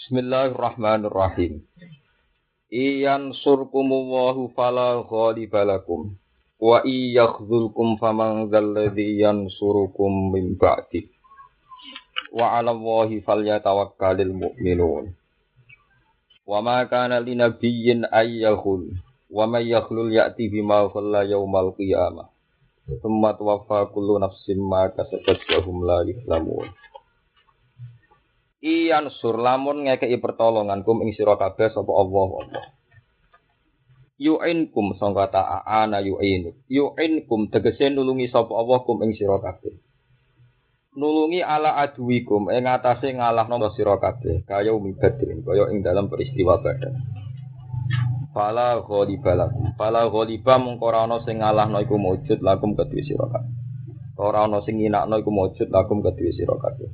Bismillahirrahmanirrahim. Iyan surkumullahu fala ghalibalakum wa iyakhzulkum faman dzalladzi yansurukum min ba'di wa 'alallahi falyatawakkalul mu'minun. Wa ma kana linabiyyin ayyakhul wa may yakhlul ya'ti bima khalla yaumal qiyamah. Tsumma tuwaffa kullu nafsin ma kasabat wa hum la yuzlamun. Iyan sur lamun ngekeki pertolongan kum ing sira kabeh sapa Allah. Yu'inkum sangka ta'ana yu'inkum tegese nulungi sapa Allah kum ing sira kabeh. Nulungi ala aduwikum ing atase ngalahno sira kabeh kaya umi badrin kaya ing dalam peristiwa Badar. Fala ghaliba mongko ora ana sing ngalahno iku mujud lakum kedue sira kabeh. Ora ana sing nginakno iku mujud lakum kedue sira kabeh.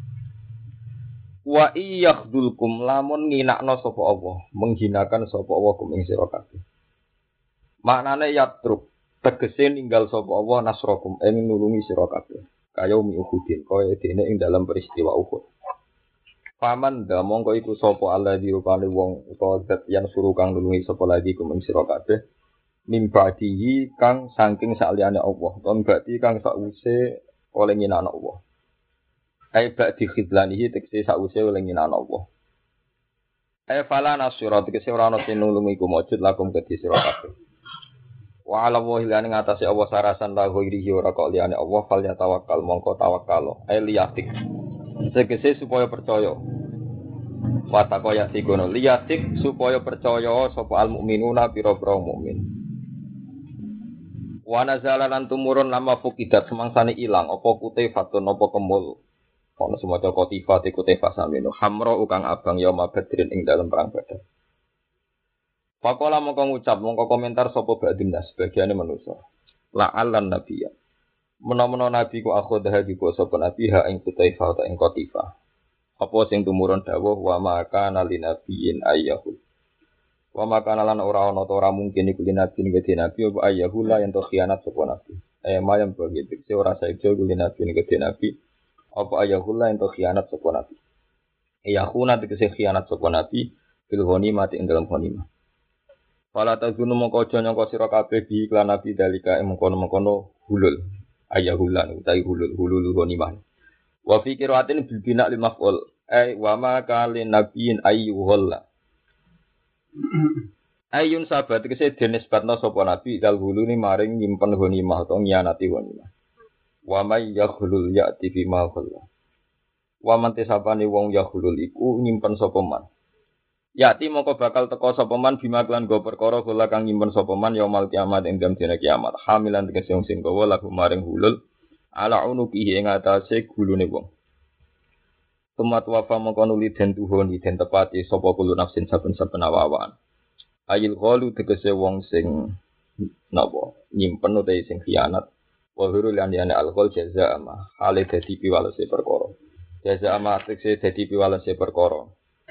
Wa iyakhdulkum lamun nginakno sapa Allah, menghinakan sapa Allah kum ing sira kabeh. Maknane yatruk, tegese ninggal sapa Allah nasrakum ing nulungi sira kabeh. Kaya umi Uhudin, kaya dene ing dalam peristiwa Uhud. Paman da mongko iku sapa alladzi rupane wong utawa zat yang suruh kang nulungi sapa lagi kum ing sira kabeh. Mimbadihi kang saking saliyane Allah, ton berarti kang sakwise oleh nginakno Allah. Ai ba'di khidlanihi tekse sakwise oleh nginakno Allah. Ai fala nasira tekse ora ana sing nulungi iku mujud lakum kedhi sira kabeh. Wa 'ala wahi lan ngatasi Allah sarasan la ghairihi ora kok liyane Allah fal ya tawakkal mongko tawakkal. Ai liyatik. Tegese supaya percaya. Wa taqaya sikono liyatik supaya percaya sapa al mukminuna pira-pira mukmin. Wa nazalan tumurun lama fukidat semangsane ilang apa kutifatun apa kemul. Ono semoga kotifat ikutifa samino hamro ukang abang yauma badrin ing dalam perang Badar. Pakola mongko ngucap mongko komentar sapa badindas sebagiane manusa. La'allan nabiyya. Menawa nabi ku akhodha juga sapa nabi ha ing kutifa ta ing kotifa. Apa sing tumurun dawuh wa maka nalinabiyyin ayyahu. Wa maka lan ora ana ta ora mungkin iku linabi ngene nabi apa ayyahu la yen to khianat sapa nabi. Mayam begitu ora saeja linabi ngene nabi. Apa ayahullah ento khianat sapa nabi. Ayahuna tegese khianat sapa nabi bil ghanimah ing dalam ghanimah. Fala tazunu mongko aja nyangka sira kabeh bi iklan nabi dalika mengkono-mengkono hulul. Ayahullah utawi hulul ghanimah. Wa fi qiraatin bil bina' lil maf'ul. Ai wa ma kalin nabiyyin ayyuhullah. Ayun sahabat tegese denisbatna sapa nabi dal huluni maring nyimpen ghanimah utawa nyianati ghanimah. Wa may yakhlul ya'ti bima khalla. Wa man tisabani wong yakhlul iku nyimpen sapa man. Ya'ti moko bakal teka sapa man bima klan go perkara kula kang nyimpen sapa man yaumul kiamat ing dina kiamat. Hamilan tegese sing gawa lagu maring hulul ala unuki ing atase gulune wong. Tumat wafa moko nuli den tuhun den tepati sapa kulo nafsin saben-saben awawan. Ayil ghalu tegese wong sing napa nyimpen utawa sing khianat. Wa hurul yani alqol jaza ama hale dadi piwalese perkara. Jaza ama tekse dadi piwalese perkara.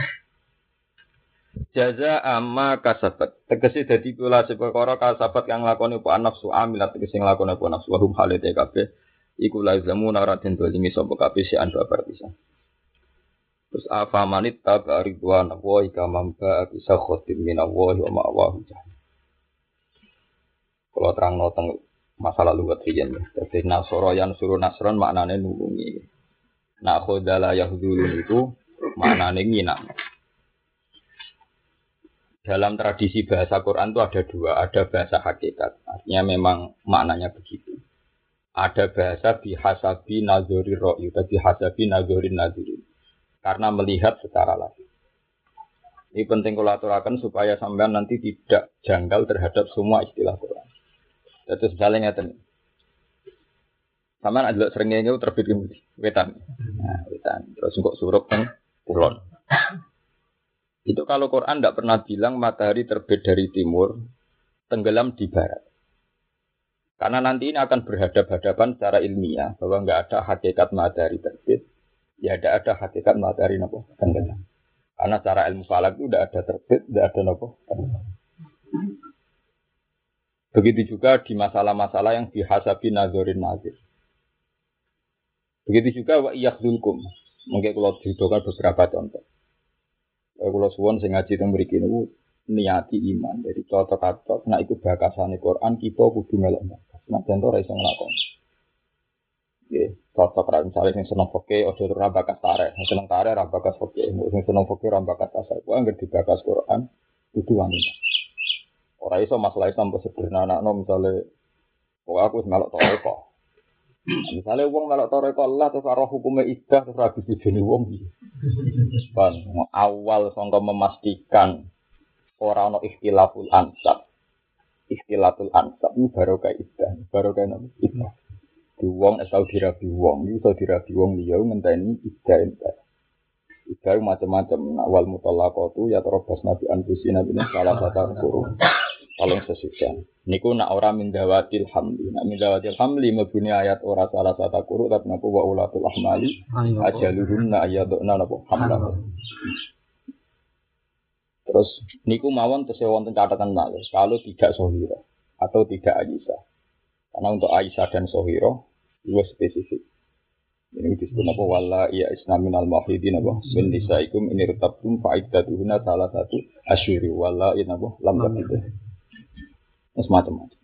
Jaza ama kasabat. Tegese dadi piwalese perkara kasabat kang nglakoni apa nafsu amilat tegese nglakoni apa nafsu hum hale te kabeh iku la zamuna raden dolimi sapa kabeh si ando berpisah. Terus afa manit tabaridwan wa ikamamba bisa khotim minallahi wa ma'wahu. Kalau terangno teng masa lalu ketriyen ya. Jadi nasoro yang suruh nasron maknane nulungi. Nah khodala yahdulun itu maknane nginam. Dalam tradisi bahasa Quran itu ada dua, ada bahasa hakikat. Artinya memang maknanya begitu. Ada bahasa bihasabi nazori ro'yu, bihasabi nazorin nazirin. Karena melihat secara langsung. Ini penting kalau aturakan supaya sampean nanti tidak janggal terhadap semua istilah Quran. Terus misalnya ngeten. Sampeyan adelok srengenge terbit wetan. Nah, wetan. Terus engko surup teng kulon. Itu kalau Quran tidak pernah bilang matahari terbit dari timur, tenggelam di barat. Karena nanti ini akan berhadap-hadapan secara ilmiah bahwa enggak ada hakikat matahari terbit, ya tidak ada hakikat matahari napa tenggelam. Karena secara ilmu falak itu tidak ada terbit, tidak ada napa tenggelam. Begitu juga di masalah-masalah yang dihasabi nazorin nazir. Begitu juga wa yakhdulkum. Mungkin kalau dihidupan beberapa contoh. kula suwun sing ngaji teng mriki niku niati iman. Jadi cocok-cocok nek iku bakasane Quran kita kudu melok bakas. Nek jan ora iso nglakoni. Nggih, cocok ra misale sing seneng fikih aja ora bakas tarek. Sing seneng tarek ra bakas fikih, sing seneng fikih ra bakas tasawuf. Kuwi anggere dibakas Quran kudu wani. Ora iso masalah Islam sederhana misale kok aku wis melok toreko. Misale wong melok toreko Allah terus karo hukume iddah terus ra bisa jeni wong iki. Kan awal sangka memastikan ora ana ikhtilaful ansab. Ikhtilatul ansab ini barokah iddah, barokah napa? Iddah. Di wong asal dirabi wong, iso dirabi wong liya ngenteni iddah entek. Iddah macam-macam, wal mutallaqatu ya terobas nabi anfusina bin salah satu kurung. Tolong sesucian. Niku nak ora mindawatil hamli. Nak mindawatil hamli mebuni ayat ora salah satu kurung tapi napa wa ulatul ahmali ajaluhunna ayaduna napa hamla. Terus niku mawon tesih wonten catatan malih kalau tidak Sohira atau tidak Aisyah. Karena untuk Aisyah dan Sohira itu spesifik. Ini disebut apa wala ya isnaminal mahidin apa min nisaikum ini retabtum fa'iddatuhunna salah satu asyuri wala in apa lam tabid. Macam-macam.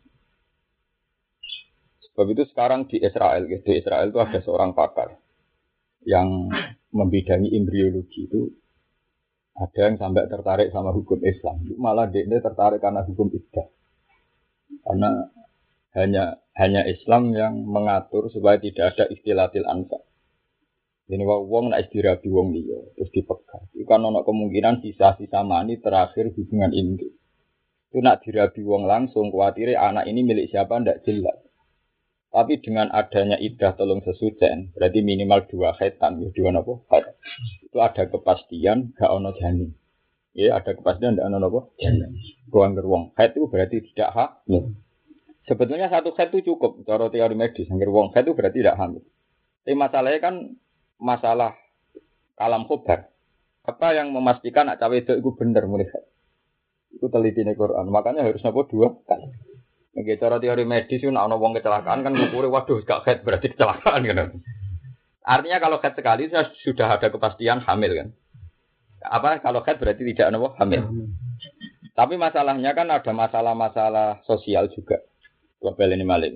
Sebab itu sekarang di Israel itu ada seorang pakar yang membidangi embriologi itu. Ada yang sampai tertarik sama hukum Islam, malah dia tertarik karena hukum iddah. Karena hanya Islam yang mengatur supaya tidak ada ikhtilatil ansab. Jadi wong nak istirahat wong liya terus dipegang. Itu kan ada kemungkinan sisa-sisa mani terakhir hubungan inti. Itu nak dirabi wong langsung khawatir anak ini milik siapa ndak jelas. Tapi dengan adanya iddah tolong sesucen, berarti minimal 2 khaitan, ya 2 apa? Khaid. Itu ada kepastian gak ono janin. Ya, ada kepastian gak ono apa? Janin. Ruang wong khaid itu berarti tidak hamil. Sebetulnya 1 khaid itu cukup cara teori medis. Angger wong khaid itu berarti tidak hamil. Tapi masalahnya kan masalah kalam khobar. Apa yang memastikan nak cawe itu benar mulai khaid? Itu telitine Quran. Makanya harus apa 2 kali. Nggih cara teori medis itu nek ana wong kecelakaan kan ngukure waduh gak head berarti kecelakaan kan. Artinya kalau head sekali sudah ada kepastian hamil kan. Apa kalau head berarti tidak ana hamil. Tapi masalahnya kan ada masalah-masalah sosial juga. Global ini malih.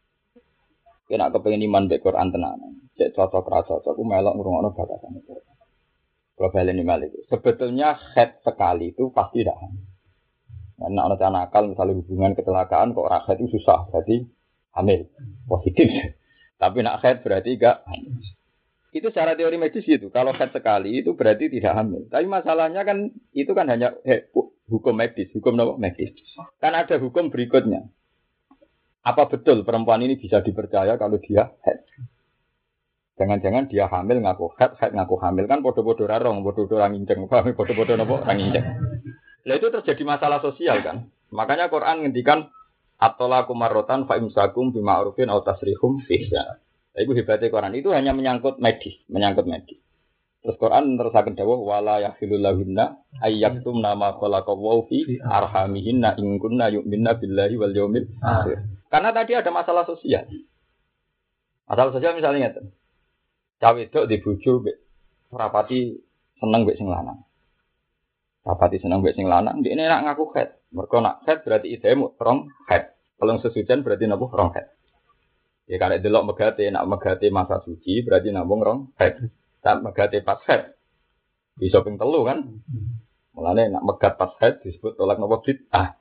Kena kepengin iman mek Quran tenanan. Cek cocok ra cocok ku melok ngrungokno bakasan itu. Global ini malih. Sebetulnya head sekali itu pasti tidak hamil. Nah, anak nakal misalnya hubungan kecelakaan kok rakyat itu susah, berarti hamil, positif. Tapi nak haid berarti enggak hamil. Itu secara teori medis itu. Kalau haid sekali itu berarti tidak hamil. Tapi masalahnya kan itu kan hanya hukum medis, hukum medis. Kan ada hukum berikutnya. Apa betul perempuan ini bisa dipercaya kalau dia haid? Jangan-jangan dia hamil ngaku haid ngaku hamil kan podo-podo rarong, podo-podo orang injeng, podo-podo nopo orang injeng. Lah itu terjadi masalah sosial kan. Makanya Quran ngendikan at-talaqu marratan fa imsakum bima'rufin aw tasrihum biihsan. Iku hebatnya Quran itu hanya menyangkut medis. Terus Quran terusaken dawuh wala yahilul lahunna ayyaktumna ma khalaqallahu fi arhamihinna in kunna yu'minna billahi wal yaumil akhir. Karena tadi ada masalah sosial. Masalah sosial misalnya ngeten. Cawe wedok di bojo rapati seneng mbek sing lanang. Rapati seneng mbek sing lanang, ndekne nak ngaku haid. Mergo nak haid berarti idemu rong haid. Kalau sesucian berarti napa rong haid. Ya karek delok megate, nak megate masa suci berarti nambung rong haid. Tak megate pas haid. Bisa ping 3 kan? Mulane nak megat pas haid disebut tolak napa bid'ah.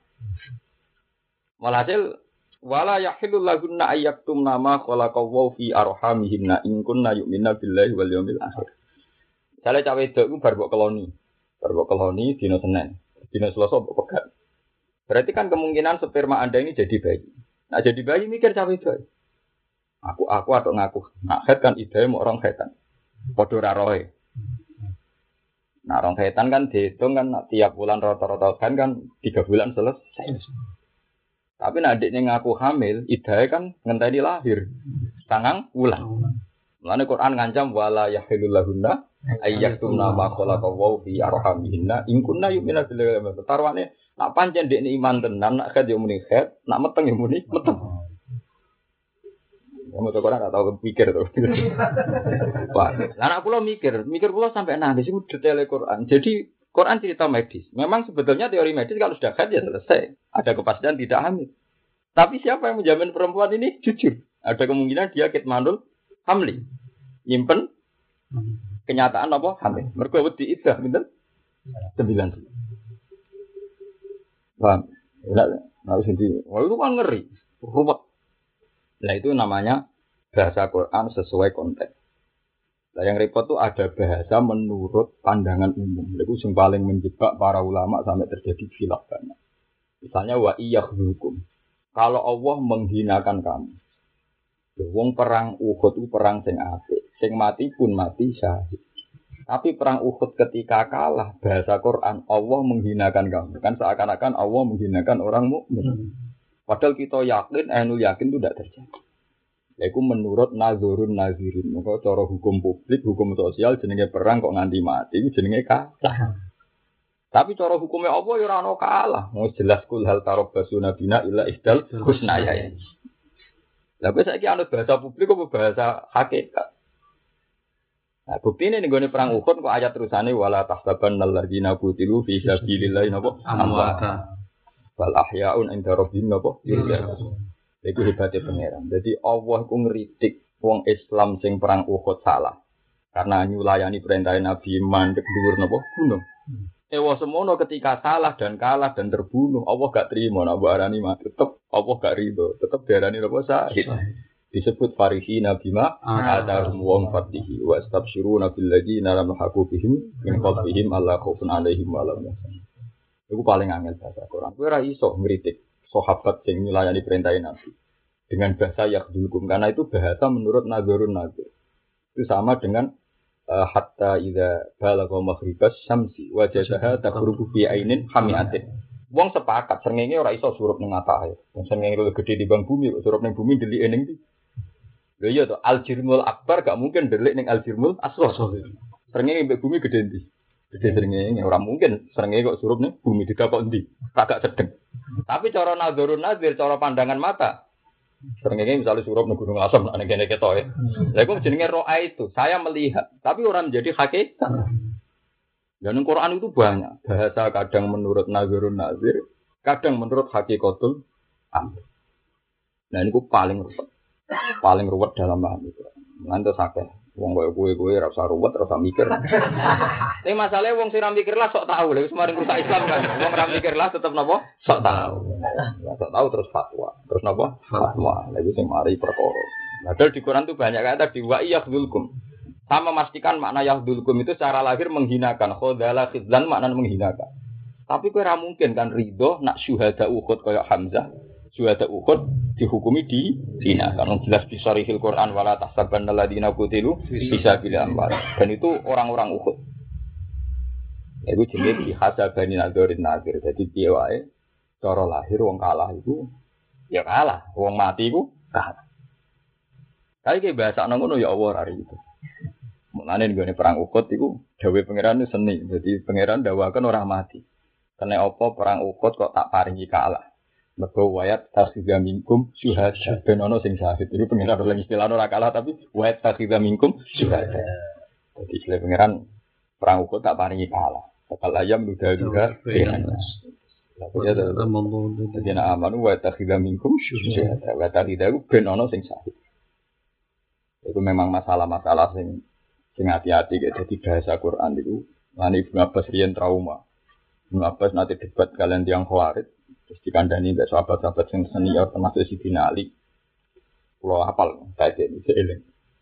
Walhasil wala yahillul lahunna ayyaktumna ma khalaqallahu fi arhamihinna in kunna yu'minna billahi wal yaumil akhir. Jale cawe wedok iku bar mbok keloni. Baru keloni dino Senin, dino Selasa pegat. Berarti kan kemungkinan sperma Anda ini jadi bayi. Nah jadi bayi mikir cawe itu. Aku atau ngaku. Nah head kan ide mau orang headan. Podo rarohe. Nah orang headan kan dihitung kan tiap bulan rata-rata kan 3 bulan selesai. Tapi nah adiknya ngaku hamil, ide kan ngenteni lahir. Sangang bulan. Mulane Quran ngancam wala yahilul lahunna ayyaktumna ma khalaqallahu fi arhamihinna in kunna yu'minuna billahi wal tarwane nak pancen dekne iman tenan nak khat yo muni khat nak meteng yo muni meteng. Kamu tuh ora tau pikir to. Wah, anak kula mikir kula sampai nangis iku detail Quran. Jadi Quran cerita medis. Memang sebetulnya teori medis kalau sudah haid ya selesai. Ada kepastian tidak hamil. Tapi siapa yang menjamin perempuan ini jujur? Ada kemungkinan dia kitmanul hamli. Nyimpen kenyataan apa? Hamil. Mergo wedi iddah pinten? 9 bulan. Paham? Harus itu. Wah itu kan ngeri. Ruwet. Nah itu namanya bahasa Quran sesuai konteks. Nah yang repot tuh ada bahasa menurut pandangan umum. Itu yang paling menjebak para ulama sampai terjadi khilaf banyak. Misalnya wa iyakhzukum. Kalau Allah menghinakan kamu. Wong perang Uhud itu perang sing apik. Sing mati pun mati syahid. Tapi perang Uhud ketika kalah bahasa Quran Allah menghinakan kamu. Kan seakan-akan Allah menghinakan orang mukmin. Padahal kita yakin, ainul yakin itu tidak terjadi. Yaitu menurut nazurun nazirin. Maka cara hukum publik, hukum sosial jenenge perang kok nganti mati itu jenenge kalah. Tapi cara hukumnya Allah ya ora ono kalah. Mau jelas kul hal tarabbasu nabina illa ihdal husnaya. Lah kok saiki anut bahasa publik apa bahasa hakikat? Nah, bukti ini nih perang Uhud kok ayat terusane wala tahsabannal ladzina qutilu fi sabilillah napa amwata wal ahyaun inda rabbihim napa yurzaqun. Iku hebatnya pangeran. Jadi Allah ku ngritik wong Islam sing perang Uhud salah. Karena nyulayani perintah Nabi mandek dhuwur napa gunung. Ewa semono ketika salah dan kalah dan terbunuh, Allah gak terima nak arani mati. Tetep Allah gak ridho, tetep diarani napa syahid. Disebut farihina bima atahum wa fatihi wa astabshiruna bil ladzina lam yahqubihim min qablihim alla khaufun alaihim wa la hum yahzanun. Iku paling angel bahasa Quran. Kowe ora iso ngritik sahabat sing nyulayani perintah Nabi dengan bahasa yakhdulkum karena itu bahasa menurut nazarun nazir. Itu sama dengan hatta idza balagha maghribas syamsi wajadaha taghrubu fi ainin hamiatin. Wong sepakat srengenge ora iso surup ning matahari. Wong srengenge luwih gedhe dibanding bumi, surup ning bumi delik ning ndi? Lha iya to, al-jirmul akbar gak mungkin delik ning al-jirmul asghar. Srengenge mbek bumi gedhe ndi? Gedhe srengenge ora mungkin srengenge kok surup ning bumi didakok ndi? Kagak sedeng. Tapi cara nazarun nazir, cara pandangan mata srengenge misalnya surup ning gunung asam nek kene ketoke. Lha iku jenenge ro'a itu, saya melihat, tapi orang menjadi hakikat. Dan Quran itu banyak bahasa kadang menurut nazarun nazir, kadang menurut hakikatul amr. Nah ini paling ruwet dalam paham itu. Ngantos akeh wong kowe ora usah ruwet, ora usah mikir. Tapi masalahnya wong sing ora mikir lah sok tahu lha wis maring rusak Islam kan. Wong ora mikir lah tetep napa? Sok tahu. Sok tahu terus fatwa. Terus napa? Fatwa. Lha iki sing mari perkara. Padahal di Quran itu banyak kata di wa yahdulkum. Sama memastikan makna yahdulkum itu secara lahir menghinakan. Khadala khidlan makna menghinakan. Tapi kowe ora mungkin kan ridho nak syuhada Uhud kaya Hamzah. Syuhada Uhud dihukumi di zina. Karena jelas di Sharihil Quran wala tahsabannal ladzina qutilu fi sabilillah amwat. Dan itu orang-orang Uhud. Itu jenis dihasabani nadzorin nazir. Jadi piye wae cara lahir wong kalah itu ya kalah, wong mati iku kalah. Tapi ki bahasa ngono ya Allah hari itu. Mulane nggone perang Uhud iku dawuhe pangeran itu seni. Jadi pangeran dawaken ora mati. Kene apa perang Uhud kok tak paringi kalah. Mergo wayat takhidha minkum syuhada ben ono sing syahid. Iku pengiran oleh istilah ora kalah tapi wayat takhidha minkum syuhada. Jadi istilah pengiran perang Uhud tak paringi kalah. Bakal ayam duda-duda ben. Ya jadi ana amanu wayat takhidha minkum syuhada. Wayat takhidha ben ono sing syahid. Itu memang masalah-masalah sing hati-hati jadi bahasa Quran itu. Lan Ibnu Abbas riyen trauma. Ibnu Abbas nanti debat kalian tiang Khawarij. Terus dikandani mbek sahabat-sahabat yang senior termasuk Sidina Ali. Pulau hafal kayak gitu seeling.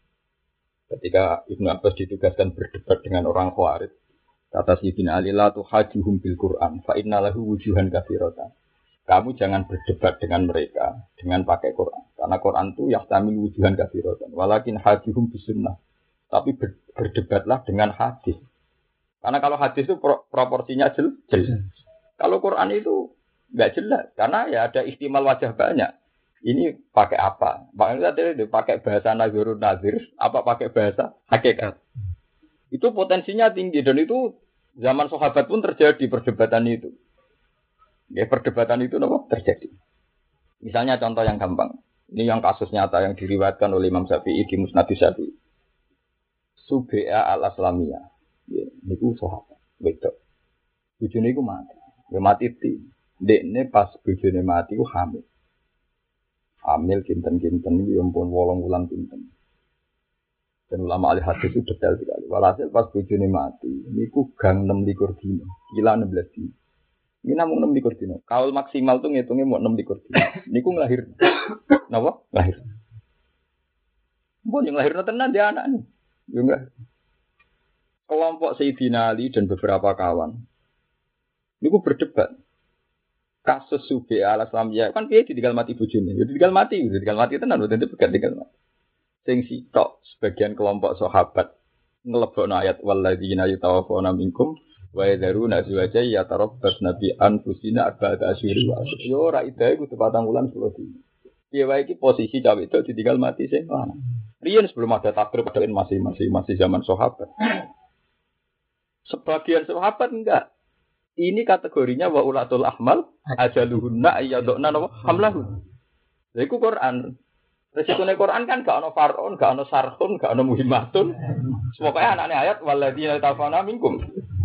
Ketika Ibnu Abbas ditugaskan berdebat dengan orang Khawarij, kata Sidina Ali la tuhajuhum bil Quran fa innalahu wujuhan katsiratan. Kamu jangan berdebat dengan mereka dengan pakai Quran. Karena Quran itu yahtamil wujuhan katsiratan. Walakin hajuhum bis sunnah. Tapi berdebatlah dengan hadis. Karena kalau hadis itu proporsinya jelas. Kalau Quran itu enggak jelas karena ya ada ihtimal wajah banyak. Ini pakai apa? Makanya tadi pakai bahasa nazarun nazir, apa pakai bahasa hakikat. Itu potensinya tinggi dan itu zaman sahabat pun terjadi perdebatan itu. Ya perdebatan itu apa? Terjadi. Misalnya contoh yang gampang. Ini yang kasus nyata yang diriwayatkan oleh Imam Syafi'i di Musnad Syafi'i. Subai'ah al-Aslamiyah. Ya, niku sahabat. Betul. bojone iku mati. Ya mati ti. Dekne pas bojone mati ku hamil. Hamil kinten-kinten iki ampun 8 wulan kinten. Dan ulama ahli hadis itu detail sekali. Walhasil pas bojone mati, niku gang 26 dina, kila 16 dina. Ini namun 6 dina. Kaul maksimal tuh ngitungnya mau 6 dina. Niku ngelahir. Napa? Lahir. Mbon yang lahir tenan dia anak nih. Yo enggak. Kelompok Sayyidina Ali dan beberapa kawan niku berdebat. Kasus Subi al-Islamiyah kan piye ditinggal mati bojone. Ya ditinggal mati tenan boten dipegat tinggal mati. Sing sitok sebagian kelompok sahabat ngelebokno ayat walladzina yatawaffawna minkum wa yadharuna azwaja yatarabbasna bi anfusina arba'ata asyhur wa ashra. Yo ora idae kudu 4 wulan 10 dina. Piye wae iki posisi cawe itu ditinggal mati sing lanang. Riyen sebelum ada takbir padahal masih zaman sahabat. Sebagian sahabat enggak. Ini kategorinya wa ulatul ahmal ajaluhunna ayyaduna hamlahun. Lha iku Quran. Resikone Quran kan gak ono far'un, gak ono sarhun, gak ono muhimmatun. Pokoke anane ayat walladzina tafana minkum.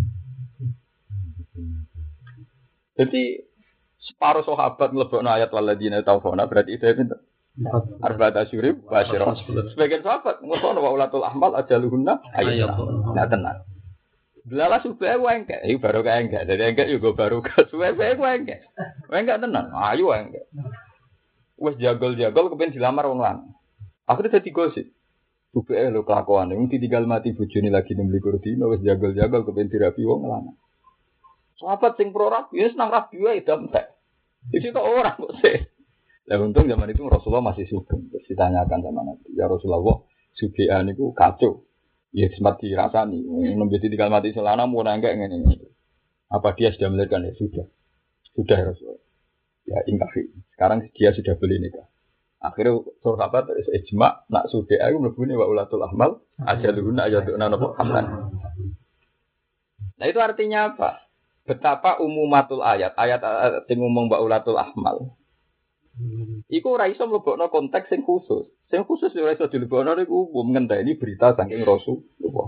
Jadi separuh sahabat nglebokno ayat walladzina tafana berarti itu pinten? Arba'ata asyhur wa ashra. Sebagian sahabat ngono wa ulatul ahmal ajaluhunna ayyaduna. Nah tenan. Delala suwe wae enggak, iki baru kae enggak. Dadi enggak yo baru ka suwe wae enggak. Wae enggak tenan. Ayo wae enggak. Wes jagol-jagol kepen dilamar wong lanang. Akhire dadi gosip. Supaya lho kelakuane wong ditinggal mati bojone lagi 26 dina wes jagol-jagol kepen dirapi wong lanang. Sahabat sing pro rabi wis nang rabi wae damtek. Iki kok ora kok sih. Lah untung zaman itu Rasulullah masih sugeng. Terus ditanyakan sama Nabi, "Ya Rasulullah, sugehan niku kacau." Ya sempat dirasani. Nembe ditinggal mati selana mau enggak ngene. Apa dia sudah melahirkan? Ya sudah. Sudah ya Rasulullah. Ya ingkafi. Sekarang dia sudah beli nikah. Akhirnya sahabat ijma nak sudah aku mlebune wa ulatul ahmal ajaluhunna ayaduna napa hamlan. Nah itu artinya apa? Betapa umumatul ayat sing ngomong wa ulatul ahmal. Iku ora iso mlebokno konteks sing khusus. Sing khusus ora iso dilebokno niku umum ngenteni berita saking Rasulullah.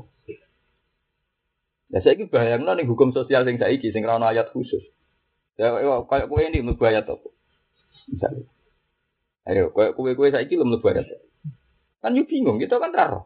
Ya saiki bayangno ning hukum sosial sing saiki sing ora ana ayat khusus. Ya kayak kowe ini mlebu ayat apa? Misalnya. Ayo, kowe saiki lho mlebu ayat. Kan yo bingung, kita kan raro.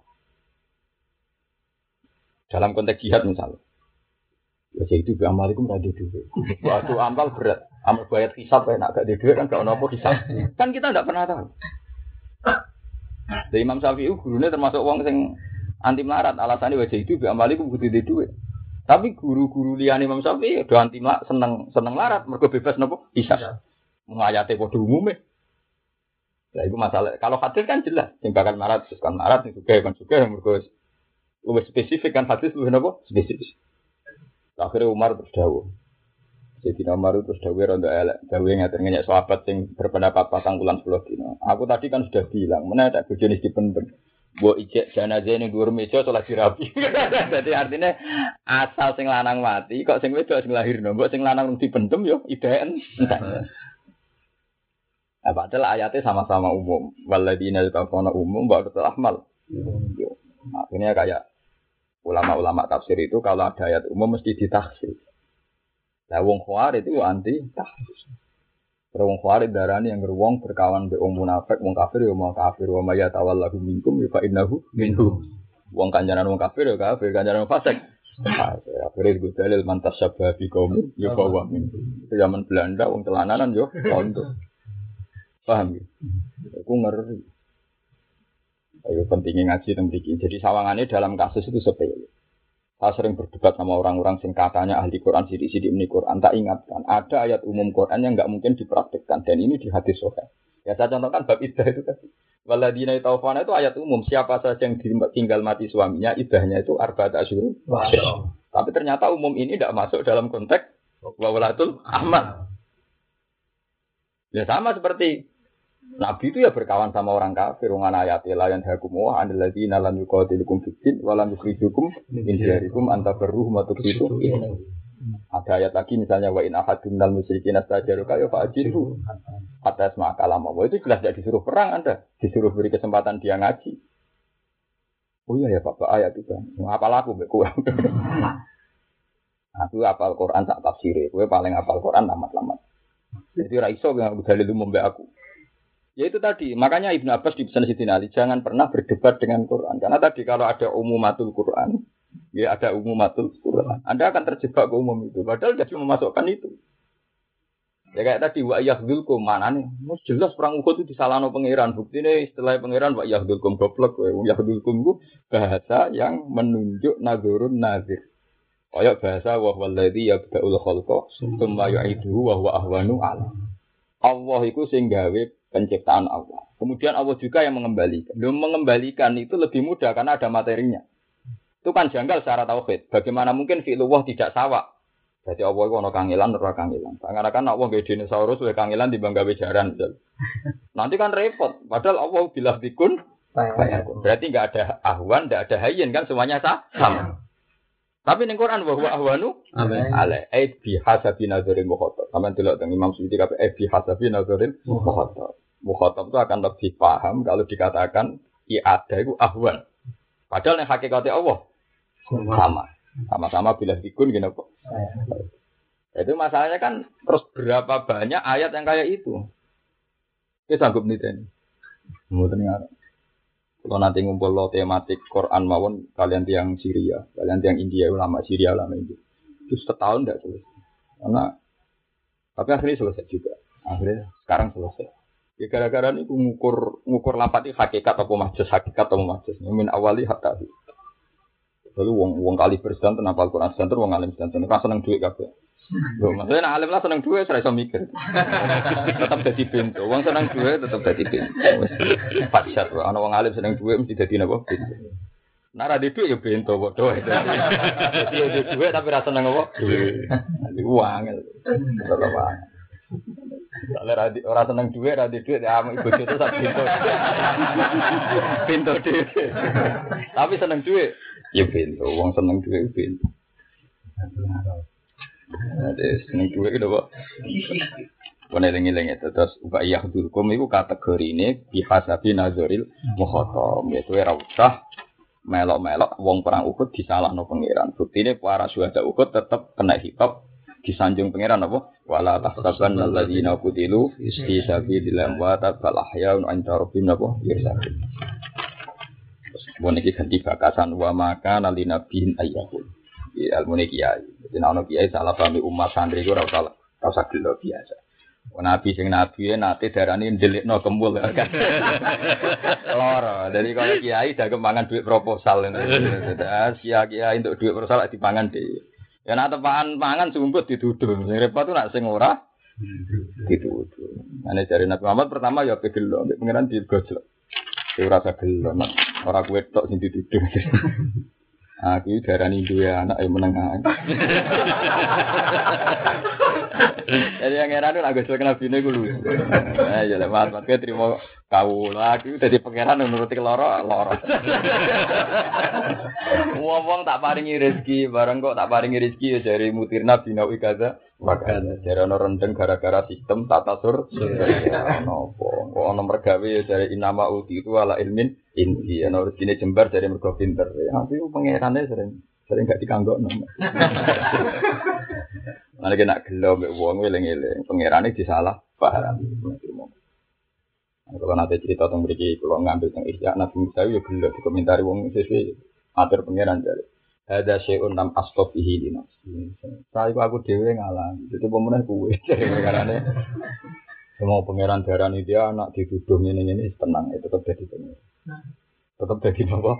Dalam konteks jihad misalnya. Ya itu bi amalikum ra duwe. Waktu amal berat, amal bayar hisab enak gak duwe kan gak ono apa hisab. Kan kita ndak pernah tahu. Dari Imam Syafi'i gurune termasuk wong sing anti melarat, alasannya wajah itu bi amalikum kudu duwe. Tapi guru-guru liyane Imam Syafi'i do anti seneng larat mergo bebas napa hisab. Ayate padha umume. Lah iku masalah. Kalau hadis kan jelas, sing bakal marat terus kan marat sing sugih kan sugih mergo luwih spesifik kan hadis luwih napa spesifik. Akhirnya Umar terus dawuh. Jadi Umar terus dawuh rondo elek, dawuh ngaten-ngaten sahabat sing berpendapat 4 bulan 10 dina. Aku tadi kan sudah bilang, menawa tak bojone dipendem. Mbok ijek jenazah ning dhuwur meja salat dirapi. Dadi artinya asal sing lanang mati kok sing wedok sing lahirno, mbok sing lanang dipendem yo ideen. Nah, padahal ayatnya sama-sama umum. Walladzina yatawafawna umum wa ulatul ahmal. Akhirnya kayak ulama-ulama tafsir itu kalau ada ayat umum mesti ditakhsis. Lah wong Khawarij itu anti takhsis. Wong Khawarij darani yang wong berkawan be wong munafik, wong kafir ya mau kafir, wa may yatawallahu minkum fa innahu minhum. Wong kancanan wong kafir ya kafir, kancanan wong fasik. Akhirnya gue dalil mantas sabah bi kaum ya bawa minhum. Itu zaman Belanda wong telananan yo contoh. Paham ya? Aku ngeri. Ayo pentingnya ngaji tentang ini. Jadi sawangannya dalam kasus itu sepele. Saya sering berdebat sama orang-orang sing katanya ahli Quran, sidik-sidik ini Quran. Tak ingatkan, ada ayat umum Quran yang nggak mungkin dipraktikkan. Dan ini di hadis sahih. Ya saya contohkan bab iddah itu tadi. Waladina yatawafawna itu ayat umum. Siapa saja yang tinggal mati suaminya, iddahnya itu arba'at asyhur. Tapi ternyata umum ini tidak masuk dalam konteks wa ulatul ahmal. Ya sama seperti Nabi itu ya berkawan sama orang kafir, wong ana ayate la yan hakum wa anil ladina lam yuqatilukum fid-din wa lam yukhrijukum min diyarikum antabarruhum wa tuqsitu. Ada ayat lagi misalnya wa in ahadun minal musyrikin astajaruka ya fa'jiru atas makalam. Itu jelas tidak disuruh perang Anda, disuruh beri kesempatan dia ngaji. Oh iya ya Bapak ayat itu. Apa laku mbek kowe? Aku apal Quran tak tafsire, kowe paling apal Quran tamat-tamat. Jadi ra iso nganggo dalil umum mbek aku. Ya itu tadi, makanya Ibnu Abbas di pesan Sidin Ali jangan pernah berdebat dengan Quran. Karena tadi kalau ada umumatul Quran, ya ada umumatul Quran. Anda akan terjebak ke umum itu. Padahal dia cuma memasukkan itu. Ya kayak tadi wa yahdulkum mana nih? Jelas perang Uhud itu disalahno pangeran. Buktine istilah pangeran wa yahdulkum goblok kowe. Yahdulkum itu bahasa yang menunjuk nazurun nazir. Kayak bahasa wa wallazi yabda'ul khalqa tsumma yu'iduhu wa huwa ahwanu 'ala. Allah itu sing gawe penciptaan Allah. Kemudian Allah juga yang mengembalikan. Mengembalikan itu lebih mudah karena ada materinya. Itu kan janggal secara tauhid. Bagaimana mungkin fi'lullah tidak sawa? Jadi Allah itu ada kangilan, ora kangilan. Karena kan Allah gawe dinosaurus, gawe kangilan timbang gawe jaran. Nanti kan repot. Padahal Allah bilah bikun, berarti enggak ada ahwan, enggak ada hayyin kan semuanya sama. Tapi ning Quran wa huwa ahwanu ala bi hasabi nazaril mukhatab. Sampeyan delok teng Imam Suyuti kabeh bi hasabi nazaril mukhatab. Mukhatab itu akan lebih paham kalau dikatakan ada itu ahwan. Padahal yang hakikatnya Allah sama. Sama-sama bila dikun gini kok. Itu masalahnya kan terus berapa banyak ayat yang kayak itu. Kita sanggup nih ini. Mungkin nggak. Kalau nanti ngumpul lo tematik Quran mawon kalian tiang Syria, kalian tiang India ulama Syria ulama India. Itu setahun tidak selesai. Karena tapi akhirnya selesai juga. Akhirnya sekarang selesai. Ya gara-gara ini ngukur lapat itu hakikat atau majus, hakikat atau majus. Min awali hatta. Lalu wong kali bersedan kenapa Al-Quran sedan wong alim sedan kan seneng duit kabeh. Lho maksudnya nek alim lah seneng duit ora iso mikir. Tetap dadi pintu. Wong seneng duit tetap dadi pintu. Wis pacat wae ana wong alim seneng duit mesti dadi napa? Pintu. Nek ora di duit ya pintu padha. Dadi yo duit tapi ra seneng apa? Duit. Uang. Tetep wae. Kalau orang seneng duit, radi duit, ya ibu itu sak pintu. Pintu duit. Tapi seneng duit, ya pintu. Wong seneng duit pintu. Ada seneng duit itu kok. Peneling-eling itu terus ubah dulkum itu kategori ini bihasabi nazaril mukhatam. Yaitu ora usah melok-melok wong perang Uhud disalahno pangeran. Buktine para syuhada Uhud tetap kena hitop disanjung pangeran apa? Wala tahsaban alladzina qutilu fi sabilillah wa bal ahyaun 'inda rabbihim apa? Yurzaqun. Boneki ganti bakasan wa maka nalinabihin ayyahul. Ya ilmu kiai. Jadi ana kiai salah pahami umat santri ku ora usah gelo biasa. Nabi sing nabi nate darani ndelikno kemul kan. Loro. Jadi kalau kiai dak kemangan duit proposal ngono. Kiai untuk duit proposal dipangan dhewe. Ya nak tepaan pangan sumput dituduh. Sing repot tuh nak sing ora dituduh. Ane jare Nabi Muhammad pertama ya pegelo, nek pengiran digojlok. Ya ora usah gelo, ora kuwe tok sing dituduh. Aku darani duwe anak yang menengah. Jadi yang heran itu agak kena bine gue lu. Ya lemat, mat terima kau lagi dari pangeran menuruti loro. Ngomong tak paringi rezeki, bareng kok tak paringi rezeki ya dari mutirna binawi kaza. Makan dari ono rendeng gara-gara sistem tata sur. Nopo, kok ono mergawe ya dari inama uti itu ala ilmin inti. Ono rezekine jembar dari mergo pinter. Tapi pangerane sering gak dikanggokno. Ana kena gelo mbek wong eling-eling, pangerane disalah paham. Kalau nanti cerita tentang mriki kula ngambil teng Ihya Nabi Musa yo gelo dikomentari wong sesuai atur pangeran jare. Ada syai'un lam astofihi li nafsi. Saya aku dhewe ngalah. Itu pemenang kuwe karane semua pangeran darani dia anak dituduh ngene-ngene tenang itu tetap jadi pangeran. Tetap jadi apa?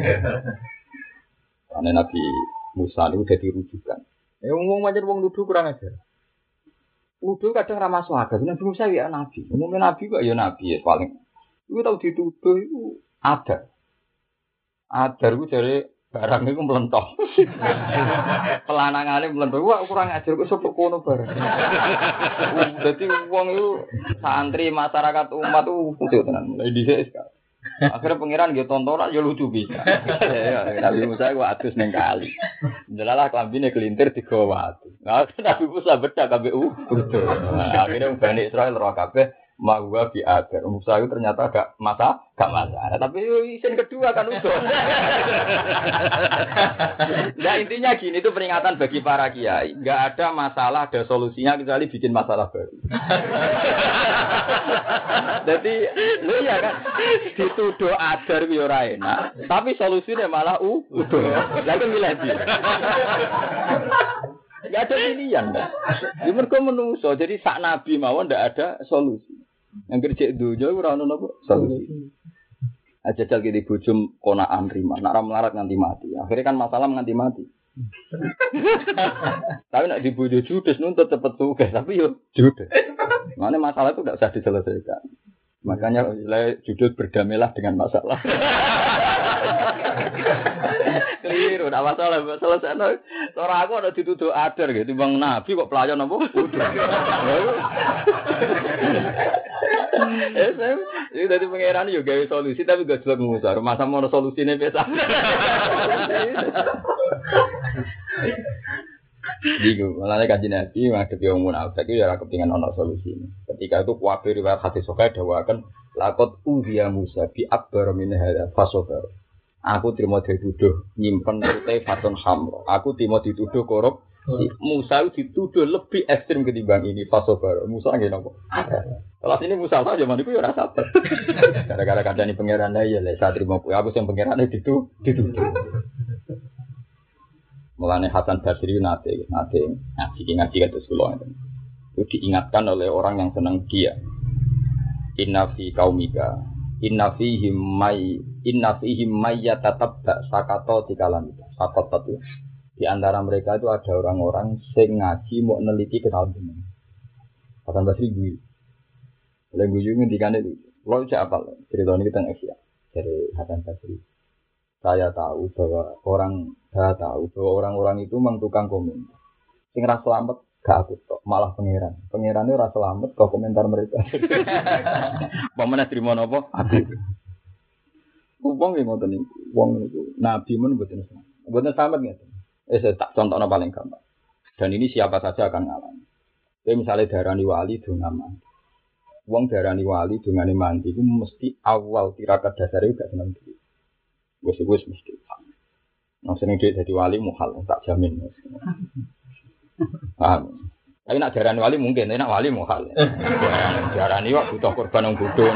Karena Nabi Musa itu jadi rujukan. Ngomong macam wong nuduh kurang ajar. Nuduh kadang ramah suara. Nabi Musa ya nabi. Umumnya nabi kok ya nabi ya paling. Itu tahu dituduh itu ada. Ada itu dari barang itu melentok. Pelanangannya melentok. Wah kurang ajar kok sebut kono barang. Jadi wong itu santri masyarakat umat itu kudu tenan. Mulai dhisik sekali. Akhirnya pangeran gitu tontonan ya lucu bisa. Nabi Musa gua atus neng kali. Jelalah klambine kelintir digawa atu. Nah, Nabi Musa becak KBU. Akhirnya Bani Israil roh kabeh Mahwa bi adar. Musa itu ternyata gak masalah. Tapi isin kedua kan udah. Nah intinya gini, itu peringatan bagi para kiai. Gak ada masalah, ada solusinya kecuali bikin masalah baru. Jadi, lu ya kan dituduh adar yo ora enak. Tapi solusinya malah udah. Lagi milih dia. Gak ada pilihan. Di mereka menungso. Jadi sak nabi mawon ndak ada solusi. Yang kerja dunia ora ono napa solusi. Ajajal ki bojom konaan rima, nak ra melarat nganti mati. Akhirnya kan masalah nganti mati. Tapi nak dibojo judes nuntut cepet sugih, tapi yo judes. Makanya masalah itu tidak usah diselesaikan. Makanya judul berdamailah dengan masalah. Keliru, tidak masalah selesai. Orang aku ada dituduh adar gitu, bang Nabi kok pelayan apa? Udah. Ini dari pangeran juga gawe solusi tapi gak jelas ngusar. Masa mau solusinya biasa. Digo, malah kaji Nabi menghadapi orang munafik itu ya kepingan ono solusi. Ketika itu kuwabe riwayat hadis sahih dawakan laqad uziya Musa bi akbar min hadza fasabar. Aku terima dituduh nyimpen putih fatun hamro. Aku terima dituduh korup. Musa dituduh lebih ekstrim ketimbang ini fasabar. Musa nggih napa? Kalau ini Musa aja zaman itu ya ora sabar. Gara-gara kandhani pangeran ya lek saya terima aku sing pangerane dituduh. Mulane Hasan Basri nate ngaji terus kula itu diingatkan oleh orang yang senang dia. Inna fi qaumika inna fihim may yatatabba sakato dikalamika. Sakat itu di antara mereka itu ada orang-orang sing ngaji mau neliti kenal jeneng. Hasan Basri gue. Oleh gue ngendikane itu. Lo cak apal cerita ini tentang Asia dari Hasan Basri. Saya tahu bahwa orang-orang itu memang tukang komen. Sing ra selamat gak aku tok, malah pangeran. Pangerane ora selamat kok komentar mereka. Pamane trimo napa? Aku. Wong ngoten niku. Wong niku nabi men mboten selamat. Mboten selamat ngeten. Saya tak contohna paling gampang. Dan ini siapa saja akan ngalami. Kayak misalnya darani wali dongaman. Wong darani wali dongane mandi itu mesti awal tirakat dasare gak seneng duit. Wes mesti. Nang seneng duit dadi wali muhal tak jamin. Paham. Tapi nak darani wali mungkin, nak wali muhal. Darani wak butuh korban wong bodho.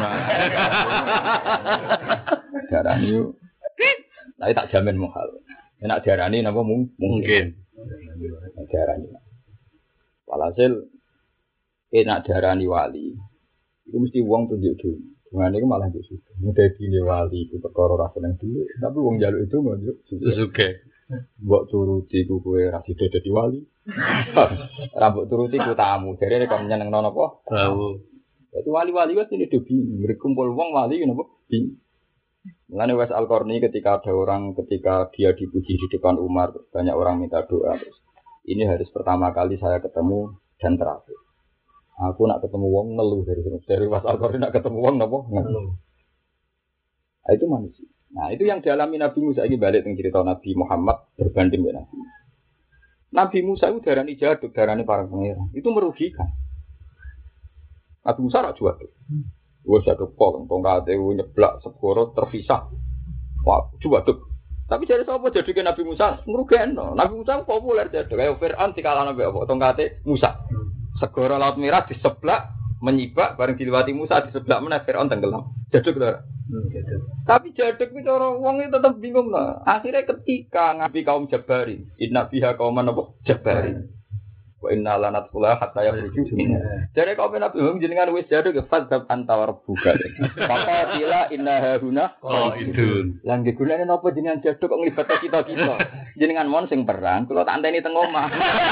Darani yo. Tapi tak jamin muhal. Nak darani napa mungkin. Darani. Walhasil nak darani wali. Itu mesti wong tunjuk dulu. Dengan itu malah itu suka. Mudah gini wali itu perkara rasa yang dulu. Tapi wong jaluk itu nggak suka. Buat turuti ku kue rasi dede di wali. Rambut turuti ku tamu. Jadi mereka menyenang nono apa? Tahu. Itu wali-wali kan ini dobi. Mereka kumpul wong wali kenapa? Mengenai Wes Al-Qarni ketika dia dipuji di depan Umar, banyak orang minta doa. Ini harus pertama kali saya ketemu dan terakhir. Aku nak ketemu wong ngeluh dari Was Al-Qarni nak ketemu wong napa ngeluh. Nah, itu manusia. Nah, itu yang dialami Nabi Musa iki balik teng cerita Nabi Muhammad berbanding dengan Nabi. Nabi Musa itu darani jaduk, darani para pangeran. Itu merugikan. Nabi Musa rak jaduk. Wes jaduk kok tongkate nyeblak segoro terpisah. Wah, jaduk. Tapi jadi sapa jaduke Nabi Musa ngrugekno. Nabi Musa populer jaduk kaya Firaun dikalahno mbek apa tongkate Musa. Segara Laut Merah di sebelah menyibak bareng diliwati Musa di sebelah meneh Firaun tenggelam. Jaduk to. Tapi jaduk itu orang wong itu tetap bingung lah. Akhirnya ketika ngabi kaum Jabari, inna biha kauman apa Jabari. Wa inna lanatqula hatta yakhruju minha. Jadi kaum Nabi jenengan wis jaduk fadzab antawar buka. Faqatila inna haruna qaidun. Lan gunane napa jenengan jaduk kok nglibatke kita-kita. Jenengan mon sing perang, kula tak anteni teng omah.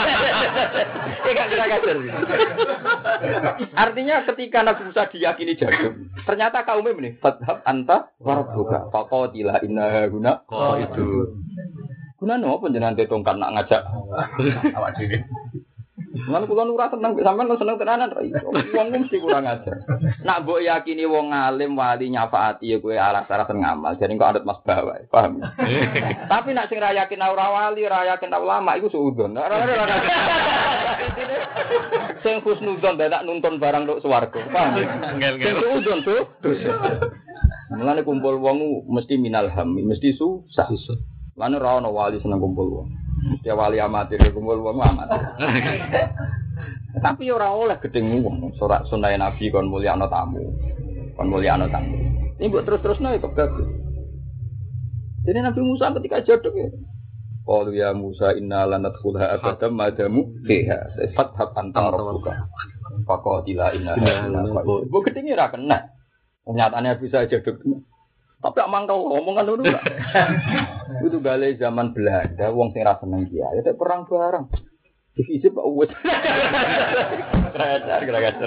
Artinya ketika Nabi Musa diyakini jaduk, ternyata kaumnya ini fadzab anta warbuka. Faqatila inna haruna qaidun. Gunane apa jenengan tetongkan nak ngajak awak dhewe. Lan kula ora seneng sampean seneng tenanan ra iso. Wong mesti kurang ajar. Nak mbok yakini wong alim wali nyafaati ya kowe alas-alasan ngamal. Jadi kok anut Mas Bawa, paham? Tapi nak sing ra yakin ora wali, ra yakin ulama iku suudon. Sing husnudzon dadak nuntun barang tok swarga. Paham? Sing suudzon tuh. Mulane kumpul wong mesti minal ham, mesti susah. Lan ora ono wali seneng kumpul wong. Mesti wali amatir kumpul wong amatir. Tapi ora oleh gedeng wong. Surat sunah Nabi kon mulyakno tamu. Kon mulyakno tamu. Ini mbok terus-terusno ya kebab. Jadi Nabi Musa ketika jaduk ya. Qalu ya Musa inna lanadkhulha abadan madamu fiha. Fathab anta rabbuka. Faqatila inna hauna. Bu gedenge ra kena. Kenyataannya bisa jaduk. Tapi amang tau omongan ngono enggak. Itu gale zaman Belanda wong sing ra seneng kiai ya perang bareng. Divisip Pak Uwes. Kerajar.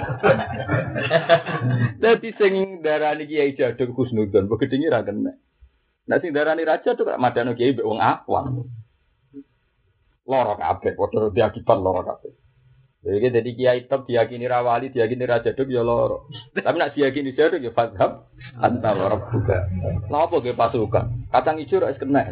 Dadi sing darani kiai jaduk husnudzon bu gedenge ra kena. Nek sing darani raja tuh madano kiai mbek wong awam. Loro kabeh, padha diakibat loro kabeh. Jadi kiai top diyakini rawali, diyakini raja duk ya loro. Tapi nak diyakini jaduk ya fadhab anta rabbuka. Lha apa ge pasukan? Kacang ijo rak kena.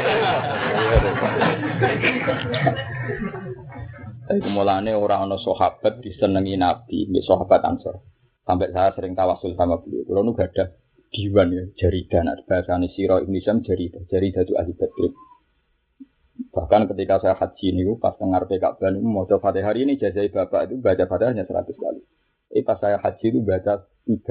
Iku mulane ora ana sahabat disenengi Nabi, mbek sahabat Ansor. Sampai saya sering tawasul sama beliau. Kulo nu gadah diwan ya jaridan bahasane sira Indonesia jaridah itu ahli badr. Bahkan ketika saya haji niku pas ngarepe Ka'bah niku maca Fatihah hari ini jazai Bapak itu baca Fatihah hanya 100 kali. Pas saya haji itu baca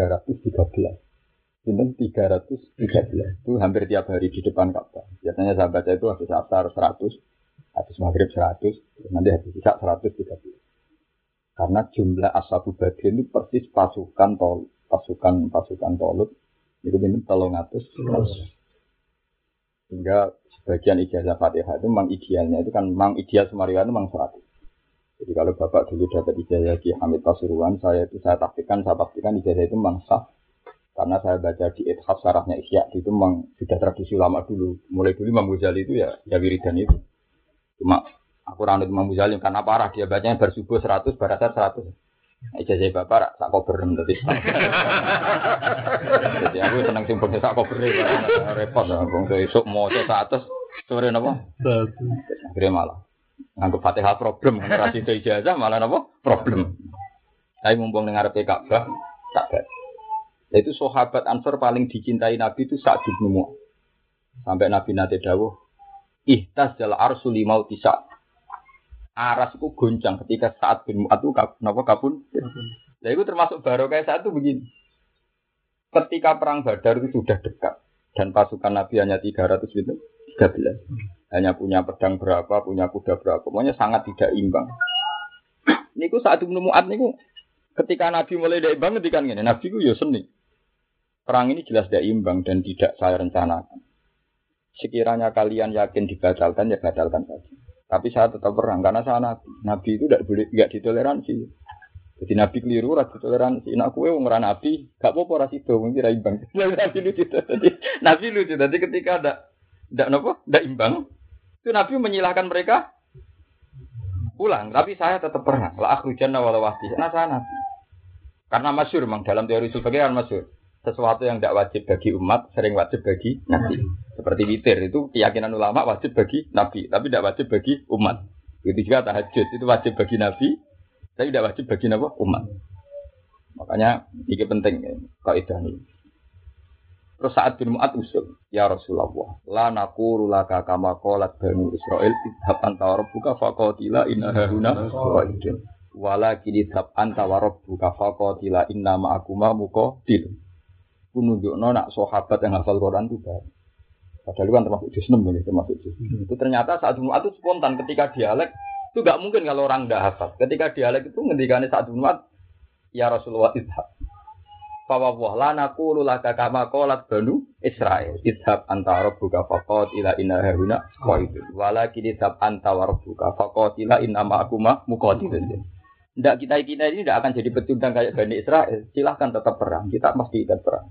313. Sinten 313. Itu hampir tiap hari di depan Ka'bah. Biasanya saya baca itu habis asar 100, habis maghrib 100, nanti habis isya 113. Karena jumlah ashabu badr itu persis pasukan Tolut. Itu minum 300. Sehingga sebagian ijazah Fatihah itu memang idealnya itu kan memang ideal Sumariwan itu memang 100. Jadi kalau Bapak dulu dapat ijazah Ki Hamid Pasuruan, saya pastikan ijazah itu memang sah. Karena saya baca di Ithaf Sarahnya Ihya itu memang sudah tradisi lama dulu. Mulai dulu Imam Ghazali itu ya wiridan itu. Cuma aku ranut Imam Ghazali karena parah dia bacanya bersubuh 100, berasar 100. Ijazah Bapak sak koberem tadi. Jadi aku senang simpel sak koberem repot wong esuk maca 100 sore napa? 100. Akhire malah nganggo Fatihah problem ora sido ijazah malah napa? Problem. Tapi mumpung ning ngarepe Ka'bah tak bae. Itu sahabat Ansor paling dicintai Nabi itu Sa'd bin Mu'adz. Sampai Nabi nate dawuh, "Ihtazzal arsyu li mauti Sa'd." Aras itu goncang ketika Sa'd bin Mu'adz itu kabun. Nah itu termasuk barokah saat itu begini. Ketika perang Badar itu sudah dekat dan pasukan Nabi hanya 313. Hanya punya pedang berapa, punya kuda berapa, pokoknya sangat tidak imbang. Niku Sa'd bin Mu'adz niku ketika Nabi mulai tidak imbang ketika ngene, Nabi ku ya seni. Perang ini jelas tidak imbang dan tidak saya rencanakan. Sekiranya kalian yakin dibatalkan ya batalkan saja. Tapi saya tetap perang karena saya Nabi. Nabi itu tidak ditoleransi. Jadi Nabi keliru, ora ditoleransi. Nak kowe wong ora Nabi, gak apa-apa ora sido, mung kira imbang. Nabi lucu. Nabi lucu. Jadi ketika tidak imbang, itu Nabi menyilahkan mereka pulang. Tapi saya tetap perang. La akhrujanna wala wahdi. Nah saya Nabi. Karena masyhur memang dalam teori sebagian masyhur. Sesuatu yang tidak wajib bagi umat, sering wajib bagi Nabi. Seperti witir, itu keyakinan ulama wajib bagi Nabi, tapi tidak wajib bagi umat. Begitu juga tahajud, itu wajib bagi Nabi, tapi tidak wajib bagi umat. Makanya ini penting, kaidah ini. Terus Sa'd bin Mu'adz usul, ya Rasulullah, la naqulu laka kama qalat Banu Israil, idhab anta wa rabbuka faqatila inna hahuna qaidun. Walakin idhab anta wa rabbuka faqatila inna ma'akuma muqatil. Menunjukno nak sahabat yang hafal Quran itu baik. Padahal kan termasuk juz 6 ini, termasuk juz. Itu ternyata Sa'd bin Mu'adz itu spontan ketika dialek itu enggak mungkin kalau orang enggak hafal. Ketika dialek itu ngendikane Sa'd bin Mu'adz, ya Rasulullah idhab. Fa wa la naqulu laka kama qalat Banu Israil, idhab anta rabbuka faqatila inna hauna qaidun. Walakin idhab anta wa rabbuka faqatila inna ma'akuma muqatilun. Ndak kita ini tidak akan jadi pecundang kayak Bani Israel. Silahkan tetap perang. Kita pasti ikut perang.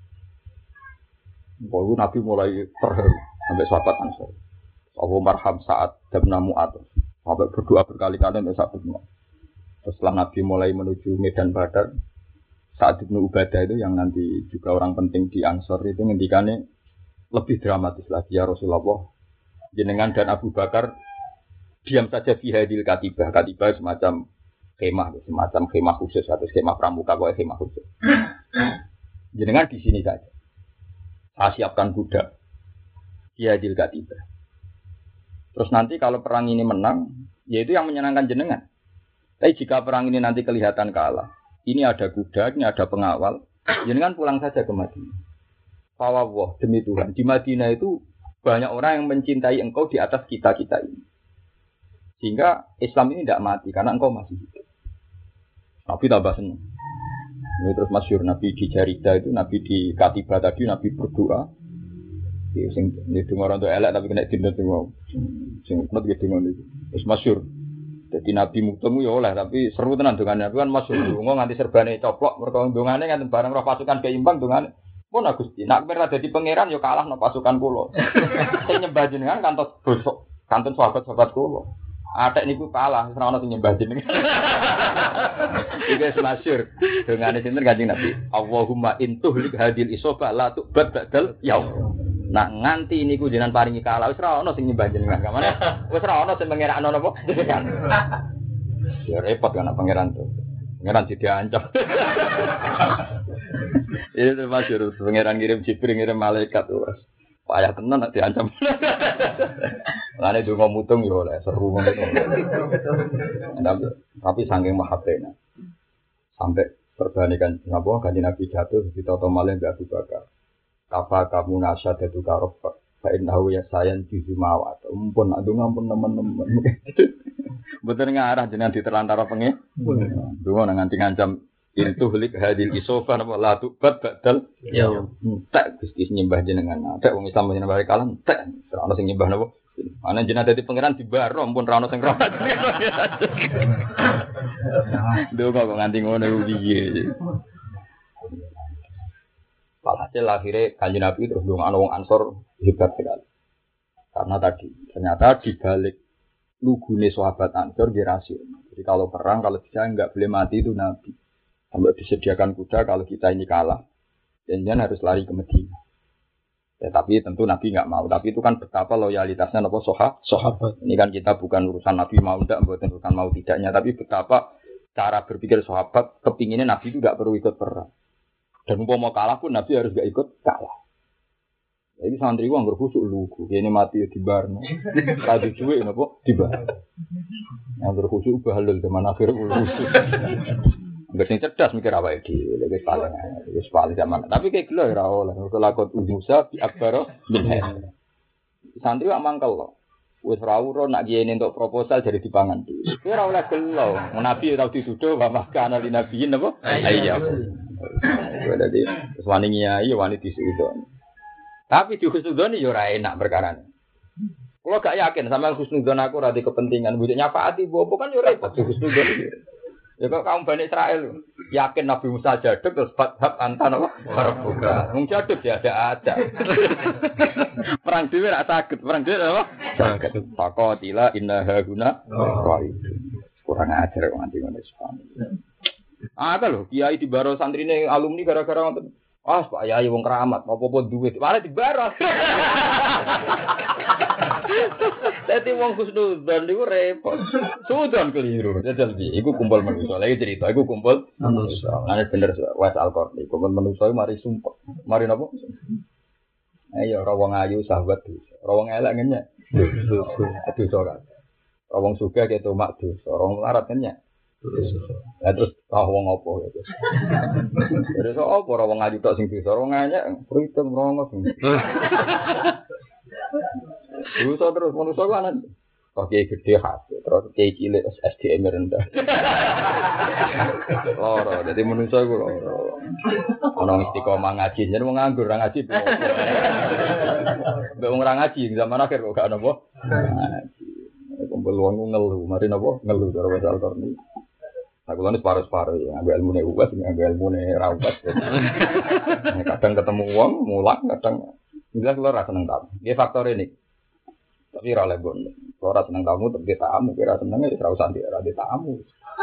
Baru Nabi mulai terharu sampai sahabat Ansor. Abu Marham Sa'd bin Mu'adz sampai berdoa berkali-kali untuk Sa'd bin Mu'adz. Setelah Nabi mulai menuju Medan Badar, Sa'd bin Ubadah itu yang nanti juga orang penting di Ansor itu ngendikannya lebih dramatis lagi, ya Rasulullah. Jenengan dan Abu Bakar diam saja fi hadil katibah. Katibah semacam Khemah, semacam khemah khusus atau skema pramuka kok khemah khusus. Jenengan di sini saja. Saya siapkan kuda. Dia dilga tiba. Terus nanti kalau perang ini menang, yaitu yang menyenangkan jenengan. Tapi jika perang ini nanti kelihatan kalah, ini ada kuda, ini ada pengawal, jenengan pulang saja ke Madinah. Fawwah demi Tuhan, di Madinah itu banyak orang yang mencintai engkau di atas kita-kita ini. Sehingga Islam ini tidak mati karena engkau masih hidup. Nabi tambah senang. Ini terus masyhur Nabi di Jarida itu, Nabi di Katibah tadi, Nabi berdoa. Ini dengar orang itu elek tapi kena dinda semua. Sing not gitu ngono iki. Wis masyhur. Jadi Nabi mutemu ya oleh tapi seru tenan dongane. Nabi kan masyhur donga nganti serbane coplok, mergo dongane nganti bareng roh pasukan keimbang dongane. Pun Gusti, nak ora dadi pangeran ya kalah no pasukan kula. Sing nyembah jenengan kantos bosok, kantun sahabat-sahabat kula. Atek niku kalah, ora ono sing nyembah jenengan. Iki masyhur. Dongane sinten Kanjeng Nabi. Allahumma intuhlik hadil isoba la tu'bad ba'dal yaum. Nak nganti niku jenengan paringi kalah wis ora ono sing nyembah jenengan. Kamane wis ora ono sing pangeran napa jenengan. Ya repot kan pangeran tuh. Pangeran diancam. Itu masyhur pangeran kirim Jibril ngirim malaikat tuh. Payah tenan nek diancam. Lane donga mutung yo oleh seru ngono. Tapi saking mahabbena. Sampai perbandingan napa Kanjeng Nabi jatuh ditata malih Mbak Abu Bakar. Kafa kamu nasyadatu karofak. Fa innahu yasayan juzumawat. Mumpun nak donga pun teman-teman. Betul ngarah jenengan diterlantara pengen. Donga nganti ngancam itu hlik hadil isofa napa la tubat badal ya tak Gusti nyembah jenengan tak wong Islam nyembah kalam tak ora ono sing nyembah napa ana jenengan dadi pangeran dibaro ampun ora ono sing ora donga kok nganti ngono piye walhasil akhirnya Kanjeng Nabi terus ndongakno wong Ansor hebat sekali karena tadi ternyata di balik lugune sahabat Ansor dia rasional jadi kalau perang kalau bisa enggak boleh mati itu Nabi sampai disediakan kuda kalau kita ini kalah. Jangan harus lari ke Madinah. Ya, tapi tentu Nabi enggak mau. Tapi itu kan betapa loyalitasnya apa sahabat. Ini kan kita bukan urusan Nabi mau enggak, bukan urusan mau tidaknya. Tapi betapa cara berpikir sahabat kepinginnya Nabi itu enggak perlu ikut perang. Dan mau kalah pun Nabi harus enggak ikut kalah. Jadi santri gua anggar khusuk lugu. Ini mati ya dibarno. Radu cuwek napa dibar. Anggar khusuk bahalul zaman akhir khusuk. Enggak sing cerdas mikir apa iki, wis paling zaman. Tapi kayak gelo ora oleh kelakon Musa bi akbaro min. Santri wak mangkel lho. Wis ora uro nak kiyene entuk proposal jadi dipangan. Kuwi ora oleh gelo. Nabi ora dituduh wa makana li nabiyin apa? Iya. Dadi wis wani nyai wani disudon. Tapi di husnudon yo ora enak perkarane. Kulo gak yakin sampean husnudon aku ora di kepentingan mbok nyafaati bopo kan yo repot di husnudon iki. Ya kok kaum Bani Israel yakin Nabi Musa jaduk terus fathab antan apa? Barbuka. Wong jaduk ya ada. Perang dhewe ra saged, perang dhewe apa? Saged. Faqatila inna haguna qaid. Kurang ajar kok nganti ngono sepane. Ada lho, kiai di baro santrine alumni gara-gara wonten. Ah, Pak Yai wong keramat, apa-apa duit. Malah di baro. Dadi wong husnudzon niku repot. Sudan keliru. Jajal iki iku kumpul manusa. Lagi cerita iku kumpul manusa. Ane bener Wes Al-Qarni. Kumpul manusa mari sumpah. Mari napa? Ayo ora wong ayu sahabat dosa. Ora wong elek ngenyek. Dosa kan. Ora wong sugih keto mak dosa. Ora wong larat ngenyek. Lah terus wong apa ya. Terus apa ora wong ayu tok sing dosa. Ora ngenyek pritem rongos. Dosa terus manusia kan kok kiai gede hati terus kiai cilik SDM rendah. Loro, jadi manusia ku loro. Ono istiqomah ngaji, jadi wong nganggur ora ngaji. Mbek wong ora ngaji zaman akhir kok gak napa. Ngaji. Kumpul wong ngeluh, mari napa ngeluh karo Wes Al-Qarni. Aku lan separuh-separuh ya, ambil ilmune uwas, ambil ilmune ra uwas. Kadang ketemu wong mulang, kadang jelas lho ra seneng tamu. Iki faktor ini. Tapi ora lebon. Ora seneng tamu tapi tamu, kira senenge wis ora usah di tamu.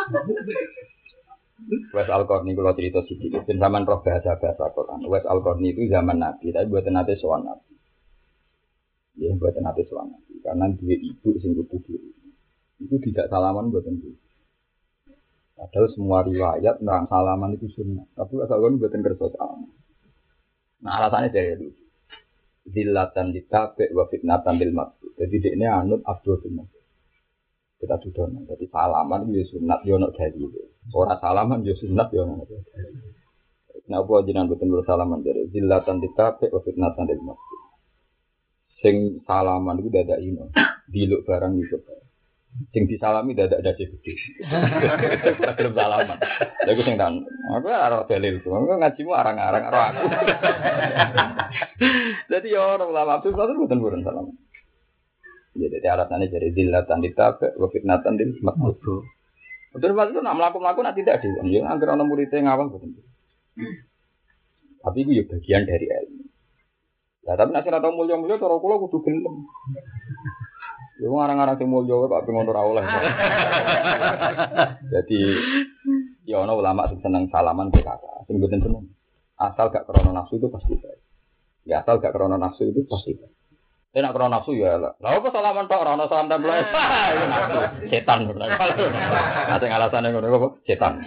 Wes Al-Qarni kula cerita sithik. Ben zaman roh bahasa-bahasa Quran. Wes Al-Qarni itu zaman Nabi, tapi mboten nate sowan Nabi. Ya mboten nate sowan Nabi. Karena duwe ibu sing kudu diri. Itu tidak salaman mboten diri. Padahal semua riwayat nerang salaman itu sunnah. Tapi asal kan buatan kerja salaman. Nah alasannya dari itu. Zillatan ditabe wa fitnatan lil maktub. Jadi dia ini anut Abdul bin Mas'ud. Kita sudah. Jadi salaman itu sunat yo ono dalil. Ora salaman yo sunat yo ono dalil. Nah apa jenengan boten bersalaman dari zillatan ditabe wa fitnatan lil maktub. Sing salaman itu dadak ino. Diluk barang itu. Sing disalami dadak dadi gede. Belum salaman. Lha iku sing tan. Aku ora dalil ku. Aku ngajimu arang-arang karo aku. Dadi yo ora ulama itu boten salaman. Jadi alasannya dari zillatan ditabe wa fitnatan lil maktub. Betul itu nak mlaku-mlaku nak tidak di. Ya anggere ana murid ngawang boten. Tapi itu ya bagian dari ilmu. Lah tapi nek ora tau mulya-mulya cara kula kudu gelem. Ya ngarang-ngarang sing mulya kok pengen ora oleh. Jadi ya ana ulama sing seneng salaman ke kakak, sing mboten seneng. Asal gak krana nafsu itu pasti baik. Ya asal gak krana nafsu itu pasti baik. Nek krana nafsu ya lah. Lah apa salaman tok ora ana salam tempel. Setan bener. Ate alasane ngono apa? Setan.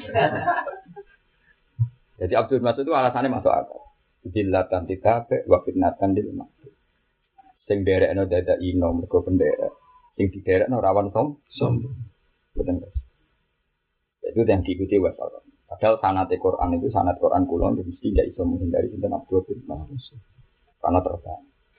Jadi Abdul Mas'ud itu alasannya masuk akal. Zillatan ditabe wa fitnatan lil maktub. Sing derekno dadak ino mergo penderek. Sing diderekno rawan sombong. Betul. Itu yang diikuti wasal. Padahal sanate Quran itu sanad Quran kula mesti tidak iso menghindari sinten Abdul bin Mas'ud. Karena terbang.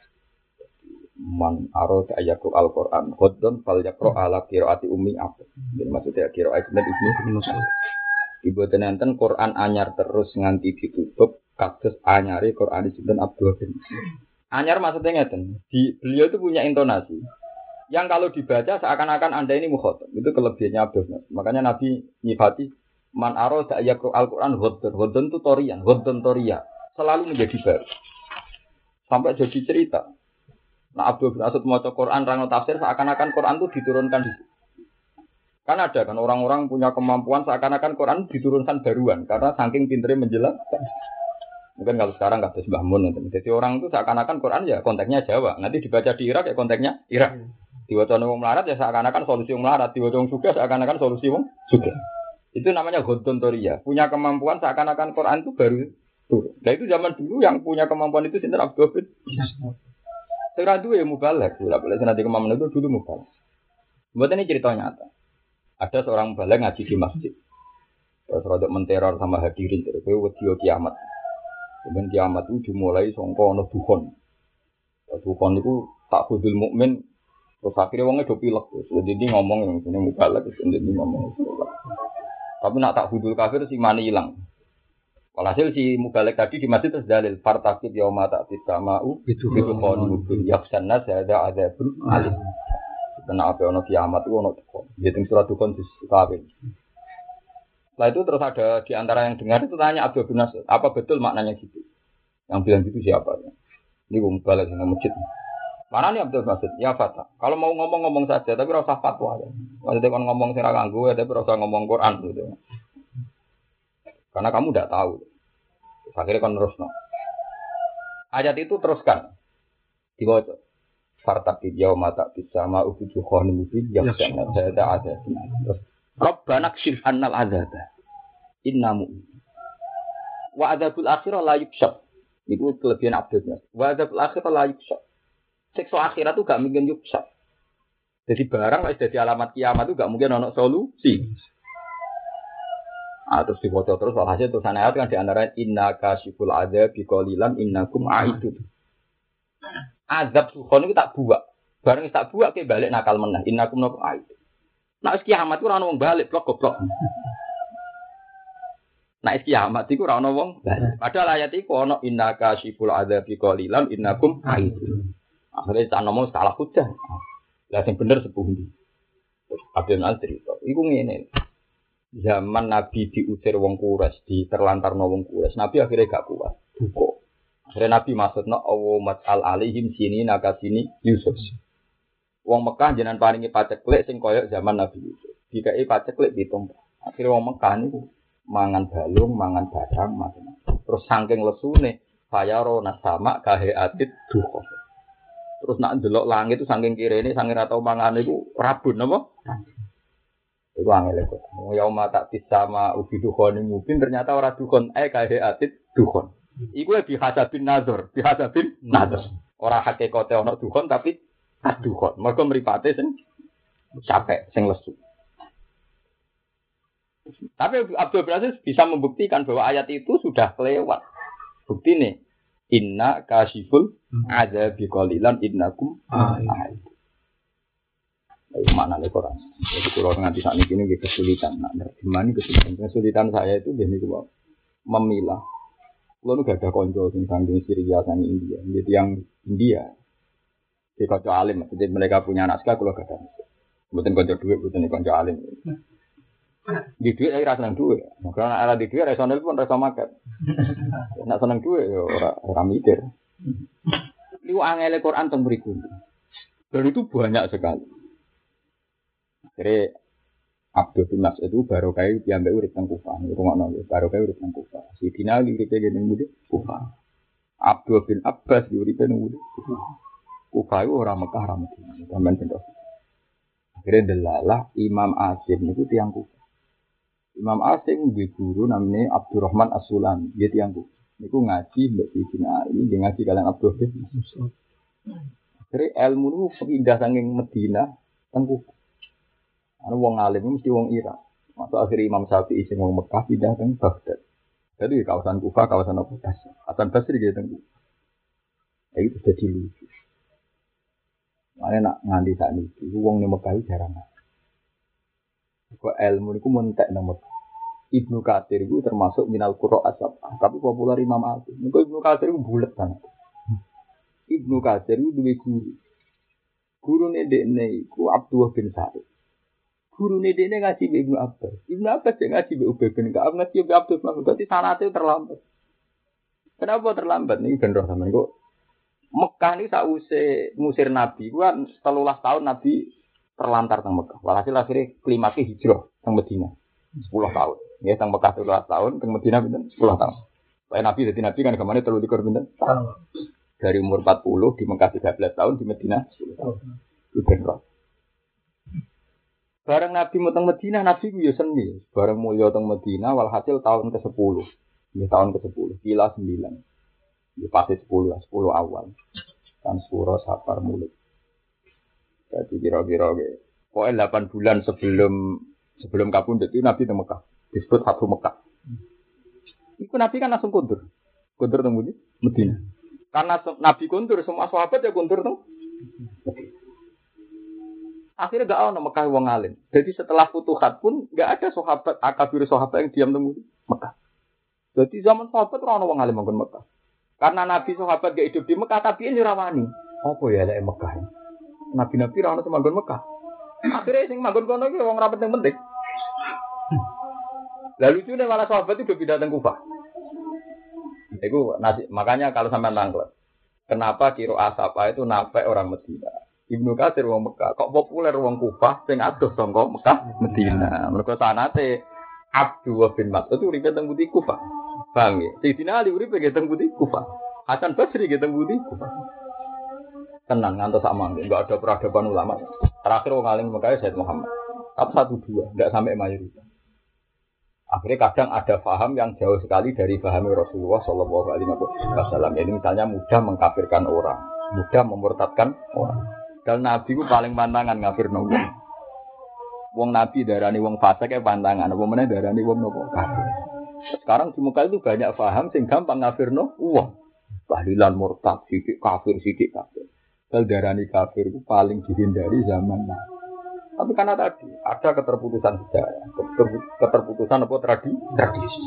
Man arad ayatul Al-Qur'an qaddon fal yaqra ala qiraati ummi Abd. Jadi maksudnya qiraat Ibnu Mas'ud. Ibu tenenten Quran anyar terus nganti ditutup kados anyare Quran sinten Abdul bin. Anyar maksudnya ngeten. Beliau itu punya intonasi yang kalau dibaca seakan-akan Anda ini mukhatab. Itu kelebihannya Abdul bin. Makanya Nabi nyifati man arada ayatul Al-Qur'an ghaddon itu torian, ghaddon toria. Selalu menjadi baru. Sampai jadi cerita. Nah Abdul bin Mas'ud maca Quran rangno tafsir seakan-akan Quran itu diturunkan di situ. Kan ada kan orang-orang punya kemampuan seakan-akan Quran diturunkan baruan karena saking pinternya menjelaskan. Mungkin kalau sekarang nggak ada Mbah Mun. Jadi orang itu seakan-akan Quran ya konteksnya Jawa. Nanti dibaca di Irak ya konteksnya Irak. Diwaca wong melarat ya seakan-akan solusi wong melarat. Diwaca wong sugih seakan-akan solusi wong sugih. Itu namanya ghodon toria. Punya kemampuan seakan-akan Quran itu baru turun. Nah itu zaman dulu yang punya kemampuan itu sinten Abdul bin. Sekarang dulu ya mubalek. Boleh nanti kemampuan itu dulu mubalek. Buat ini cerita nyata. Ada seorang mubalek ngaji di masjid. Terus rodok menteror sama hadirin. Terus wedi kiamat. Kemudian kiamat itu dimulai sangka ana dukhon. Dukhon itu tak hudul mukmin. Terus akhirnya wongnya do pilek. Jadi dia ngomong yang sini mubalek. Jadi dia ngomong. Tapi nak tak hudul kafir si mani hilang. Walhasil si mubalek tadi di masjid terus dalil fartakib yauma ta'tis sama'u itu qawlu yaksanna ada adzabun alim. Karena apa ono kiamat itu ono dukhon. Jadi surat dukhon disukawin. Setelah itu terus ada di antara yang dengar itu tanya Abdul bin Mas'ud, apa betul maknanya gitu? Yang bilang gitu siapa? Ini gue mubalek dengan masjid. Mana nih Abdul Mas'ud? Ya Fatah. Kalau mau ngomong saja, tapi rasa fatwa ya. Maksudnya kalau ngomong sira ganggu, tapi rasa ngomong Quran gitu. Karena kamu tidak tahu. Akhirnya kan terus no. Ayat itu teruskan. Dibaca. Fartaqib yauma ta'tis sama'u bi dukhanin mubin yaghsana ada ada. Terus Rabbana kshif 'annal 'adzaba. Inna mu'min. Wa 'adzabul akhirah la yukshaf. Itu kelebihan Abdulnya. Wa 'adzabul akhirah la yukshaf. Siksa akhirat itu gak mungkin yukshaf. Jadi barang wis dadi alamat kiamat itu gak mungkin ono solusi. Terus dibaca terus walhasil tulisan ayat kan di antara inna kasyiful adzabi qalilan innakum aidun. Azab sukhon itu tak buak. Bareng tak buak ke balik nakal meneh innakum aidun. Nek kiamat ku ora ono wong balik blok goblok. Nek kiamat iku ora ono wong balik. Padahal ayat iku ono inna kasyiful adzabi qalilan innakum aidun. Akhirnya tak ngomong salah hujah. Lah sing bener sepundi. Abdul Nasir iku ngene. Zaman Nabi diusir wong Quraisy, diterlantarno wong Quraisy, Nabi akhirnya gak kuat. Duka. Akhirnya Nabi maksudna Allahumma al alaihim sini nakasini Yusuf. Wong Mekah jenengan paringi paceklik sing kaya zaman Nabi Yusuf. Dikai paceklik ditompo. Akhirnya wong Mekah niku mangan balung, mangan badang, macam-macam. Terus saking lesune fayaro nasama kahe atit duka. Terus nak ndelok langit itu saking kirene, saking ra tau mangan iku rabun apa? Iku angel kok. Yauma tak sama ubi dukhon mungkin ternyata ora dukhon kae atit dukhon. Iku bihasabin nazar, bihasabin nazar. Ora hakikate ana dukhon tapi dukhon. Mergo mripate sing capek, sing lesu. Tapi Abdul Aziz bisa membuktikan bahwa ayat itu sudah kelewat. Bukti nih, inna kasiful adzabi qalilan innakum mana nih Quran. Jadi kalau nganti saat ini kesulitan, gimana kesulitan saya itu jadi memilah. Kalau nggak ada konco tentang Syria dan India, jadi yang India, di konco alim, jadi mereka punya naskah kalau nggak ada, bukan konco duit, bukan konco alim. Di duit saya rasa senang duit, karena ada di duit resonel pun rasa makan. Nak senang duit, orang mikir. Itu angel Quran tentang berikut, dan itu banyak sekali. Jadi Abdul bin Mas'ud itu baru kayak diambil urip teng Kufah. Rumah nol, baru kayak urip teng Kufah. Si Dina uripnya gini mudi Kufah. Abdul bin Abbas uripnya mudi Kufah. Kufah itu orang Mekah, orang Madinah. Tambahan bentuk. Akhirnya delalah Imam Asim itu tiang Kufah. Imam Asim di guru namanya Abdurrahman As-Sulami. Dia tiang Kufah. Niku ngaji mbak si Dina ini, dia ngaji kalian Abdul bin Mas'ud. Akhirnya ilmu itu pindah saking Madinah teng Kufah. Ana wong alim mesti wong Irak. Masuk akhir Imam Syafi'i sing wong Mekah pindah ke Baghdad. Jadi kawasan Kufah, kawasan apa? Hasan Basri gitu teng Kufah. Itu jadi lucu. Mane nak nganti sak niki wong ning Mekah jarang. Kok ilmu niku mentek nang Mekah. Ibnu Katsir itu termasuk minal qurra asab. Tapi populer Imam Asim. Niku Ibnu Katsir itu bulet banget. Ibnu Katsir itu duwe guru. Gurune dekne iku Abdullah bin Sa'id. Guru ini dia ngaji Ibnu Abbas. Ibnu Abbas dia ngaji Ubay bin Ka'ab, ngaji Abdul Mas'ud. Berarti sanate terlambat. Kenapa terlambat? Ini bener sampean kok. Mekah ini sausé ngusir Nabi. Kan 13 tahun Nabi terlantar teng Mekah. Walhasil akhirnya klimaknya hijrah teng Madinah. 10 tahun. Ya teng Mekah 13 tahun, teng Madinah pinten 10 tahun. Supaya Nabi jadi Nabi kan kemana 23 pinten? Dari umur 40 di Mekah 13 tahun, di Madinah 10 tahun. Itu bener. Bareng Nabi teng Madinah, Nabi ku yo seni. Bareng mulya teng Madinah, walhasil tahun ke-10. Ini tahun ke-10, kila 9. Ini pasti 10 lah, 10 awal. Kan Suro Safar Mulud. Jadi kira-kira pokoknya 8 bulan sebelum kapundhut itu Nabi teng Mekah. Disebut Fathu Mekah. Iku Nabi kan langsung kundur. Kundur teng Madinah. Karena Nabi kundur, semua sahabat ya kundur teng. Akhirnya gak ada Mekah wong alim. Jadi setelah futuhat pun gak ada sahabat akabir sahabat yang diam temu Mekah. Jadi zaman sahabat ora ana wong alim manggon Mekah. Karena Nabi sahabat gak hidup di Mekah tapi ini rawani. Apa ya lek Mekah? Nabi-nabi ora ana sing manggon Mekah. Akhirnya sing manggon kono iki wong ra penting-penting. Lalu lucunya malah sahabat itu pindah teng Kufah. Itu makanya kalau sampean nangkep. Kenapa kiro asapa itu nafek orang Madinah? Ibnu Katsir wong Mekah, kok populer wong Kufah sing adoh saka Mekah Madinah. Mergo sanate Abdullah bin Mas'ud uripe teng Budi Kufah. Paham ya? Sayyidina Ali uripe teng Budi Kufah. Hasan Basri teng Budi Kufah. Tenang ngantos sama, enggak ada peradaban ulama. Terakhir wong alim Mekah Sayyid Muhammad. Tapi 1-2, enggak sampai mayoritas. Akhirnya kadang ada paham yang jauh sekali dari paham Rasulullah Shallallahu Alaihi Wasallam. Ini misalnya mudah mengkafirkan orang, mudah memurtadkan orang. Dan Nabi ku paling pantangan ngafir wong. Wong Nabi darani wong fasik e pantangan, apa meneh darani wong nopo kafir. Sekarang di Mekah itu banyak paham sing gampang ngafirno wong. Tahlilan murtad, sithik kafir, sithik kafir. Dal darani kafir ku paling dihindari zaman Nabi. Tapi karena tadi ada keterputusan sejarah, keterputusan apa tradisi.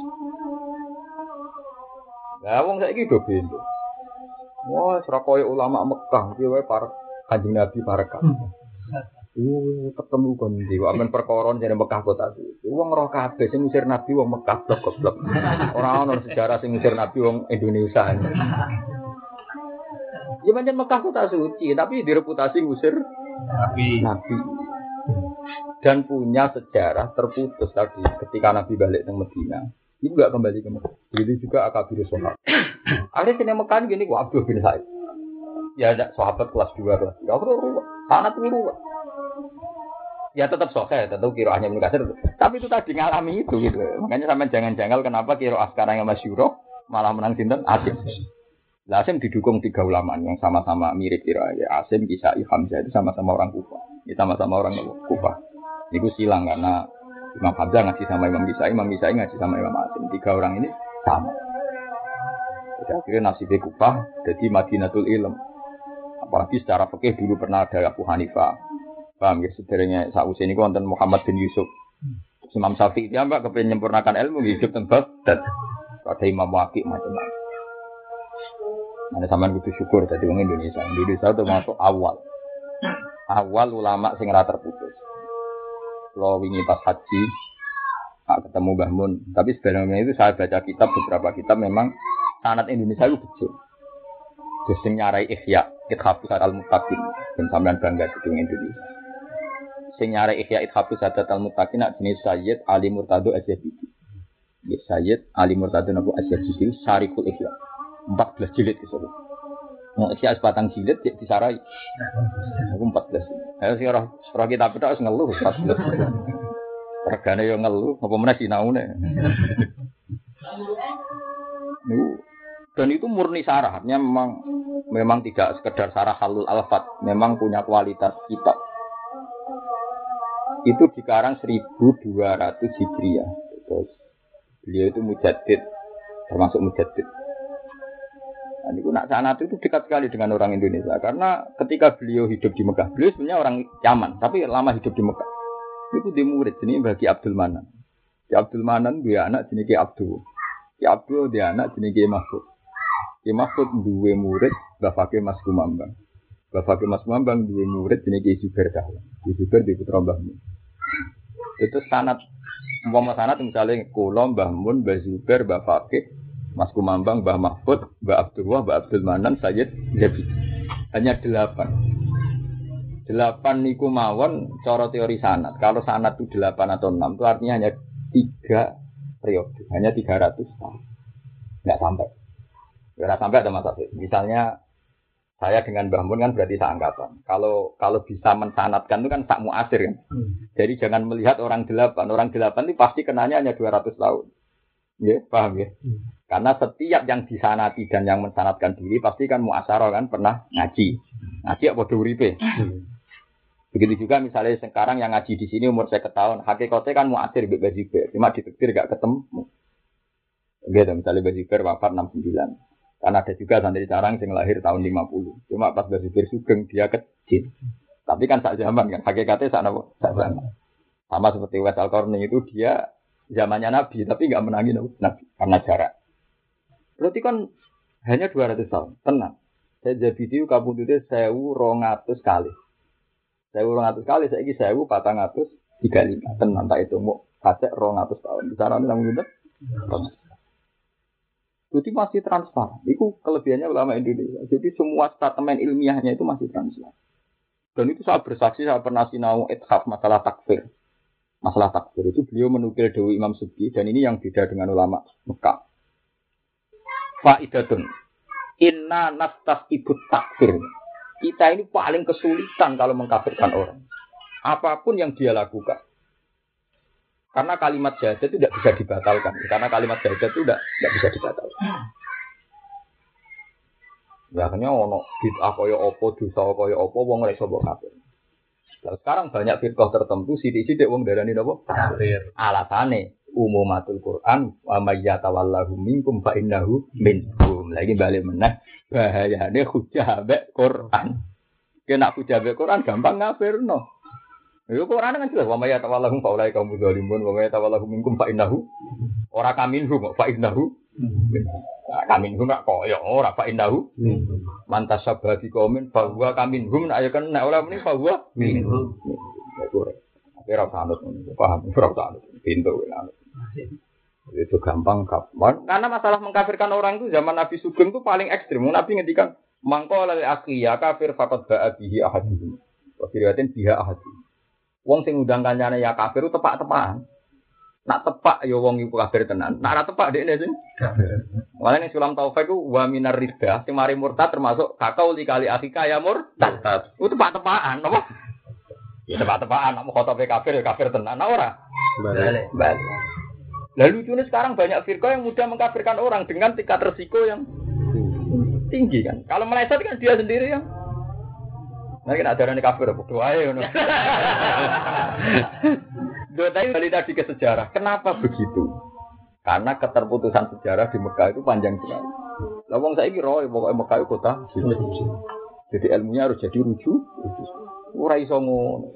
Lah wong saiki do bendo. Wah, serakoyo ulama Mekah iki wae para Kanjeng Nabi Barakah. Ketemu kon ndi kok amen perkara jane Mekah kota iki. Wong roh kabeh sing ngusir Nabi wong Mekah goblok. Ora ono sejarah sing ngusir Nabi wong Indonesia. Ya pancen Mekah kota suci, tapi direputasi ngusir Nabi. Dan punya sejarah terputus tadi ketika Nabi balik ke Madinah. Itu enggak kembali ke Mekah. Begitu juga Akabir Sahabat. Akhirnya sini Mekah gini kok Abdul bin Sa'id. Ya ada sahabat kelas 2 kelas 3. Aku ruwet. Sangat ruwet. Ya tetap sahih, tetap qiraahnya Ibnu Katsir. Tapi itu tadi ngalami itu gitu. Makanya sampean jangan janggal kenapa qiraah sekarang yang masyhur malah menang sinten Asim. Lah Asim didukung 3 ulama yang sama-sama mirip qiraah ya. Asim, Kisai, Hamzah itu sama-sama orang Kufah. Ya sama-sama orang Kufah. Itu silang karena Imam Hamzah ngaji sama Imam Kisai ngaji sama Imam Asim. 3 orang ini sama. Jadi akhirnya nasibnya Kufah jadi Madinatul Ilm. Apalagi secara fikih dulu pernah ada Abu Hanifah. Paham ya, sebenarnya sausé niku wonten Muhammad bin Yusuf. Imam Syafi'i dia mbak kepengen menyempurnakan ilmu hidup teng Baghdad. Ada Imam Waqi macam-macam. Mana sampean kudu syukur dadi wong Indonesia. Indonesia termasuk awal ulama sing ora terputus. Kalau wingi pas haji ketemu Mbah Mun, tapi sebenarnya itu saya baca kitab beberapa kitab memang sanad Indonesia itu betul. Terus sing nyarai Ihya, Ithafus al-Muttaqin, dan sampean bangga di Indonesia. Sing nyarai Ihya Ithafus al-Muttaqin nak jenis Sayyid Ali Murtado Az-Zabidi. Ya Sayyid Ali Murtado Nabu Az-Zabidi Syarikul Ihya. 14 jilid itu. Nah, Ihya sebatang jilid disarai. Aku 14. Ayo sing ora kitab tok wis ngeluh 14. Regane yo ngeluh, apa meneh sinaune. Dan itu murni sarah, artinya memang tidak sekedar sarah halul alfat, memang punya kualitas kitab. Itu dikarang 1200 Hijriah. Terus beliau itu mujaddid, termasuk mujaddid. Nah, itu nak sanad itu dekat sekali dengan orang Indonesia karena ketika beliau hidup di Mekah, beliau sebenarnya orang Yaman, tapi lama hidup di Mekah. Itu di murid jenis bagi Abdul Manan. Ki Abdul Manan dia anak jenis Ki Abdul. Ki Abdul dia anak jenis Ki Mahfud. Ki Mahfud duwe murid bapake Mas Kumambang. Bapake Mas Kumambang duwe murid jenis Ki Zubair Dahlan. Ki Zubair di putra Mbah Mun. Itu sanad umpama sanad misalnya kula Mbah Mun, Mbah Zubair, bapake Mas Kumambang, Mbah Mahfud, Mbah Abdullah, Mbah Abdul Manan, Sayyid Zabidi. Hanya 8. 8 niku mawon cara teori sanad. Kalau sanad itu 8 atau 6 itu artinya hanya 3 periode, hanya 300 tahun. Enggak sampai. Enggak sampai ada masalah. Misalnya saya dengan Mbah Mun kan berarti seangkatan. Kalau bisa mensanadkan itu kan sak muasir kan. Jadi jangan melihat orang 8. Orang 8 itu pasti kenanya hanya 200 tahun. Ya, paham ya? Karena setiap yang disanati dan yang mensanatkan diri pasti kan muasyarah kan pernah ngaji. Ngaji apa uripe. Begitu juga misalnya sekarang yang ngaji di sini umur 50 tahun, hakikatnya kan muasir Mbak Baziber, cuma ditektir gak ketemu. Gitu, misalnya Baziber wafat 69. Karena ada juga santri sarang yang lahir tahun 50. Cuma pas Baziber sugeng dia kecil. Tapi kan sak zaman kan, hakikatnya sak zaman. Sama seperti Wes Al-Qarni itu dia zamannya Nabi, tapi gak menangi Nabi karena jarak. Berarti kan hanya 200 tahun, tenang. Saya jadi itu kabudutnya 1200 kali. 1200 kali, saya ini 1435. Tenang, tak itu mau kacek 200 tahun. Bicara ini namun gitu. Jadi masih transparan. Itu kelebihannya ulama Indonesia. Jadi semua statement ilmiahnya itu masih transparan. Dan itu saya bersaksi, saya pernah sinau ithaf masalah takfir. Masalah takfir itu beliau menukil Dewi Imam Subki. Dan ini yang beda dengan ulama Mekah. Fa'idatun. Inna nastas ibut takfir. Kita ini paling kesulitan kalau mengkafirkan orang. Apapun yang dia lakukan. Karena kalimat syahadat itu tidak bisa dibatalkan. Karena kalimat syahadat itu tidak bisa dibatalkan. Ya akhirnya ono bid'ah kaya apa, dosa kaya apa, wong ora iso mbok kafir. Nah, sekarang banyak firqah tertentu sithik-sithik wong darani napa? Kafir. Alasane umumatul Quran wa may yatawallahu minkum fa innahu minhum. Lagi balik meneh bahayane hujah mbek Quran. Kena hujah mbek Quran gampang ngafirno. Yo Quran kan jelas wa may yatawallahu fa ulai kaum dzalimun wa may yatawallahu minkum fa innahu ora kaminhum fa innahu kaminhum nak koyo ora fa innahu mantas sabati qaumin fa huwa kaminhum nak ya kan nek ora muni fa huwa minhum. Ora sanut paham ora sanut pintu anut. Itu gampang kapan? Karena masalah mengkafirkan orang itu zaman Nabi Sugeng itu paling ekstrim. Nabi ngendikan mangko lal akhiya kafir faqad ba'a bihi ahadun. Wa firiyatin biha ahadun. Wong sing undang kancane ya kafir itu tepak-tepakan. Nak tepak ya wong iku kafir tenan. Nak ora tepak dekne sing kafir. Mulane ning Sulam Taufik ku wa minar riddah sing mari murtad termasuk kakau likali akhika ya murtad. Itu tepak-tepakan apa? Ya tepak-tepakan nek khotobe kafir ya kafir tenan ora. Balik. Balik. Lalu lucunya sekarang banyak firqah yang mudah mengkafirkan orang dengan tingkat resiko yang tinggi kan. Kalau meleset kan dia sendiri yang nah kita ajaran kafir apa doa ya ngono. Doa tadi tadi ke sejarah. Kenapa begitu? Karena keterputusan sejarah di Mekah itu panjang sekali. Lah wong saiki roe pokoke Mekah itu kota. Jadi ilmunya harus jadi rujuk. Ora iso ngono.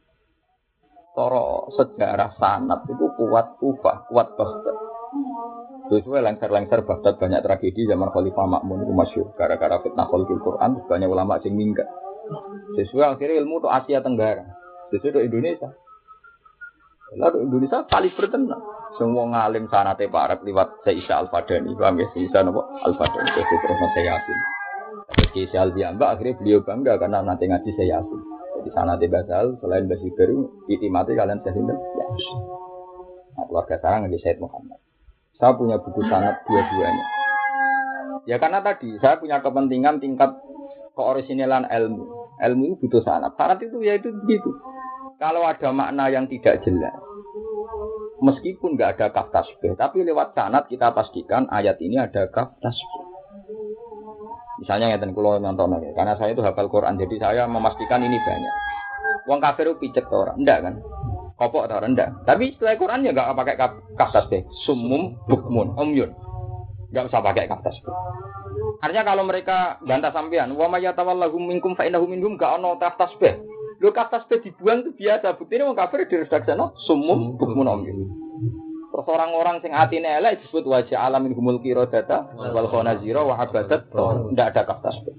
Toro sejarah sanad itu kuat Kufah, kuat Baghdad. Sesuai lengser-lengser Baghdad banyak tragedi zaman Khalifah Ma'mun itu masyhur gara-gara fitnah khalqul Quran banyak ulama sing minggat. Sesuai akhirnya ilmu itu Asia Tenggara, sesuai itu Indonesia. Lalu Indonesia paling bertenang. Semua ngalim sanate parek liwat Syekh Al-Fadani, paham ya? Syekh Al-Fadani itu terus saya yakin. Syekh Al-Diamba akhirnya beliau bangga karena nanti ngaji saya yakin. Di sana di Basal, selain Basi Baru, itimati kalian saya sinten. Ya. Nah, keluarga saya ngaji Said Muhammad. Saya punya buku sanad dua-duanya. Ya karena tadi saya punya kepentingan tingkat keorisinalan ilmu. Ilmu itu butuh sanad. Sanad itu ya itu begitu. Kalau ada makna yang tidak jelas, meskipun nggak ada kaf tasbih, tapi lewat sanad kita pastikan ayat ini ada kaf tasbih. Misalnya ngeten kula nonton ya, karena saya itu hafal Quran, jadi saya memastikan ini banyak. Wong kafir itu picek to ora? Ndak kan? Kopok to ora? Ndak. Tapi setelah Quran ya enggak pakai kaf tasbih. Sumum bukmun umyun. Enggak usah pakai kaf tasbih. Artinya kalau mereka bantah sampean, wa may yatawallahum minkum fa innahu minhum enggak ono kaf tasbih. Lho kaf tasbih dibuang itu biasa, buktine wong kafir diredaksana sumum bukmun umyun. Terus orang-orang sing atine elek disebut wajah alamin humul qiradata wal khanazira wa habadat. Ndak ada kaf tasbih.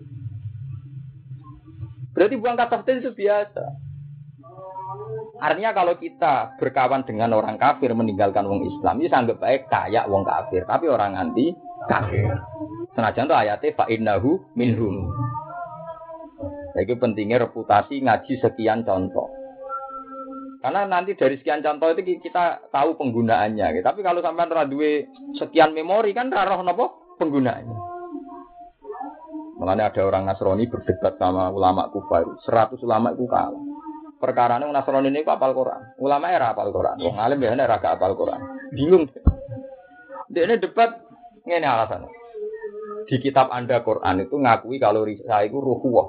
Berarti buang kaf tasbih itu biasa. Artinya kalau kita berkawan dengan orang kafir meninggalkan wong Islam, itu anggap baik kayak wong kafir, tapi orang anti kafir. Senajan itu ayatnya fa innahu minhum. Jadi pentingnya reputasi ngaji sekian contoh. Karena nanti dari sekian contoh itu kita tahu penggunaannya. Gitu. Tapi kalau sampai duwe sekian memori kan roh napa penggunaannya. Makanya ada orang Nasrani berdebat sama ulama Kufar. 100 ulama itu kalah. Perkarane Nasrani ini hafal Quran. Ulama era hafal Quran. Wong alim biasane ora hafal Quran. Bingung. Dekne debat ngene alasannya. Di kitab Anda Quran itu ngakui kalau saya itu ruhullah.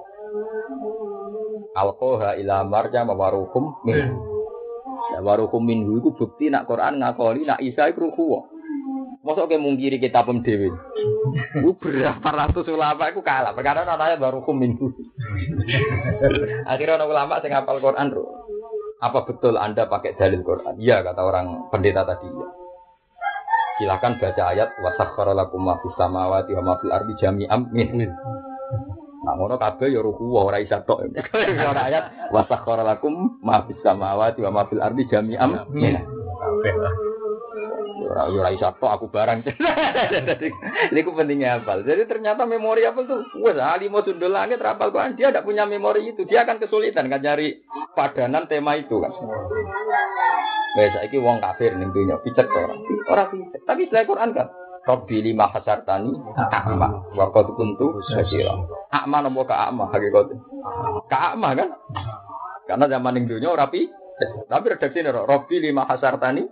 Alqaha ila marja mawarukum min. Warukum minhu itu bukti nak Quran ngakoli nak Isa itu ruhullah. Mosok ke mungkiri kitab dhewe. Berapa ratus ulama itu kalah. Perkara ana warukum minhu. Akhirnya orang ulama sing hafal Quran, apa betul Anda pakai dalil Quran? Iya kata orang pendeta tadi. Ya. Silakan baca ayat wasakhkhara lakum ma fis samawati wa ma fil ardi jami'an min. Nah ngono kabeh ya ruku ora isa tok. Ora ayat wasakhkhara lakum ma fis samawati wa ma fil ardi jami'an min. Kabeh lah. Ora isa tok aku barang. Niku pentingnya hafal. Jadi ternyata memori apa tuh? Wes alimo sundul langit hafal Quran dia tidak punya memori itu. Dia akan kesulitan kan cari padanan tema itu kan. Wes saiki wong kafir ning dunya picek ora. Ora picek. Tapi setelah Quran kan Rabbi lima hasartani a'ma wa qad kuntu basira. A'ma nopo ka a'ma hakikate. Ka a'ma kan? Karena zaman ning dunya ora pi. Tapi redaksine Rabbi lima hasartani.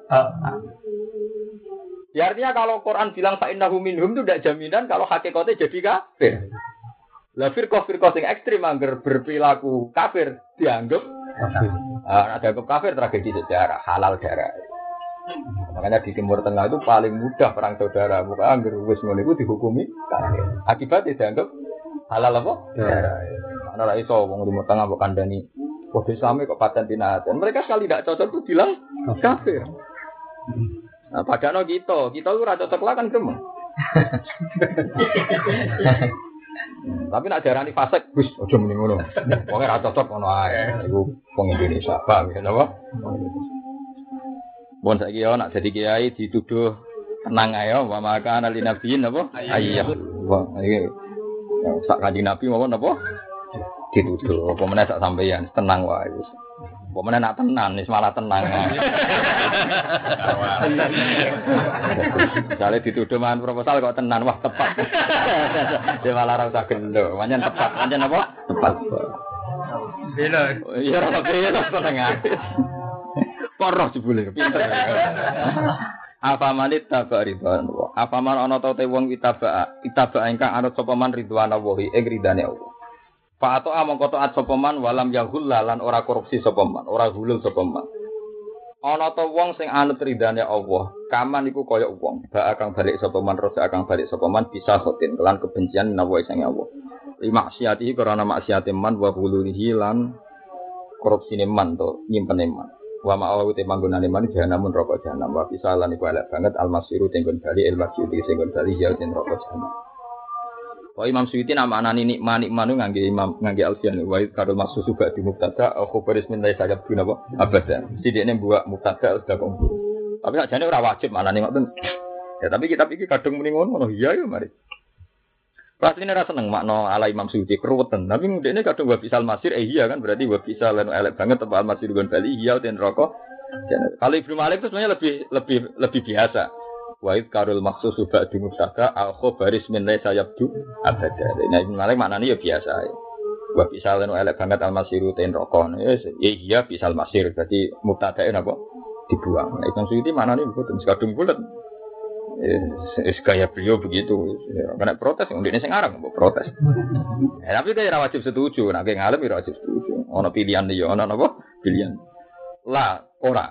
Ya artinya kalau Quran bilang fa innahu minhum itu tidak jaminan kalau hakikatnya jadi kafir. Lah firqah-firqah sing ekstrem angger berperilaku kafir dianggap kafir. Dianggap kafir tragedi sejarah, halal darah. Makanya di Timur Tengah itu paling mudah perang saudara. Bukan angger wis ngono iku dihukumi kafir. Akibatnya dianggap halal apa? Darah. Ana ra iso wong Timur Tengah mbok kandhani kode Islam kok paten dinatan. Mereka sekali tidak cocok itu bilang kafir. Nah, padahal kita itu rada cocok lah kan gremeng. Tapi nak darani fasik, Gus, aja muni ngono. Wong ora cocok ngono ae. Iku wong Indonesia, paham ya napa? Bon saiki yo nak dadi kiai dituduh tenang ae wa maka ana linabiyin napa? Ayyah. Wah, iki sak kanjeng Nabi mawon napa? Dituduh. Apa meneh sak sampeyan tenang wae wis. Apa meneh nak tenan wis malah tenang. Jale dituduh mangan proposal kok tenan wah tepat. Dia malah ora usah gendo. Pancen tepat. Pancen apa? Tepat. Bela. Iya ora bela seneng ae. Poroh jebule pinter. Apa manit tabak ridwan Allah. Apa man ana ta te wong itaba ingkang anut sapa man ridwan Allah ing ridane Allah. Fa ato amangka taat sapa man walam yahul lan ora korupsi sapa man, ora hulul sapa man. Ana ta wong sing anut ridane Allah, kaman iku kaya wong, bak akan balik sapa man, rosa akan balik sapa man bisa khotin kelan kebencian nawa sing Allah. Maksiatihi karena maksiate man wa hululihi lan korupsine man to nyimpene man. Wa ma'awu te manggonane man jahanam neraka jahanam wa pisalan iku elek banget almasiru tenggon bali ilmasi tenggon bali ya ten neraka jahanam. Wa Imam Suyuti nama anani nikmani manu ngangge Imam ngangge Alfian wa karo maksud juga di mubtada khabar ismin la sajab guna apa abada. Sidene buat mubtada sudah komplit. Tapi sakjane ora wajib maknane ngoten. Ya tapi kitab iki kadung muni ngono iya ya mari. Rasine ra seneng makna ala Imam Suyuti keruweten. Tapi ndekne kadung wa bisal masir iya kan berarti wa bisal lan elek banget apa al masir gon bali iya ten neraka. Kalau Ibnu Malik itu sebenarnya lebih biasa. Wa id karul maksus suba di mustaka al khabaris min la sayabdu abada. Nah Ibnu Malik maknane ya biasa ya. Wa bisal lan elek banget al masir ten neraka. Iya bisal masir berarti mubtadae napa dibuang. Nah Imam Suyuti maknane mboten kadung bulet. Gaya beliau begitu, kena protes, ini sing arang, protes. Tapi dia wajib setuju, nak ngalem dia wajib setuju. Ono pilihan dia, ono apa? Pilihan. La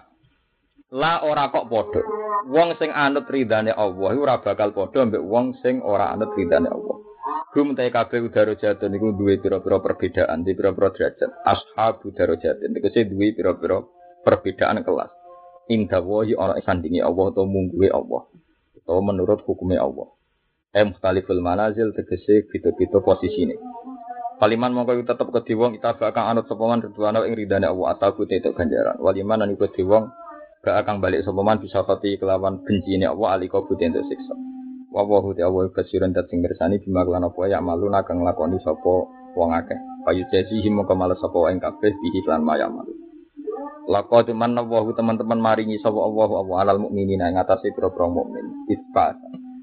ora kok podo. Wong sing anut ridane Allah, ora bakal podo ambek wong sing ora anut ridane Allah. Gum te kabeh udara jatun niku duwe pira-pira perbedaan, di pira-pira derajat. Ashabu darajatun niku sing duwe pira-pira perbedaan kelas. Inda wahi ana sandinge Allah utawa mungguhe Allah. Atau menurut hukumnya Allah. Mukhtaliful manazil tegese beda-beda posisine. Kaliman mongko tetep kedhi wong kita bakal anut sapa man ridwana ing ridane Allah atau kute itu ganjaran. Waliman lan kedhi wong bakal balik sapa man bisa pati kelawan bencine Allah alika kute itu siksa. Wa wa hu ta'ala kasiran dat sing mirsani bima lan apa ya maluna kang lakoni sapa wong akeh. Payu jesi him mongko males sapa ing kabeh bihi lan mayamal. Laqad manna wa teman-teman maringi sapa Allah alal mukminina ing atase pira-pira mukmin. Isbat.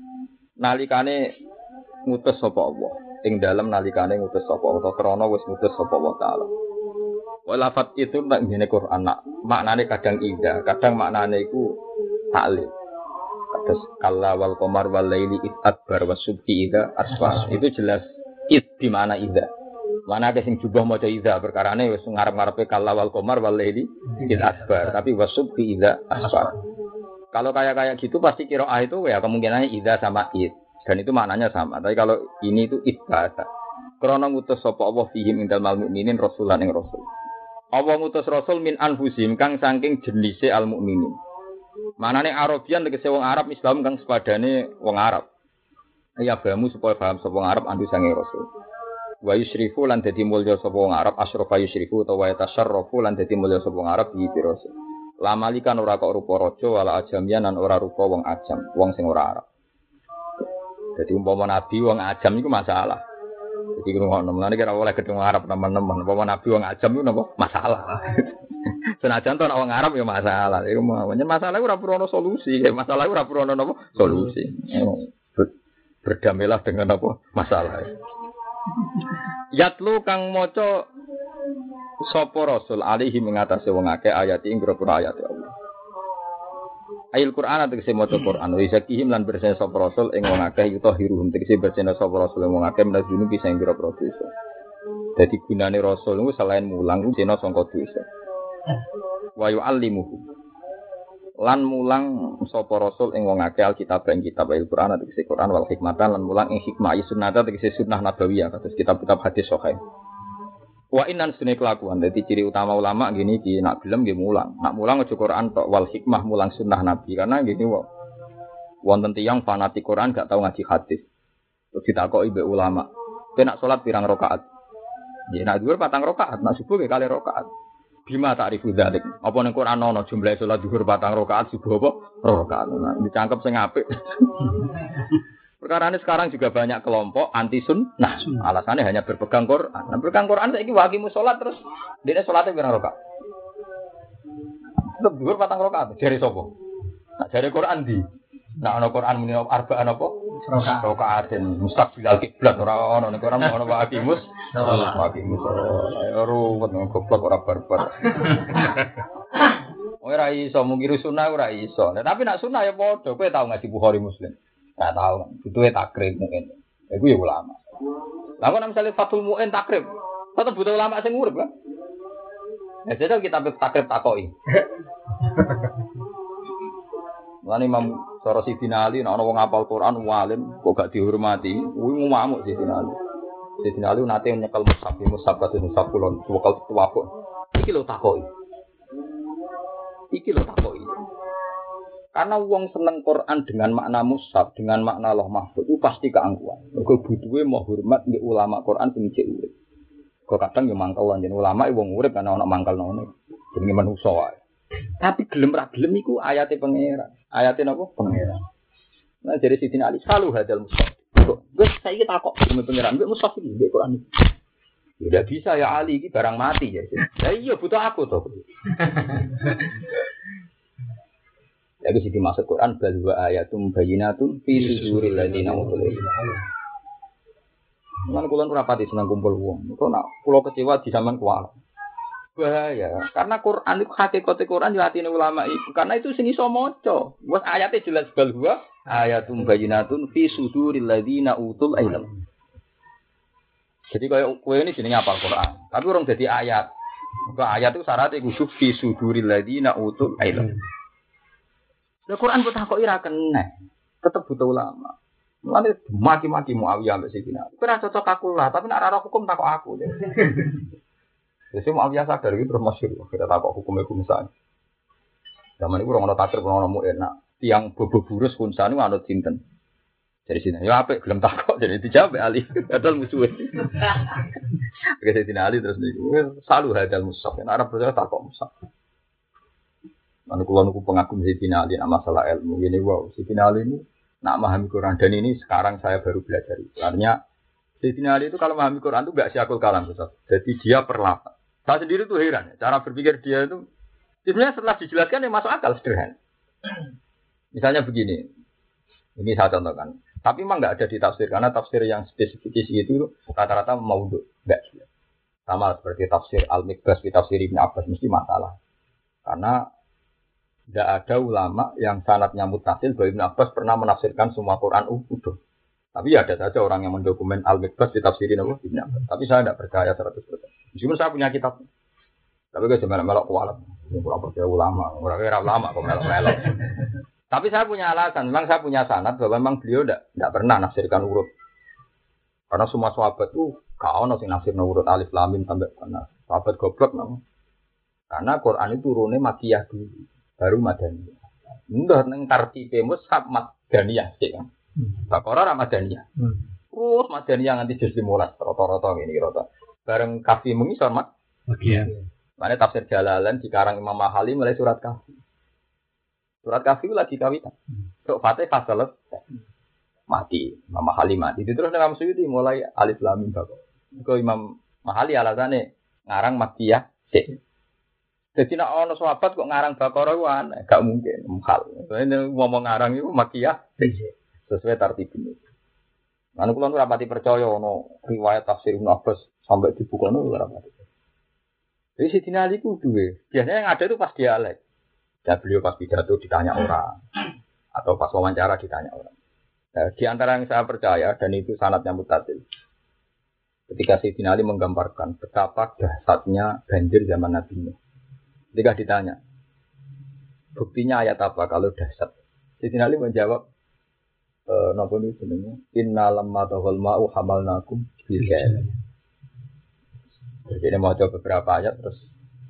Nalikane ngutus sapa Allah, ing dalem nalikane ngutus sapa Allah krana wis ngutus sapa Allah taala. Walafat itu nek ngene Quran maknane kadang indah, kadang maknane iku taklil. Kados kalla wal qamar wal laili adbar wasubhi idza asfar. Itu jelas di mana indah. Mana ada sing jubah maca idza perkarane wis ngarep-ngarepe kalla wal qamar wal laili id asbar tapi wasubhi idza asfar. Kalau kayak gitu pasti qiraah itu ya kemungkinannya idza sama id dan itu maknanya sama. Tapi kalau ini itu ibada. Krana ngutus sapa Allah fihim indal mukminin rasulan ing rasul. Allah ngutus rasul min anfusim kang saking jenise al mukminin. Manane Arabian tegese wong Arab Islam kang sepadane wong Arab. Ya bamu supaya paham sapa wong Arab andu sange rasul. Wa yusyrifu lan dadi mulya sapa wong Arab asyrafa yusyrifu utawa tasarrufu lan dadi mulya sapa wong Arab iki rasul. Lamalikan ora kok rupa raja wala ajamian lan ora rupa wong ajam, wong sing ora Arab. Jadi umpama nabi wong ajam iku masalah. Jadi ngono mlane kira oleh ketemu Arab teman-teman, umpama nabi wong ajam iku napa masalah. Senajan to wong Arab ya masalah. Iku masalah ora perlu solusi, masalah ora perlu napa solusi. Berdamailah dengan apa masalah. Yatlu kang maca sapa rasul alihi mengatasi wong akeh ayat ing pira-pira ayat Allah. Ayat Quran tegese maca Quran wa zakihim lan bersih sapa rasul ing wong akeh yutahiruhum tegese bersih sapa rasul ing wong akeh menajuni bisa ing pira-pira dosa. Dadi gunane rasul niku selain mulang dina sangka dosa. Wa yu'allimuhu lan mulang sapa rasul ing wong akeh alkitab ing kitab Al-Qur'an tegese Quran wal hikmatan lan mulang ing hikmah sunnah tegese sunnah nabawiyah kados kitab-kitab hadis sahih. Wa innan sunne kelakuan dadi ciri utama ulama gini iki nak gelem nggih mulang. Nak mulang aja Quran tok wal hikmah mulang sunnah nabi karena gini wonten tiyang fanatik Quran gak tau ngaji hadis. Terus ditakoki mbek ulama, "Kowe nak salat pirang rakaat?" Ya nak dhuwur 4 rakaat, nak subuh nggih 2 rakaat. Bima ta'rifu dzalik. Apa ning Quran ana jumlah salat zuhur 4 rakaat, subuh apa? 2 rakaat. Nah, dicangkep sing apik. Perkara ini sekarang juga banyak kelompok anti sunnah. Alasannya hanya berpegang Quran. Nah, berpegang Quran saiki waqimus salat terus dene salate pirang rakaat? Tetep zuhur 4 rakaat. Jare sapa? Nah, jare Quran di. Nah, ana Quran muni arba'an apa? Rokaatin mustaqbilal kiblat ora ono nek ora ono Pak Hakimus. Pak Hakimus ruwet goblok ora barbar. Ora iso mungkiri sunah ora iso. Tapi nak sunah ya padha. Kowe tau ngaji Bukhari Muslim? Enggak tahu. Butuhe takrib mungkin. Iku ya ulama. Lah kok misalnya Fathul Mu'in takrib, tetep butuh ulama sing urip kan? Ya jadi kita takrib takoki. Lan Imam Sidina Ali nek ana wong hafal Quran walim kok gak dihormati, kuwi ngamuk Sidina Ali. Sidina Ali nate nyekel mushaf kados mushaf kulon, wakal tuwapuk. Iki lho takoki. Karena wong seneng Quran dengan makna mushaf, dengan makna Allah mahfuz itu pasti keangkuhan. Mergo butuhe mau hormat nggih ulama Quran sing cek urip. Kok kadang yo mangkel jeneng ulama wong urip kan ana mangkelno. Jenenge manusa wae. Tapi gelem ra gelem iku ayate pangeran. Ayate napa? Pangeran. Nah dari Sidin Ali selalu hadal mushaf. Wes saiki takok demi pangeran, mbek mushaf iki mbek Quran iki. Ya bisa ya Ali iki barang mati ya. Ya iya butuh aku to. Lagi sih dimaksud Quran bahwa ayatum bayinatun fi suduril ladina utul ilm. Lan kula ora pati seneng kumpul wong. Kok nak kula kecewa di zaman kuwat. Bahaya, karena Quran itu hakikat Quran di hati ulama itu. Karena itu sing iso maca. Wes ayate jelas bahwa ayatum bayinatun fi suduril ladina utul ilm. Jadi kaya kowe ini jenenge hafal Quran, tapi orang dadi ayat. Kok ayat itu syaratnya kudu fi suduril ladina utul ilm. Lah Quran kok takoki ra kena. Tetep butuh ulama. Mulane maki-maki Muawiyah ambek Sidina. Ora cocok aku lah, tapi nek ora hukum takok aku. Jadi Muawiyah sadar iki terus masyhur kira takok hukum misalnya. Zaman iku ora ono takdir ora ono enak. Tiang bobo burus kunsane anut sinten. Dari sini, ya apik gelem takok jadi dijawab Ali. Padahal musuhe. Oke Sidina Ali terus niku selalu hadal mushaf. Nek ora percaya takok mushaf. Anu kula niku pengagum Sidina Ali masalah ilmu. Ini wow, Sidina Ali ini nak memahami Quran dan ini sekarang saya baru belajar. Artinya Sidina Ali itu kalau memahami Quran itu enggak siakul kalam Ustaz. Jadi dia perlafaz. Saya sendiri tuh heran, cara berpikir dia itu sebenarnya setelah dijelaskan ya masuk akal sederhana. Misalnya begini. Ini saya contohkan. Tapi memang enggak ada di tafsir karena tafsir yang spesifik itu rata-rata maudhu, enggak. Sama seperti tafsir Al-Mikbas fi tafsir Ibnu Abbas mesti masalah. Karena tidak ada ulama yang sanadnya mutasil bahwa Ibnu Abbas pernah menafsirkan semua Quran utuh. Tapi ada saja orang yang mendokumen Al-Mikbas ditafsirin Ibnu Abbas. Tapi saya tidak percaya 100%. Meskipun saya punya kitab. Tapi saya cuma melok kualat. Kurang percaya ulama. Orang ulama kok melok-melok. Tapi saya punya alasan. Memang saya punya sanad bahwa memang beliau tidak pernah nafsirkan urut. Karena semua sahabat itu kau nasi nafsir urut alif lam mim sampai mana. Sahabat goblok namanya. Karena Quran itu turunnya makiyah dulu. Baru Madaniyah. Ndak nang tartibe mushaf Madaniyah sik kan. Baqarah ra Madaniyah. Terus Madaniyah nganti juz 15 rata-rata ngene rata. Bareng Kafi mengisor Makiyah. Mane tafsir Jalalan dikarang Imam Mahali mulai surat Kafi. Surat Kafi lagi kawitan. Tok Fatihah selesai. Mati, Imam Mahali mati. Terus nang Suyuti mulai alif lam mim Baqarah. Iku Imam Mahali alasane ngarang Makiyah sik. Jadi nak ono sahabat kok ngarang Baqarah ku aneh, gak mungkin hal. Soale ngomong ngarang iku makiyah sesuai tartib ini. Anu kula ora pati percaya ono riwayat tafsir Ibnu Abbas sampai dibukane ora pati. Jadi Sidina Ali ku duwe. Biasanya yang ada itu pas dialek. Dan beliau pas pidato ditanya orang atau pas wawancara ditanya orang. Nah, di antara yang saya percaya dan itu sanadnya mutasil. Ketika Sidina Ali menggambarkan betapa dahsyatnya banjir zaman Nabi Nuh. Ketika ditanya, buktinya ayat apa kalau dahsyat? Sidina Ali menjawab, napa niku jenenge? Inna lamma taghal ma'u hamalnakum bil kail. Jadi mau coba beberapa ayat terus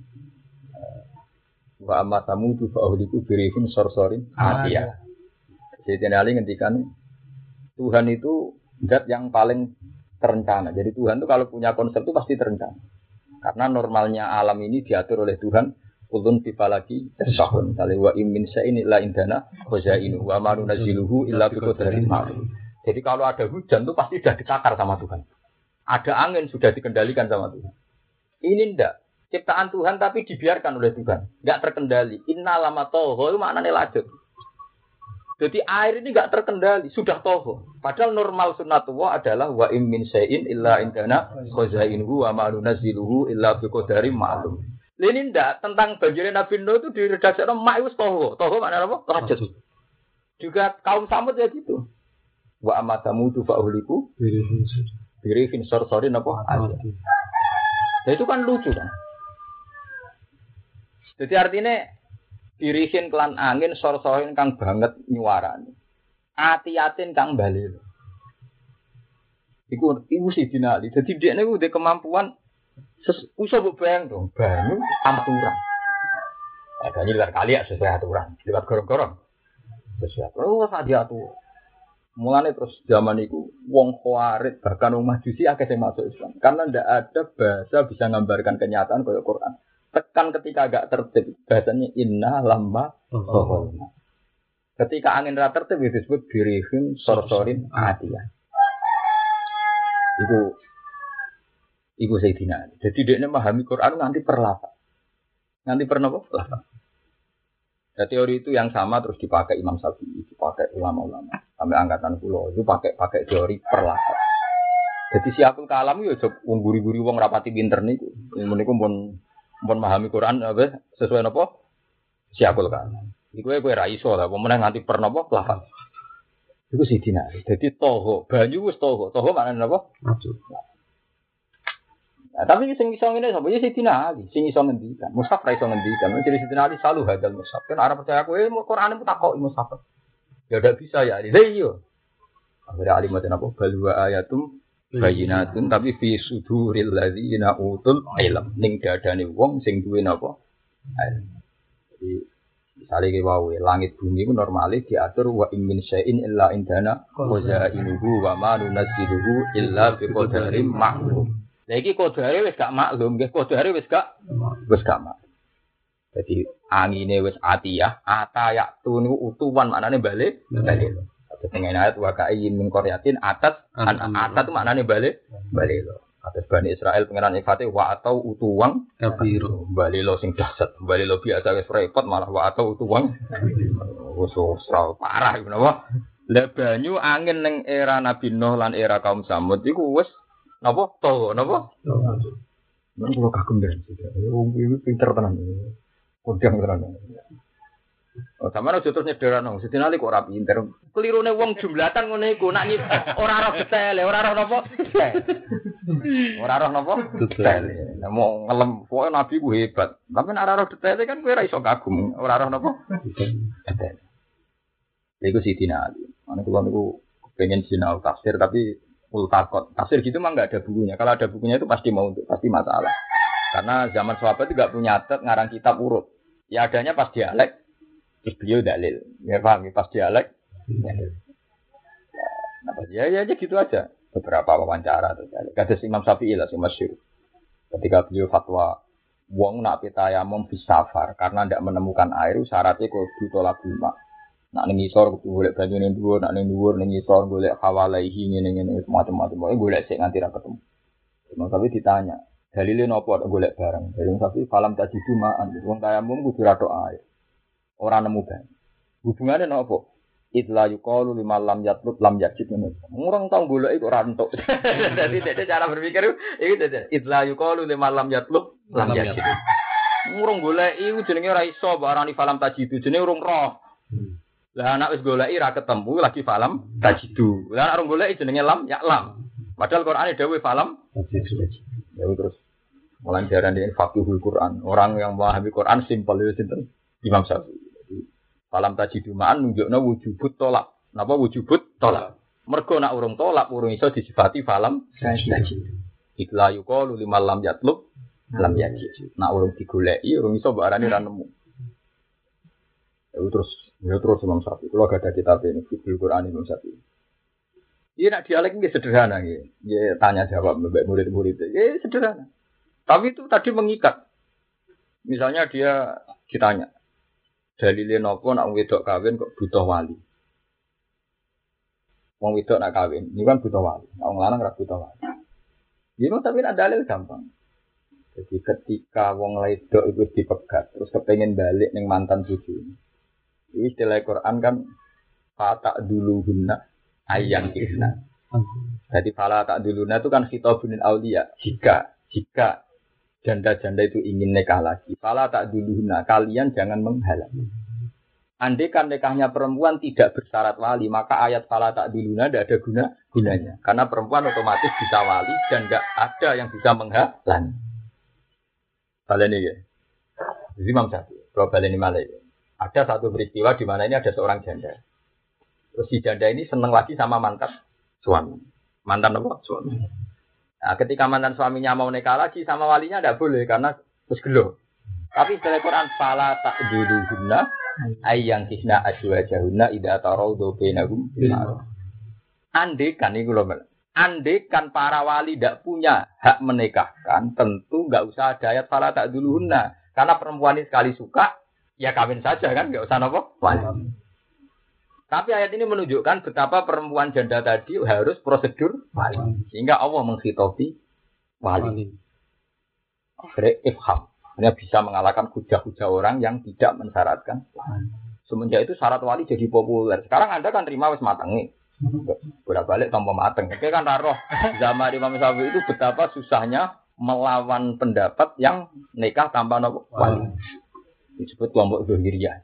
wa amma tamutu fa ahliku birihim sorsorin atiyah. Sidina Ali ngendikan Tuhan itu zat yang paling terencana. Jadi Tuhan itu kalau punya konsep itu pasti terencana. Karena normalnya alam ini diatur oleh Tuhan. Kulun bifalaki tasahun. Wa imin sa'in illa indana khazainu wa ma nunazziluhu illa biqadarin ma'lum. Jadi kalau ada hujan itu pasti sudah ditakar sama Tuhan. Ada angin sudah dikendalikan sama Tuhan. Ini ndak ciptaan Tuhan tapi dibiarkan oleh Tuhan. Enggak terkendali. Inna lama toho itu maknanya lanjut. Jadi air ini enggak terkendali, sudah toho. Padahal normal sunnatullah adalah wa im min syai'in illa indana khazainuhu wa ma nunazziluhu illa biqadarin ma'lum. Ini ndak tentang banjirnya Nabi Nuh itu diredaksikan mak wis toho. Toho maknanya apa? Rajat. Juga kaum Samud ya gitu. Wa amma samudu fa uhliku birifin sorsorin apa? Nah, itu kan lucu kan. Jadi artinya dirihin kelan angin sorsorin kang banget nyuarane. Ati-atin kang bali. Iku sih dinali. Jadi dia niku duwe kemampuan usah mbok bayang dong, banyu aturan. Banyu luar kali ya sesuai aturan. Lewat gorong-gorong. Sesuai aturan. Oh, sak diatur. Mulane terus zaman iku wong Khawarij bahkan wong Majusi akeh sing masuk Islam. Karena ndak ada bahasa bisa menggambarkan kenyataan kaya Quran. Tekan ketika agak tertib, bahasanya inna lamba sohorna. Ketika angin rata tertib disebut birihim sorsorin adiyah. Iku Sayyidina. Jadi dia memahami Quran nanti perlapa. Nanti pernah apa? Perlapa. Nah, teori itu yang sama terus dipakai Imam Syafi'i, dipakai ulama-ulama. Sampai angkatan pulau itu pakai teori perlapa. Jadi siapul kalam yo jog wong guri-guri wong rapati pinter niku. Meniku pun memahami Quran apa sesuai napa siapul kalam. Iku kowe ra iso lah, pemenang nganti pernah apa lafal. Iku Sayyidina. Jadi toho, banyu wis toho. Toho maknane napa? Nah, tapi sing iso ngene sapa ya Sayyidina Ali, sing iso ngendikan. Mushaf ra iso ngendikan. Jadi Sayyidina Ali selalu hadal mushaf. Kan arep percaya kowe Quran itu takoki mushaf. Ya udah bisa ya Ali. Lah iya. Akhirnya Ali mate napa bal wa ayatum bayinatun tapi fi suduril ladzina utul ilm. Ning dadane wong sing duwe napa? Jadi misalnya ki wae langit bumi ku normale diatur wa min syai'in illa indana khazainuhu wa ma nunazziluhu illa biqadarin ma'lum. Lah iki kodare wis gak maklum, nggih kodare wis gak maklum. Jadi angine wis atiyah, atayak tu niku utuwan maknane balik. Terus ning ayat wa ka'in min qaryatin atat atat maknane balik. Atas Bani Israel pengenan ifate wa atau utuwang kabiru. Balilo sing dahsyat, balilo biasa wis repot malah wa atau utuwang. Wis parah iku napa? Lah banyu angin ning era Nabi Nuh lan era kaum Samud iku wis napa? Toho napa? Nang kula kagem ben. Wong iki pinter tenan. Kodang tenan. Oh, sampeyan aja terus nyederano. Sedina kok ora pinter. Kelirune wong jumlatan ngene iku nak ora roh detail, ora roh napa? Ora roh napa? Detail. Lah mau ngelem pokoke nabi ku hebat. Tapi nek ora roh detail kan kowe ora iso kagum. Ora roh napa? Detail. Iku Sidina Ali. Ana kula niku pengen sinau tafsir tapi multakot. Tafsir gitu mah enggak ada bukunya. Kalau ada bukunya itu pasti pasti masalah. Karena zaman sahabat itu enggak punya adat ngarang kitab urut. Ya adanya pas dialek. Terus beliau dalil. Ya paham, pas dialek. Ya gitu aja. Beberapa wawancara terus. Kados Imam Syafi'i lah sing masyhur. Ketika beliau fatwa wong nak pitayamum bisafar karena ndak menemukan air syaratnya kudu tolak bulma. Nak ning isor kudu golek banyu ning dhuwur, nak ning dhuwur ning isor golek hawalaihi ngene-ngene macam-macam. Pokoke golek sik nganti ra ketemu. Imam Syafi'i ditanya, dalile napa golek barang? Dari Imam Syafi'i falam tajidu ma'an. Wong tayamum kudu ra tok air. Ora nemu banyu. Hubungane napa? Idla yuqalu liman lam yatlub lam yajid ngono. Ngurang tau golek iku ora entuk. Dadi dene cara berpikir iki dadi idla yuqalu liman lam yatlub lam yajid. Ngurung golek iku jenenge ora iso barani falam tajidu jenenge urung roh. Lah anak wis goleki ra ketemu lagi falam tajidu. Lah anak urung goleki jenenge lam ya lam. Padahal Qur'ane dawuh falam tajidu. Ya terus mulai diarani faqihul Qur'an. Orang yang memahami Qur'an simpel ya sinten? Imam Syafi'i. Falam tajidu ma'an nunjukna wujubut tolak. Napa wujubut tolak? Mergo nak urung tolak urung iso disifati falam tajidu. Ikla yuqalu liman lam yatlub lam yajid. Nak urung digoleki urung iso mbok arani ra nemu. Terus Imam Syafi'i. Kalau ada kitab ini, Fiqhul Quran Imam Syafi'i. Ini nak dialek ini sederhana, ya tanya jawab mbak murid-murid, ya sederhana. Tapi itu tadi mengikat. Misalnya dia ditanya, dalile napa nak wedok kawin kok butuh wali? Wong wedok nak kawin, ini kan butuh wali. Nak wong lanang ora butuh wali. Gimana tapi nak dalil gampang. Jadi ketika wong wedok itu dipegat, terus kepengen balik ning mantan bojone. Ini istilah Quran kan Fata duluhunna ayang kisna. Jadi fala tak duluna itu kan khitabunil aulia. Jika janda-janda itu ingin nikah lagi, fala tak duluhunna, kalian jangan menghalangi. Andai kan nikahnya perempuan tidak bersyarat wali, maka ayat fala tak duluna tidak ada gunanya. Karena perempuan otomatis bisa wali dan tidak ada yang bisa menghalangi. Baleni ya. Jadi Imam Syafi'i, kalau baleni malah ya. Ada satu peristiwa di mana ini ada seorang janda. Terus si janda ini senang lagi sama mantan suami. Mantan apa? Suami. Nah, ketika mantan suaminya mau nikah lagi sama walinya tidak boleh karena terus gelo. Tapi dalam Quran fala ta'duluhunna ayyang kisna azwajahunna idza tarawdu bainahum bil ma'ruf. Andekan iki lho, andekan para wali tidak punya hak menikahkan, tentu enggak usah ada ayat fala ta'duluhunna. Karena perempuan ini sekali suka, ya kawin saja kan, enggak usah napa? Wali. Tapi ayat ini menunjukkan betapa perempuan janda tadi harus prosedur wali. Sehingga Allah menghitopi wali. Akhirnya ifham. Hanya bisa mengalahkan hujah-hujah orang yang tidak mensyaratkan wali. Semenjak itu syarat wali jadi populer. Sekarang Anda kan terima wis matengi. Bolak-balik tanpa mateng. Oke kan taruh zaman Imam Syafi'i itu betapa susahnya melawan pendapat yang nikah tanpa wali. Disebut kelompok Zuhiriyah.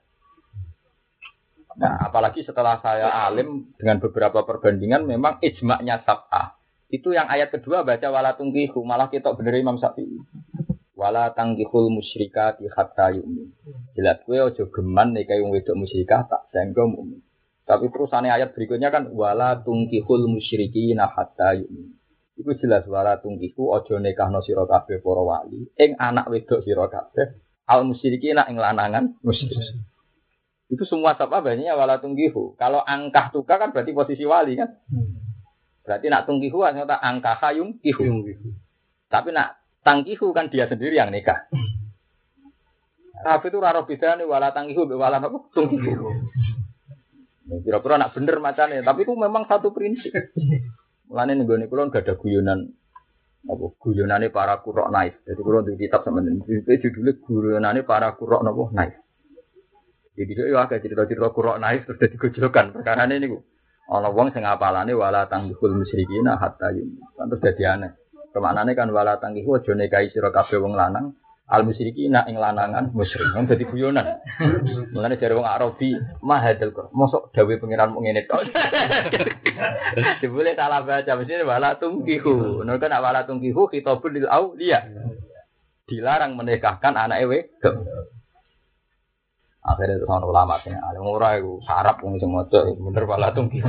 Nah, apalagi setelah saya alim dengan beberapa perbandingan, memang ijma'nya sab'ah. Itu yang ayat kedua baca wala tungkihu, malah kita bener Imam Syafi'i. Wala tangkihul musyrikati hatta yu'min. Jelas kowe aja geman nek wong wedok musyrikah tak sanggo mukmin. Tapi terusane ayat berikutnya kan wala tungkihul musyrikina hatta yu'min. Iku jelas wala tungkihu aja nikahno sira kabeh para wali ing anak wedok sira kabeh al musyrikina ing lanangan musyrik. Itu semua sebab banyaknya wala tungkihu. Kalau angkah tukar kan berarti posisi wali kan. Berarti nak tungkihu ternyata angkah hayung kihu. Tapi nak tangkihu kan dia sendiri yang nikah. Tapi itu raro bedane wala tangkihu be wala apa tungkihu. Kira-kira nak bener macane, tapi itu memang satu prinsip. Mulane nggone kula enggak ada guyonan apa guyonane para qurra naif. Jadi kula di kitab sampeyan judulnya guyonane para qurra napa naif. Jadi itu agak cerita-cerita qurra naif terus dadi gojlokan. Perkarane niku ana wong sing apalane wala tanggihul musyrikina hatta yum. Terus dadi aneh. Kemaknane kan wala tanggihu aja nikahi sira kabeh wong lanang al musyrikina ing lanangan musyrik. Wong dadi guyonan. Mulane jare wong Arabi mahadal kok. Mosok dawuh pengiran mung ngene tok. Dibule salah baca mesti wala tungkihu. Nek kan wala tungkihu khitabul lil auliya. Dilarang menikahkan anake wedok. Akhirnya itu sama ulama sih, alim ora itu sarap wong sing maca bener wala tungkihu.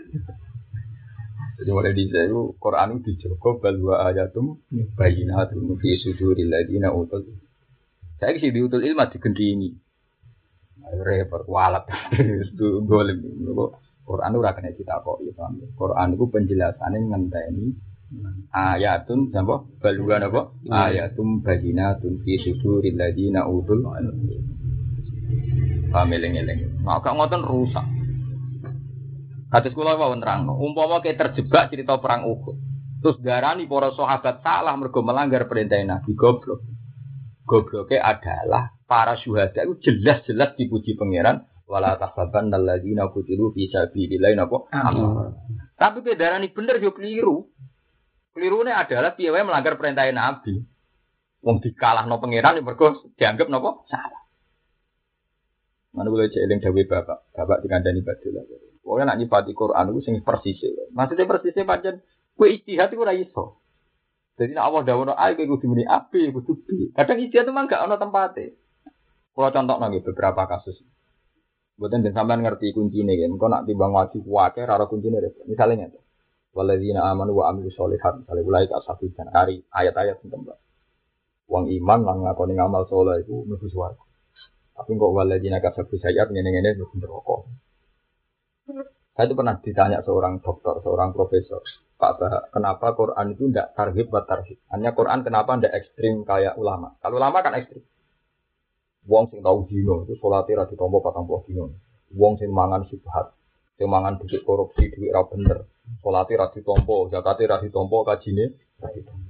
Jadi mulai di sana Quran itu dijogo balwa ayatum bayinatun fi suduril ladina utul. Saya sih diutul ilmu digendingi. Repot walat itu golem. Quran ora kena ditakok ya paham. Quran itu penjelasane ngenteni ayatun sapa balwa napa ayatum bayinatun fi suduril ladina utul. Pameling-eling. Maka ngoten rusak. Hadis kula wau nerangno, umpama ke terjebak cerita perang Uhud. Terus darani para sahabat salah mergo melanggar perintah Nabi goblok. Gobloke adalah para syuhada itu jelas-jelas dipuji pangeran wala tahsabanna alladziina qutilu fi sabilillahi napa. Tapi ke darani bener yo keliru. Kelirune adalah piye wae melanggar perintah Nabi. Wong dikalahno pangeran mergo dianggap napa salah. Mana boleh jeeling dawuh bapak dikandani badhe. Pokoke nak nyifati Quran iku sing persis. Maksudnya persisnya pancen kowe ijtihad iku ora iso. Jadi nek Allah dawuh A kowe kudu muni A, B kudu B. Kadang ijtihad itu mah gak ono tempate. Kalau contohna nggih beberapa kasus. Mboten den sampean ngerti kuncine nggih. Engko nak timbang wajib wae ora kuncine repot. Misale ngene. Walladzina amanu wa amilus sholihat. Misale ulai ka sapi dan kari ayat-ayat sing tembak. Wong iman lan ngakoni ngamal saleh iku mlebu swarga. Tapi kok waladina kasabu sayat ngene-ngene mlebu neraka. Saya itu pernah ditanya seorang dokter, seorang profesor, Pak Bah, kenapa Quran itu tidak tarhib buat tarhib? Hanya Quran kenapa tidak ekstrim kayak ulama? Kalau ulama kan ekstrim. Wong sing tahu dino itu sholatnya ra ditampa 40 dino. Wong sing mangan subhat, sing mangan duit korupsi, duit ra bener, sholatnya ra ditampa, zakatnya ra ditampa, kajine ra ditampa.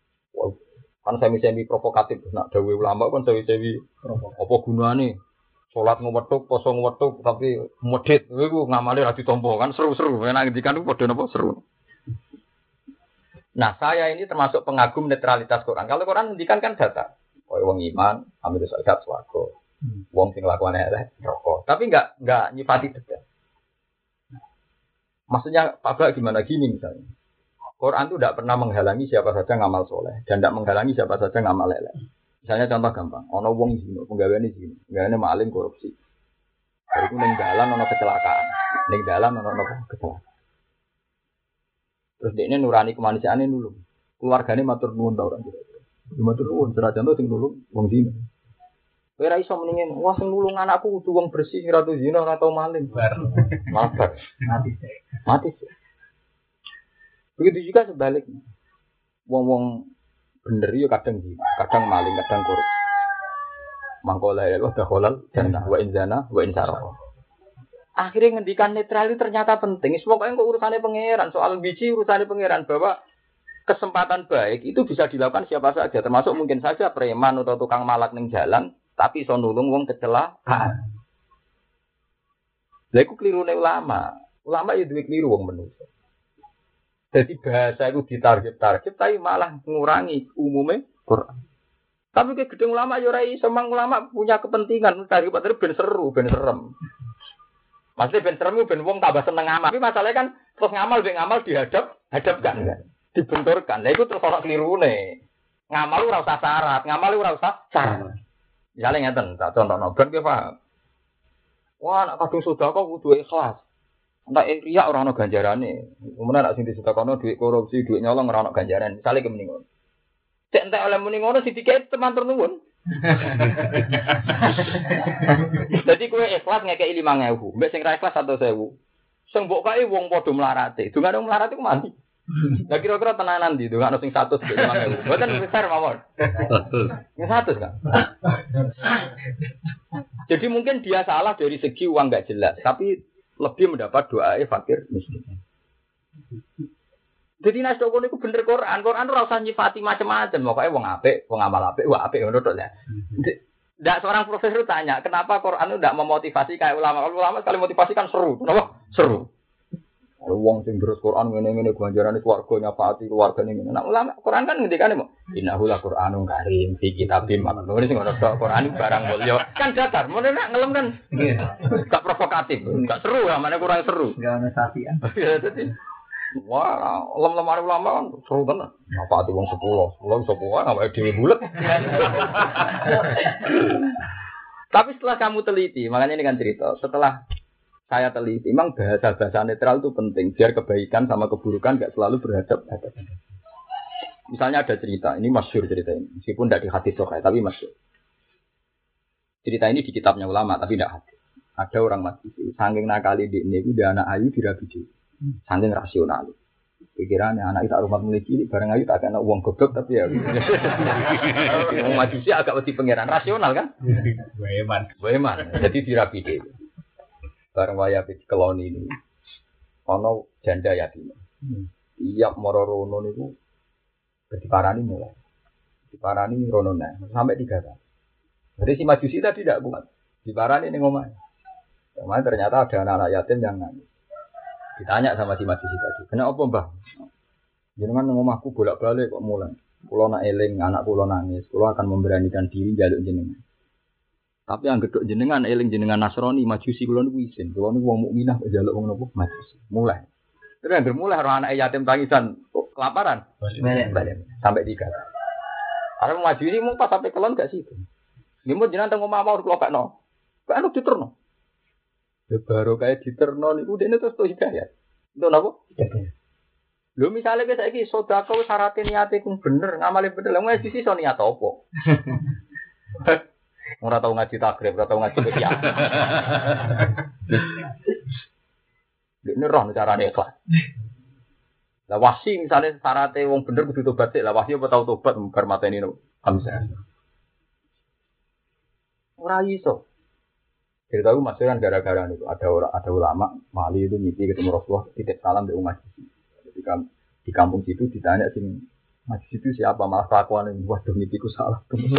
Kan semi-semi provokatif, nak dawuh ulama kan semi-semi apa gunane Salat ngwetuk, poso ngwetuk tapi medhit. Iku ngamale ra ditampa kan seru-seru. Nek ngendikan iku padha napa seru. Nah, saya ini termasuk pengagum netralitas Quran. Kalau Quran ngendikan kan data. Kaya wong iman, amil zakat swarga. Wong sing lakukan elek neraka. Tapi enggak nyifati detail. Maksudnya Pak Bak gimana gini misalnya. Quran itu tidak pernah menghalangi siapa saja ngamal soleh dan tidak menghalangi siapa saja ngamal elek. Misalnya contoh gampang, ono wong zina, penggaweane zina, penggaweane maling korupsi. Iku ning dalan ono kecelakaan, ning dalan ono kecelakaan. Terus dekne nurani kemanusiaane nulung. Keluargane matur nuwun ta ora kira-kira. Matur nuwun, senajan to sing nulung wong zina. Kowe ora iso mendingin, wah sing nulung anakku kudu wong bersih, ora tau zina, ora tau maling. Mabar. Mati. Begitu juga sebaliknya. Wong-wong bener yo kadang zina, kadang maling, kadang korupsi. Mangkola ya Allah dakhalal jannah wa inzana wa insara. Akhirnya ngendikan netral itu ternyata penting. Pokoknya kok urusannya pangeran, soal biji urusannya pangeran bahwa kesempatan baik itu bisa dilakukan siapa saja, termasuk mungkin saja preman atau tukang malak ning jalan, tapi iso nulung wong kecelakaan. Lha iku klirune ulama. Ulama ya duwe kliru wong menungso. Jadi bahasa itu ditarget-target, tapi malah mengurangi umumnya Quran. Tapi ke gedung ulama ya ora iso, mang ulama punya kepentingan daripada ben seru, ben serem. Maksudnya ben serem ben wong tambah seneng ngamal. Tapi masalahnya kan terus ngamal hadapkan kan. Dibenturkan. Lah iku terus ora klirune. Ngamal ora usah syarat, ngamal ora usah syarat. Misalnya ngeten, tak contohno ben ki paham. Wah, nek kadung sedekah kudu ikhlas. Nek riya ora ana ganjarane. Kemudian nek sing disedekahno dhuwit korupsi, dhuwit nyolong ora ana ganjaran. Misale ke mending ngono. Cek entek oleh muni ngono sithike teman nuwun. Jadi kowe ikhlas ngekeki 5.000, mbek sing ra ikhlas 100.000. Sing mbok kae wong padha mlarate. Dungane wong mlarate ku mati. Lah kira-kira tenanan ndi dungane sing 100 mbek 5.000. Mboten besar mawon. 100 kan. Jadi mungkin dia salah dari segi uang enggak jelas, tapi lebih mendapat doa fakir miskin. Jadi nas dokon itu bener Quran ora usah nyifati macam-macam, pokoke wong apik, wong amal apik, wah apik ngono tok ya. Ndak seorang profesor tanya, kenapa Quran itu ndak memotivasi kayak ulama? Kalau ulama sekali motivasi kan seru, kenapa? Seru. Wong sing terus Quran ngene-ngene ganjarane swarga nyafaati keluargane ngene. Nah ulama Quran kan ngendikane mo, innahu la Qur'anun karim fi kitabim maknun. Ini sing ngono tok Quran barang mulya. Kan datar, mun nek ngelem kan gak provokatif, gak seru ya, mana kurang seru. Enggak ana sapian. Ya dadi wah, lem-lemare ulama kan seru tenan. Nyafaati wong 10 sepuh awake dhewe bulet. Tapi setelah kamu teliti, makanya ini kan cerita, setelah saya teliti, memang bahasa-bahasa netral itu penting biar kebaikan sama keburukan gak selalu berhadapan. Misalnya ada cerita, ini masyhur cerita ini, meskipun tidak di hadis sahih, tapi masyhur. Cerita ini di kitabnya ulama, tapi tidak hadis. Ada orang majusi, saking nakali di ini, dia anak ayu dirabi dulu, saking rasional. Pikirannya anak itu rumah mulai cilik, bareng ayu tak kena uang goblok, tapi ya. Orang majusi agak lebih pengiran, rasional kan? Weman, jadi dirabi dulu. Bareng waya keloni ini, ono janda yatim. Tiap moro rono niku diparani mulai, diparani rono sampai 3 kali. Jadi si majusi tadi tidak kuat, diparani ning omah. Omah ternyata ada anak yatim yang nangis. Ditanya sama si majusi tadi, kenapa mbah? Jenengan ning omahku bolak-balik kok mulai. Kulo nak eling anak kulo nangis, kulo akan memberanikan diri njaluk jenengan. Tapi yang gedok jenengan eling jenengan Nasrani majusi kula niku isin. Kula niku wong mukminah kok njaluk wong napa majusi. Mulai. Terus yang mulai ora anak yatim tangisan kelaparan. Balik. Sampai 3. Arep majusi mung pas sampai kelon gak situ. Nggih mun jenengan teng omah mau kula kakno. Kok anu diterno. Ya baru kaya diterno niku dene terus to hidayah. Untuk napa? Hidayah. Lho misale kowe saiki sedekah wis syarat niate ku bener, ngamale bener. Lah majusi iso niat apa? Ora tau ngaji takrib, ora tau ngaji kiai. Dene roh carane ikhlas. Lah wasi misale syaratnya wong bener kudu tobat sik, lah wasi apa tau tobat bar mateni no. Hamzah. Ora iso. Cerita aku masih kan gara-gara niku ada ulama Mali itu mimpi ketemu Rasulullah titip salam di umat. Ketika di kampung situ ditanya sing Mas itu siapa malah kelakuan ini waduh mimpiku salah.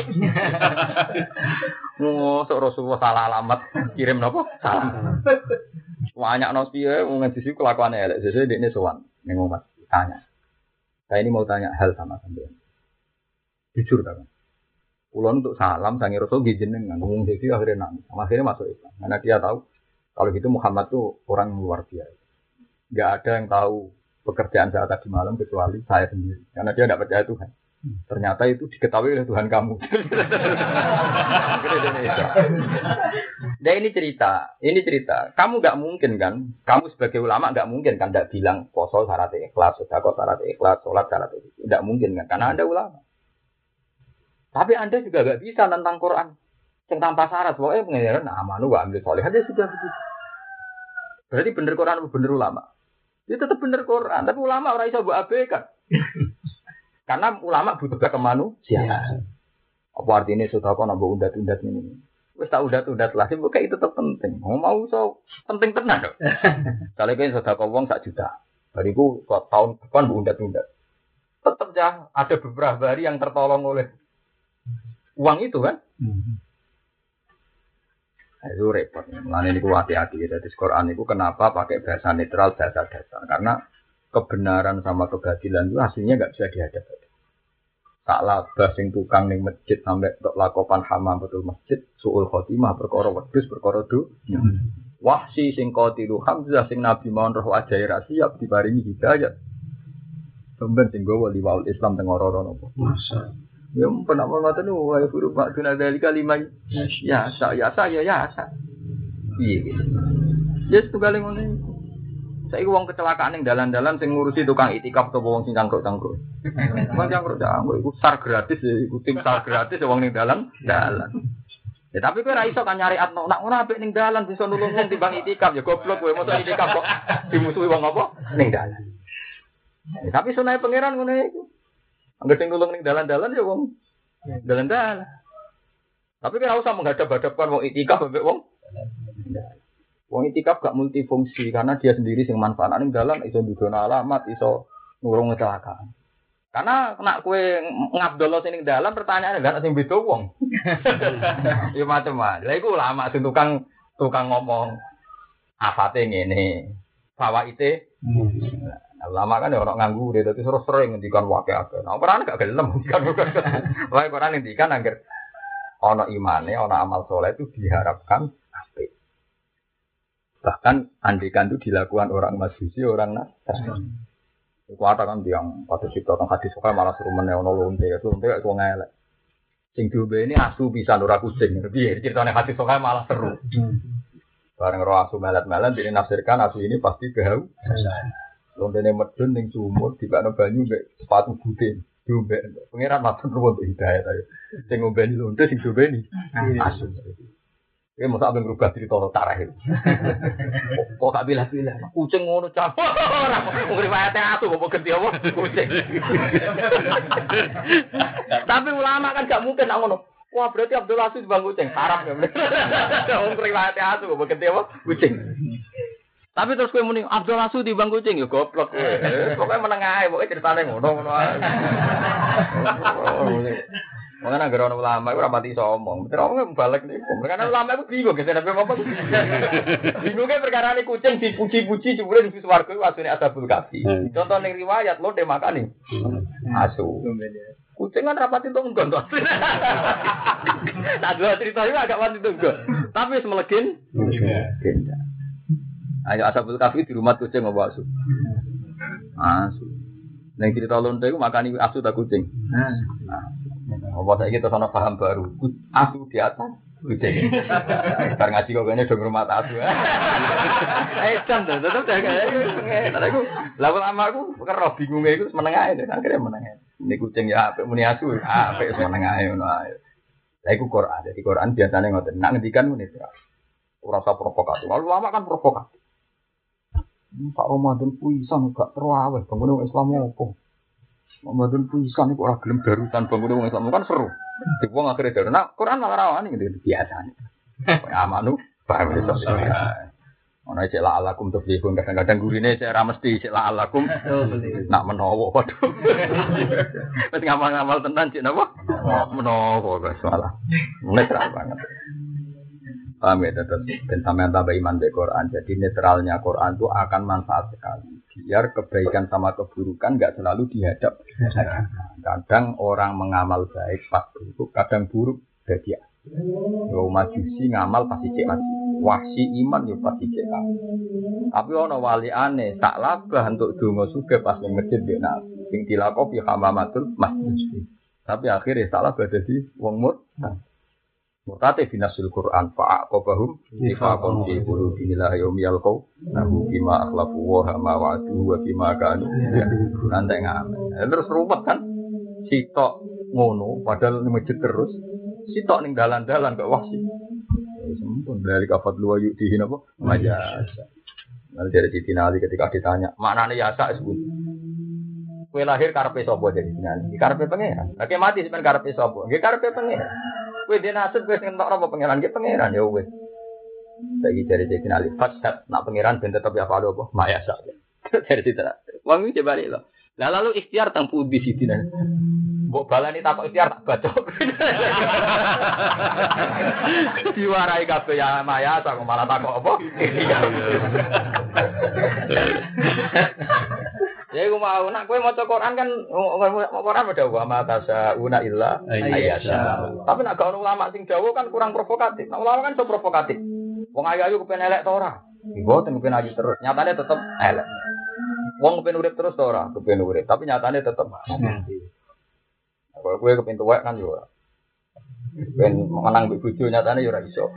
Sok Rasulullah salah alamat kirim napa? Salah. Banyak nos piye wong ngaji sik kelakuane elek. Sesuk dekne sowan ning umat tanya. Saya ini mau tanya hal sama sampean. Jujur ta, Mas. Kula untuk salam sange Rasul jenengan ngomong dhewe akhirnya nangis. Akhirnya masuk Islam. Karena dia tahu kalau gitu Muhammad tuh orang luar biasa. Enggak ada yang tahu pekerjaan saya tadi malam kecuali saya sendiri. Karena dia tidak percaya Tuhan. Ternyata itu diketahui oleh Tuhan kamu. Nah ini cerita. Kamu nggak mungkin kan? Kamu sebagai ulama nggak mungkin kan? Nggak bilang poso syarat ikhlas, sedekah syarat ikhlas, sholat syarat ikhlas. Nggak mungkin kan? Karena Anda ulama. Tapi Anda juga nggak bisa tentang Quran. Yang tanpa syarat. Pokoknya pengajaran amanu wa amil soleh aja sudah begitu. Berarti bener Quran bener ulama. Itu tetap bener Quran, tapi ulama orang iso mbok abaikan. Karena ulama butuh kemanusiaan. Apa artinya sedekah nambah undat-undat ini? Wis tak undat-undat lah, sing itu tetap penting. Mau so penting tenan kok. Kalau kowe sedekah wong 1 juta, bariku tahun depan mbok undat-undat. Tetap ya ada beberapa hari yang tertolong oleh uang itu kan? Itu repot. Mulane niku hati-hati ya. Jadi Quran itu kenapa pakai bahasa netral, bahasa dasar? Karena kebenaran sama kebatilan itu hasilnya enggak bisa dihadapkan. Tak labah sing tukang ning masjid sampai tok lakopan hamam betul masjid, suul khotimah perkara wedhus perkara do. Wahsi sing qatilu Hamzah sing Nabi mawon roh ajae ra siap diparingi hidayah. Sampeyan sing gowo liwaul Islam teng ora-ora napa. Masyaallah. Ya pernah mengatakan wah huruf makna dari kalimat ya saya iya gitu ya setunggal ngono iku saiki wong kecelakaan ning dalan-dalan sing ngurusi tukang itikaf atau wong sing cangkruk-cangkruk wong cangkruk iku sar gratis ya iku tim sar gratis wong ning dalan ya tapi kowe ra iso kan nyariat nak ngono apik ning dalan bisa nulung wong timbang itikaf ya goblok kowe mosok itikaf kok dimusuhi wong apa ning dalan tapi sunai pangeran ngono iku. Angger sing nulung ning dalan-dalan ya wong dalan-dalan. Tapi kan usah menghadap-hadapkan wong itikaf mbek wong. Wong itikaf gak multifungsi karena dia sendiri sing manfaat ning dalan iso ndudono alamat, iso nurung kecelakaan. Karena nek kowe ngabdolo sing ning dalan pertanyaane gak sing beda wong. Ya macam-macam. Lah iku ulama sing tukang ngomong afate ngene. Fawaite lama kan orang nganggur dia terus sering ngendikan wakil-wakil. Nah, Quran gak gelem ngendikan. Wah, Quran ngendikan angger ana imane, ana amal soleh itu diharapkan apik. Bahkan andikan itu dilakukan orang Majusi, orang Nasrani. Iku ada kan yang pada cipta teng hadis kok malah suruh meneh ana lonte itu gak ngelek. Sing diombe ini asu bisa ora kucing. Piye ceritane hadis kok malah seru. Bareng roh asu melet-melet dinafsirkan asu ini pasti kehausan. Lontene medun ning sumur dibakno banyu mbek sepatu bute diombe. Pengiran matur nuwun hidayah ta. Sing ngombeni lonte sing diombeni asu. Kowe mosok ambek ngrubah cerita tarikh. Kok gak bilah-bilah. Kucing ngono cah. Ora mung riwayate asu kok ganti apa kucing. Tapi ulama kan gak mungkin nak ngono. Wah berarti Abdul Aziz bang kucing. Haram ya. Wong riwayate asu kok ganti apa kucing. Tapi terus kowe muni Abdul Asu di bang kucing ya goblok kowe. Pokoke meneng ae, pokoke critane ngono ae. Mangane anggere ana ulama iku ora pati iso omong. Bener omong balik niku. Karena ulama iku bingung gek nek apa. Bingunge perkara ne kucing dipuji-puji jebule di swarga iku asune asabul kafi. Contoh ning riwayat lo de makani. Asu. Kucing kan rapati tonggon to. Tak dua cerita iki agak pati tonggon. Tapi wis melegen. Ayo asabul kafi di rumah kucing apa asu? Asu. Ning cerita lonte iku makani asu ta kucing. Apa saiki terus ana paham baru. Asu di atas kucing. Bar ngaji kok kene do ngrumat asu. Edan to, tetep kayak iku. Lah ulama aku kero bingunge iku meneng ae, akhire meneng ae. Ini kucing ya apik muni asu, apik meneng ae ngono ae. Lah iku Quran. Jadi Quran biasane ngoten. Nek ngendikan muni ora usah provokatif. Ulama kan provokatif. Pak Ramadan puisan gak terawih, bangun wong Islam opo? Ramadan puisan iku ora gelem darutan bangun wong Islam kan seru. Di wong akhire daru. Nah, Quran malah rawani ngene biasane. Amanu paham iso. Ana cek la alakum tuflihun kadang-kadang gurine cek ra mesti cek la alakum. Nak menawa padha. Wis ngamal-ngamal tenan cek napa? Menawa kok salah. Netral banget. Paham ya, tetap dan sampai tambah iman di Quran. Jadi netralnya Quran itu akan manfaat sekali. Biar kebaikan sama keburukan nggak selalu dihadap. Kadang orang mengamal baik pas buruk, kadang buruk jadi. Yo majusi ngamal pasti cek maju. Wahsi iman yo pasti cek. Tapi ono wali aneh, tak labah untuk donga suge pas ning masjid dia nak. Sing dilakoni hamamatul masjid. Tapi akhirnya salah dadi wong murtad. Murtate binasul Quran fa'aqabahum nifaqan fi qulubihim la yawmiyal qaw nahu bima akhlafu wa ma wa'adu wa bima kanu nanti ngamen. Terus ruwet kan sitok ngono padahal masjid terus sitok ning dalan-dalan kok wahsi. Sempun dari kafat luwa yuk dihin apa? Majasa. Nanti dari Siti Nali ketika ditanya, maknane yasa sebut. Kowe lahir karepe sapa jadi jenengan? Karepe pengen. Lagi mati sampean karepe sapa? Nggih karepe pengen. Kowe dene nasib wis ngentok apa pangeran nggih pangeran ya wis. Saiki dari Siti Nali fasad nak pangeran ben tetep ya palo apa? Mayasa. Dari Siti. Wong iki coba lho. Lah lalu ikhtiar teng pundi Siti Nali? Mbok balani takok ikhtiar tak bacok. Diwarai kabeh ya mayasa kok malah takok apa? Ya aku mau nak kowe maca Quran kan Quran ada wa ma tasauna illa ayyasha. Tapi nak gak ulama sing dawuh kan kurang provokatif. Nak ulama kan so provokatif. Wong ayu-ayu kepen elek ta ora? Mboten kepen ayu terus. Nyatane tetep elek. Wong kepen urip terus ta ora? Kepen urip, tapi nyatane tetep mati. Kalau kowe kepen tuwek kan yo ora. Ben menang mbek bojo nyatane yo ora iso.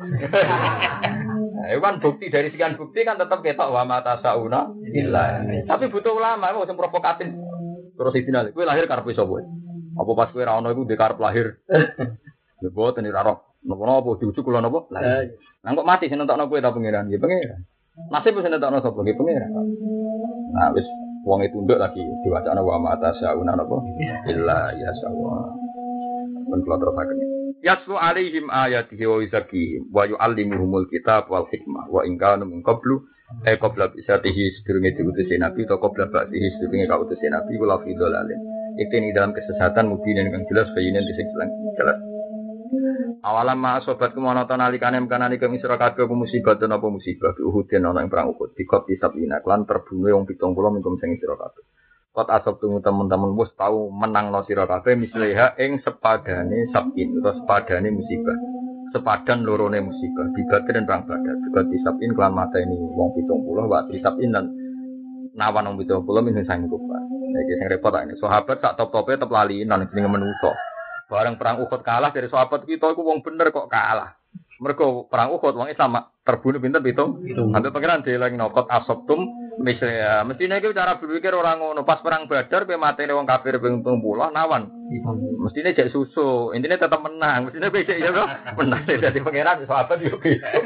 Itu kan bukti dari sekian bukti kan tetap ketok wa mata sauna illa. Tapi butuh ulama mau sing provokatif. Terus final, kowe lahir karepe sapa? Apa pas kowe ra ono iku ndek karep lahir? Lha boten ora roh. Napa diujuk kula napa? Lah kok mati sing nentokno kowe ta pangeran? Nggih pangeran. Nasib sing nentokno sapa? Nggih pangeran. Nah wis wong e tunduk lagi diwacana wa mata sauna napa? Illa ya sawa. Men kula terusaken. Yaslu alaihim ayatihi wa yuzakihim wa yu'allimuhumul kitab wal hikmah wa in kanu min qablu qabla bisatihi sedurunge diutus nabi atau qabla ba'dihi sedurunge kautus nabi wala fi dhalalin. Itu ini dalam kesesatan mubinin kang jelas bayinen sing jelas. Awalam ma sobat kemono nalikane mkanane kang isra kabeh musibah ten apa musibah Uhudin ana ing perang Uhud dikot disabina lan terbunuh wong 70 minggu sing isra kabeh. Kot asap tunggu teman-teman bos tahu menang no sira kabeh misleha ing sepadane sabin atau sepadane musibah. Sepadan lorone musibah dibatin dan perang badar. Juga disabin kelan mata ini wong 70 wa disabin dan nawan wong 70 min sing kupat. Iki sing repot ini. Sahabat sak top-tope tetep lali nang jenenge menungso. Bareng perang Uhud kalah dari sahabat kita iku wong bener kok kalah. Mergo perang Uhud wong Islam terbunuh pinten pitung. Sampai pangeran dielingno kot asabtum misalnya, mestinya kita cara berpikir orang ngono pas perang Badar, pe matene wong kafir ping 30 nawan. Mestinya cek susu, intinya tetap menang. Mestinya becek ya bro, menang dari pangeran sahabat yo.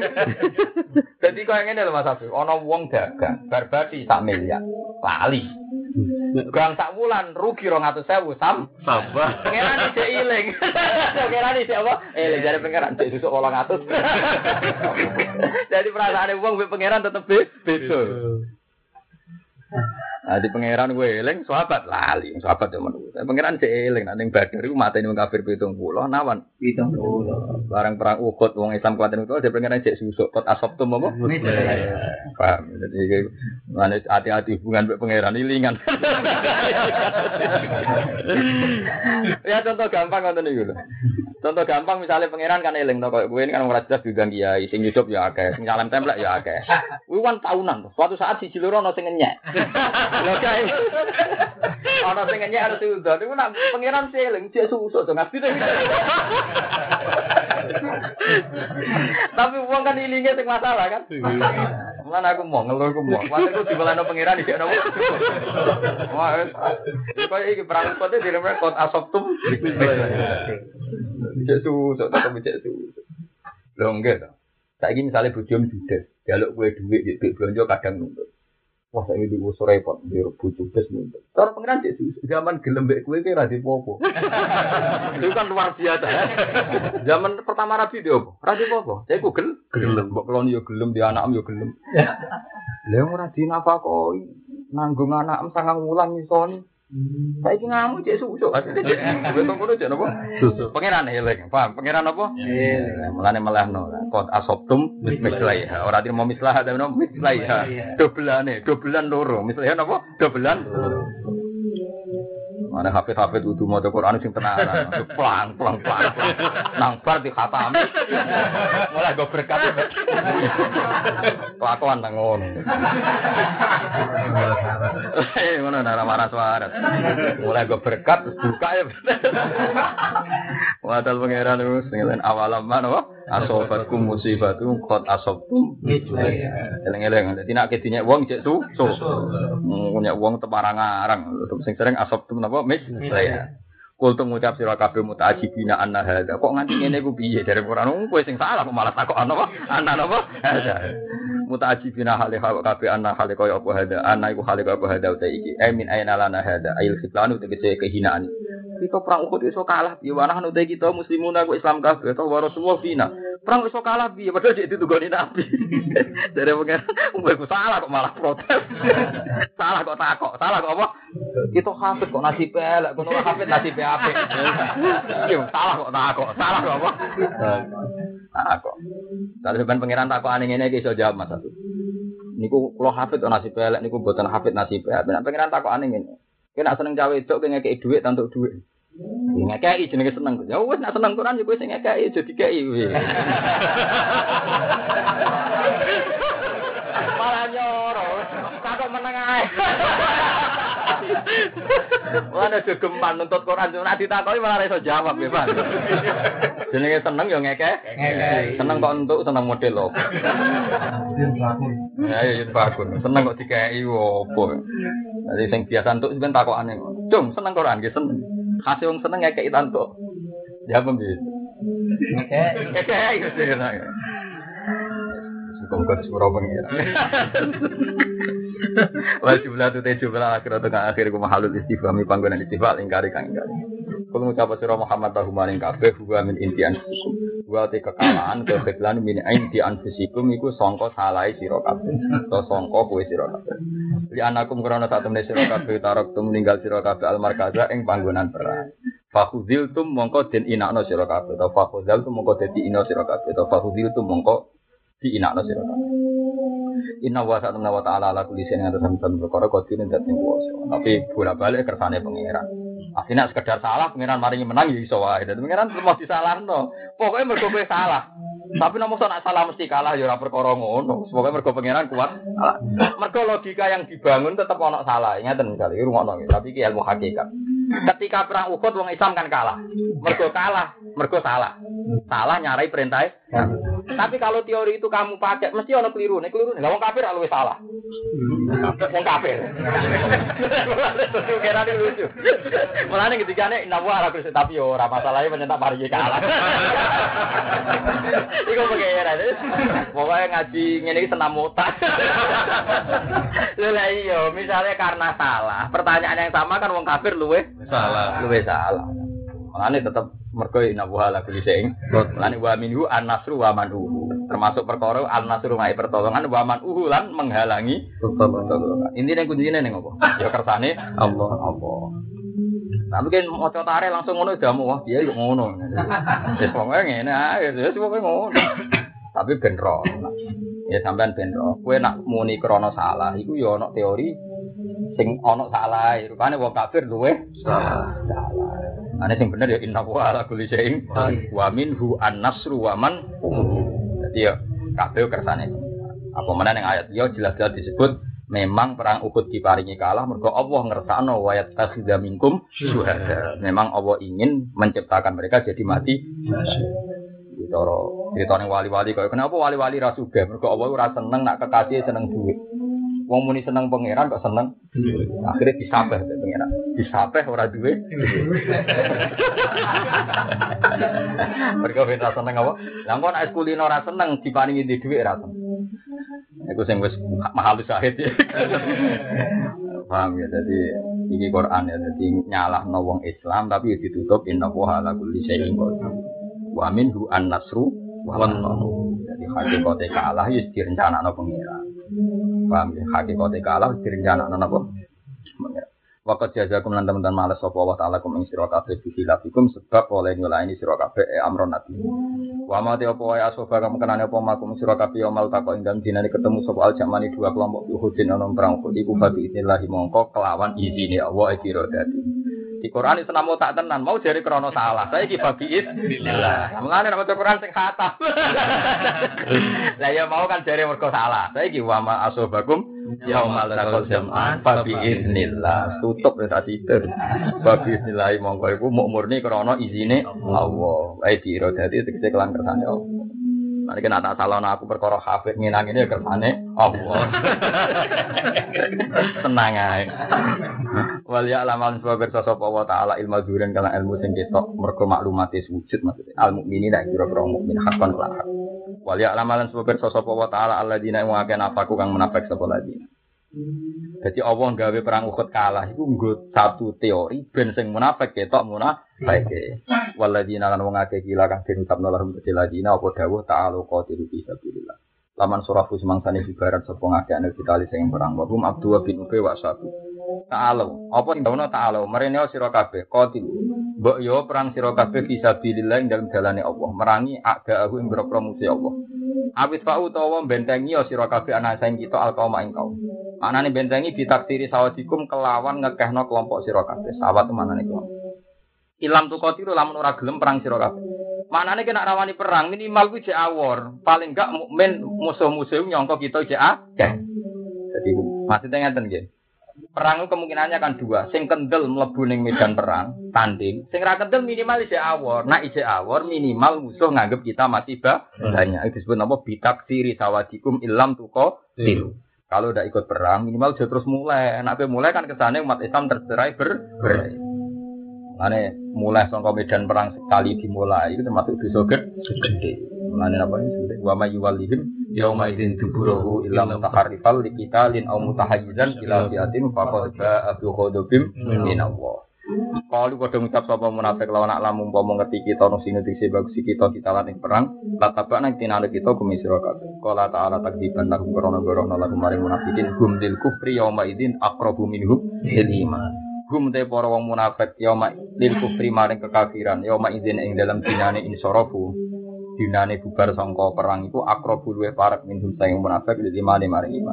Jadi kau yang ini loh Mas Abi, ono wong dagang, barbati sak miliar, lali. Gang sak wulan rugi 200.000 sabar. Pangeran dicek iling. Pangeran dicek apa? Dari pangeran cek susu 800. Jadi perasaane wong be pangeran tetep beda. Nah, di pangeran gue eling sahabat lali, sahabat yo menurut. Pangeran cek eling nek ning Badar iku mateni wong kafir 70 nawan 70. Barang perang Uhud wong Islam kuwaten itu dia pangeran cek susuk kot asabtum apa? Paham. Jadi mane hati-hati hubungan mbek pangeran ilingan. Ya contoh gampang ngoten niku lho. Contoh gampang misalnya pangeran kan eling to koyo kowe kan ora jelas digang kiai sing hidup ya akeh, sing salam templek ya akeh. Kuwi kan taunan. Suatu saat siji loro ana sing ngenyek. Lho kae. Ana sing ngenyek ana sing udan. Iku nak pangeran eling cek susuk to ngapi. Tapi wong kan ilinge sing masalah kan. Mana aku mau ngeluh aku mau. Waktu itu dibalano pangeran di sini. Wah, koyo iki perang kote diremeh kot asabtum. Cek susuk tak cek susuk. Lho enggak to. Saiki misale bojomu judes, jaluk kowe dhuwit yo belanja kadang nuntut. Wah saya di usur repot, di bujuk bes nih. Cara pengiran cek zaman gelem mbek kue kira di popo. Itu kan luar biasa. Ya. Zaman pertama Nabi dia apa? Rabi popo. Saya ku gelem, mbok kelon yo gelem, di anakmu yo gelem. Lah ora dinafakoi, nanggung anakmu sangang wulan isoni. Saiki ngamu cek susuk. Betul ngono cek napa? Susuk. Pangeran eleng, paham? Pangeran apa? Mulane melehno. Qad asabtum mislaiha. Ora dirimo mislah ta nopo mislaiha. Dobelan loro. Mislaiha napa? Dobelan. Mana hafid kudu maca Quran sing tenanan. Plang. Nang bar di khatam. Mulai go berkat. Kelakuan nang ngono. Ngono nara marah suara. Mulai go berkat buka ya. Wadal pangeran terus ngelen awalam mana asobatkum musibatu qad asabtum. Eleng-eleng dadi nek dinyek wong cek su. Punya wong teparang-arang sing sering asabtum napa mis saya. Kul tu ngucap sira kabeh mutaajibina anna hada. Kok nganti ngene ku piye dari Quran kowe sing salah kok malah takok ana apa? Ana napa? Hada. Mutaajibina hale kabeh anna hale kaya apa hada. Ana iku hale kaya apa hada uta iki. Min aina lana hada. Ail khitlanu tegese kehinaan. Kita perang Uhud iso kalah piye wanah uta kita muslimun aku Islam kabeh to wa Rasulullah fina. Perang iso kalah piye padahal dik ditugoni Nabi. Dari pengen kowe salah kok malah protes. Salah kok takok. Salah kok apa? Kita hafid kok nasib elek, kono ora hafid nasib apik. Yo salah kok takok. Salah kok apa? Takok. Tapi ben pangeran takokane ngene iki iso jawab Mas Satu. Niku kula hafid kok nasib elek niku mboten hafid nasib apik. Ben pangeran takokane ngene. Kowe nek seneng cawe wedok kowe ngekeki dhuwit tantuk dhuwit. Ngekeki jenenge seneng. Ya wis nek seneng Quran ya kowe sing ngekeki aja dikeki. Malah nyoro. Takok meneng ae. Wah ada gegeman nuntut Quran cuma ditakoki malah iso jawab ya Pak. Jenenge seneng ya ngekek. Seneng kok entuk seneng model lho. Ya bagus. Seneng kok dikeki opo. Dadi sing biasa entuk sampeyan takokane. Cung seneng Quran nggih seneng. Khase wong seneng ngekeki tantuk. Ya apa piye? Ngekek. Kongkot surau pengira. Wal jumlah tu jumlah akhir atau akhir ku mahalul istifhami panggonan istifal ingkari kang ingkari. Kalau ngucap sira Muhammad tahu maring kabeh huwa min inti anfusikum. Wa te kekalahan kekhilan min inti anfusikum iku sangka salahe sira kabeh. To sangka kowe sira kabeh. Li anakum krana sak temene sira kabeh taraktum ninggal sira kabeh al markaza ing panggonan perang. Fakhudiltum mongko den inakno sira kabeh. To fakhudiltum mongko dadi ina sira kabeh. To fakhudiltum mongko di inakno sira kabeh. Inna wa ta'ala ala kulli shay'in qadir perkara kodine dadi kuwasa. Tapi bola-balik kersane pangeran. Asline sekedar salah pangeran maringi menang ya iso wae. Dadi pangeran mesti disalahno. Pokoke mergo kowe salah. Tapi nek nak salah mesti kalah ya ora perkara ngono. Pokoke mergo pangeran kuat. Mergo logika yang dibangun tetep ana salah. Ingeten misale rungokno iki. Tapi iki ilmu hakikat. Ketika perang Uhud wong Islam kan kalah. Mergo salah. Salah nyarai perintah. Tapi kalau teori itu kamu pakai mesti ono keliru. Nek keliru lah wong kafir luwih salah. Wong kafir. Kira lucu. Mulane ketikane nawa ora kuwi tapi ora masalahe menyentak mari kalah. Iku pengira. Pokoke ngaji ngene iki senam otak. Lah iya, misalnya karena salah, pertanyaan yang sama kan wong kafir luwih salah. Mulane tetep mergo innahu ala kulli syai'in. Mulane wa minhu an-nasru wa man'uhu. Termasuk perkara an-nasru wae pertolongan wa man'uhu lan menghalangi pertolongan. Intine kuncine ning apa? Ya kersane Allah. Tapi kan maca tare langsung ngono damu wah piye kok ngono. Wis pokoke ngene ae, wis pokoke ngono. Tapi ben ro. Ya sampean ben ro. Kowe nak muni krana salah iku ya ana teori sing ana salah. Rupane wong kafir luweh salah. Ane sing bener ya innahu ala kulli syai'in wa minhu an-nasru wa man. Dadi ya kabeh kersane. Apa meneh ning ayat ya jelas-jelas disebut memang perang Uhud diparingi kalah mergo Allah ngersakno wa yattakhidha minkum syuhada. Memang Allah ingin menciptakan mereka jadi mati. Ditone wali-wali kaya kenapa wali-wali ra sugih mergo Allah ora seneng nak kekasih seneng duit. Wong muni seneng pangeran kok seneng. Akhirnya disapeh pangeran. Disapeh ora duwe. Mergo ben ra seneng apa? Lah kok nek kulino ora seneng diparingi duit ra seneng. Iku sing wis mahal syahid. Paham ya, jadi iki Quran ya, jadi nyalahno wong Islam tapi ditutup inna wa ala kulli syai'in qadir. Wa minhu an-nasru wa an-nasru. Jadi hakikate kalah wis direncanakno pengira. Paham ya, hakikate kalah wis direncanakno napa? Pengira. Waqat jazakum lan teman-teman males sapa wa ta'ala kum ing sira kabeh bihilafikum sebab oleh nyulaini sira kabeh amron nabi. Wa ma te apa wae asoba kamu kenane apa makum sira kabeh mal takok ing dalem dinane ketemu sapa al-jamani dua kelompok Uhudin ana perang Uhud iku babi inillahi mongko kelawan izine Allah kira dadi. Di Quran itu namo tak tenan mau jare krana salah. Saiki babi inilah. Mulane nek Quran sing khatam. Lah ya mau kan jare mergo salah. Saiki wa ma asobakum yaumal taqal jam'an babi idznillah tutup ya tadi itu babi idznillah monggo iku murni krana izine Allah wae diirodati tegese kelan kersane Allah nek nek tak salahno aku perkara hafid nginang ini ya kersane Allah tenang ae wal ya lamal sebab sapa wa taala ilmu duren kana ilmu sing ketok mergo maklumate wujud maksudnya al mukminin nek kira-kira mukmin hakon lan hak wal ya lamalan sebab sapa wa taala alladzina wa kana afaku kang menafik sapa ladina. Jadi Allah gawe perang Uhud kalah iku nggo satu teori ben sing munafik ketok munafik. Walladzina lan wong akeh gila kang diucapno lahum ladina apa dawuh ta'alu qatilu fi sabilillah. Laman surafu semangsane ibarat sapa ngakeh anu ditali sing perang wa hum Abdullah bin Ubay wa satu. Ta'alu apa dawuhna ta'alu merene sira kabeh qatilu. Mbok yo perang sira kabeh fi sabilillah ing dalem dalane Allah merangi a'da'ahu ing boro musuh Allah. Awit fa'u utawa bentengi sira kabeh ana saing kita alqauma ing kaum. Manane bentengi ditaksiri sawadikum kelawan ngekehno kelompok sira kabeh. Sawat manane kelompok. Ilam tu qatiru lamun ora gelem perang sira kabeh. Manane kena rawani perang minimal kuwi jek awor. Paling enggak mukmin musuh-musuh nyangka kita jek akeh. Jadi maksudnya ngeten nggih. Perang itu kemungkinannya kan dua. Sing kendel mlebu ning medan perang, tanding. Sing ra kendel minimal isih awor. Nah isih awor minimal musuh nganggep kita masih banyak. Itu disebut apa? Bitaksiri sawadikum ilam tuko tilu. Kalau udah ikut perang minimal dia terus mulai. Enak mulai kan kesane umat Islam tercerai berai. Mane mulai saka medan perang sekali dimulai itu termasuk dosa gede. Mane apa ini? Wa may yuwallihim yauma idzin duburahu illa mutaharrifal liqitalin aw mutahayyizan ila fiatin faqad ba'a bi ghadabim min Allah. Kalau padha ngucap sapa munafik lawan alam umpama ngerti kita ono sing dise bagus kita ditalan ing perang, latabak nang tinale kita kumisira kabeh. Qala ta'ala takdiban lahum qarana lahum maring munafikin hum lil kufri yauma idzin aqrabu minhum lil iman. Hum te para wong munafik yauma lil kufri maring kekafiran yauma idzin ing dalam dinane insarafu. Dinane bubar sangka perang iku aqrabu luwih parek minhum sing munafik lil iman maring iman.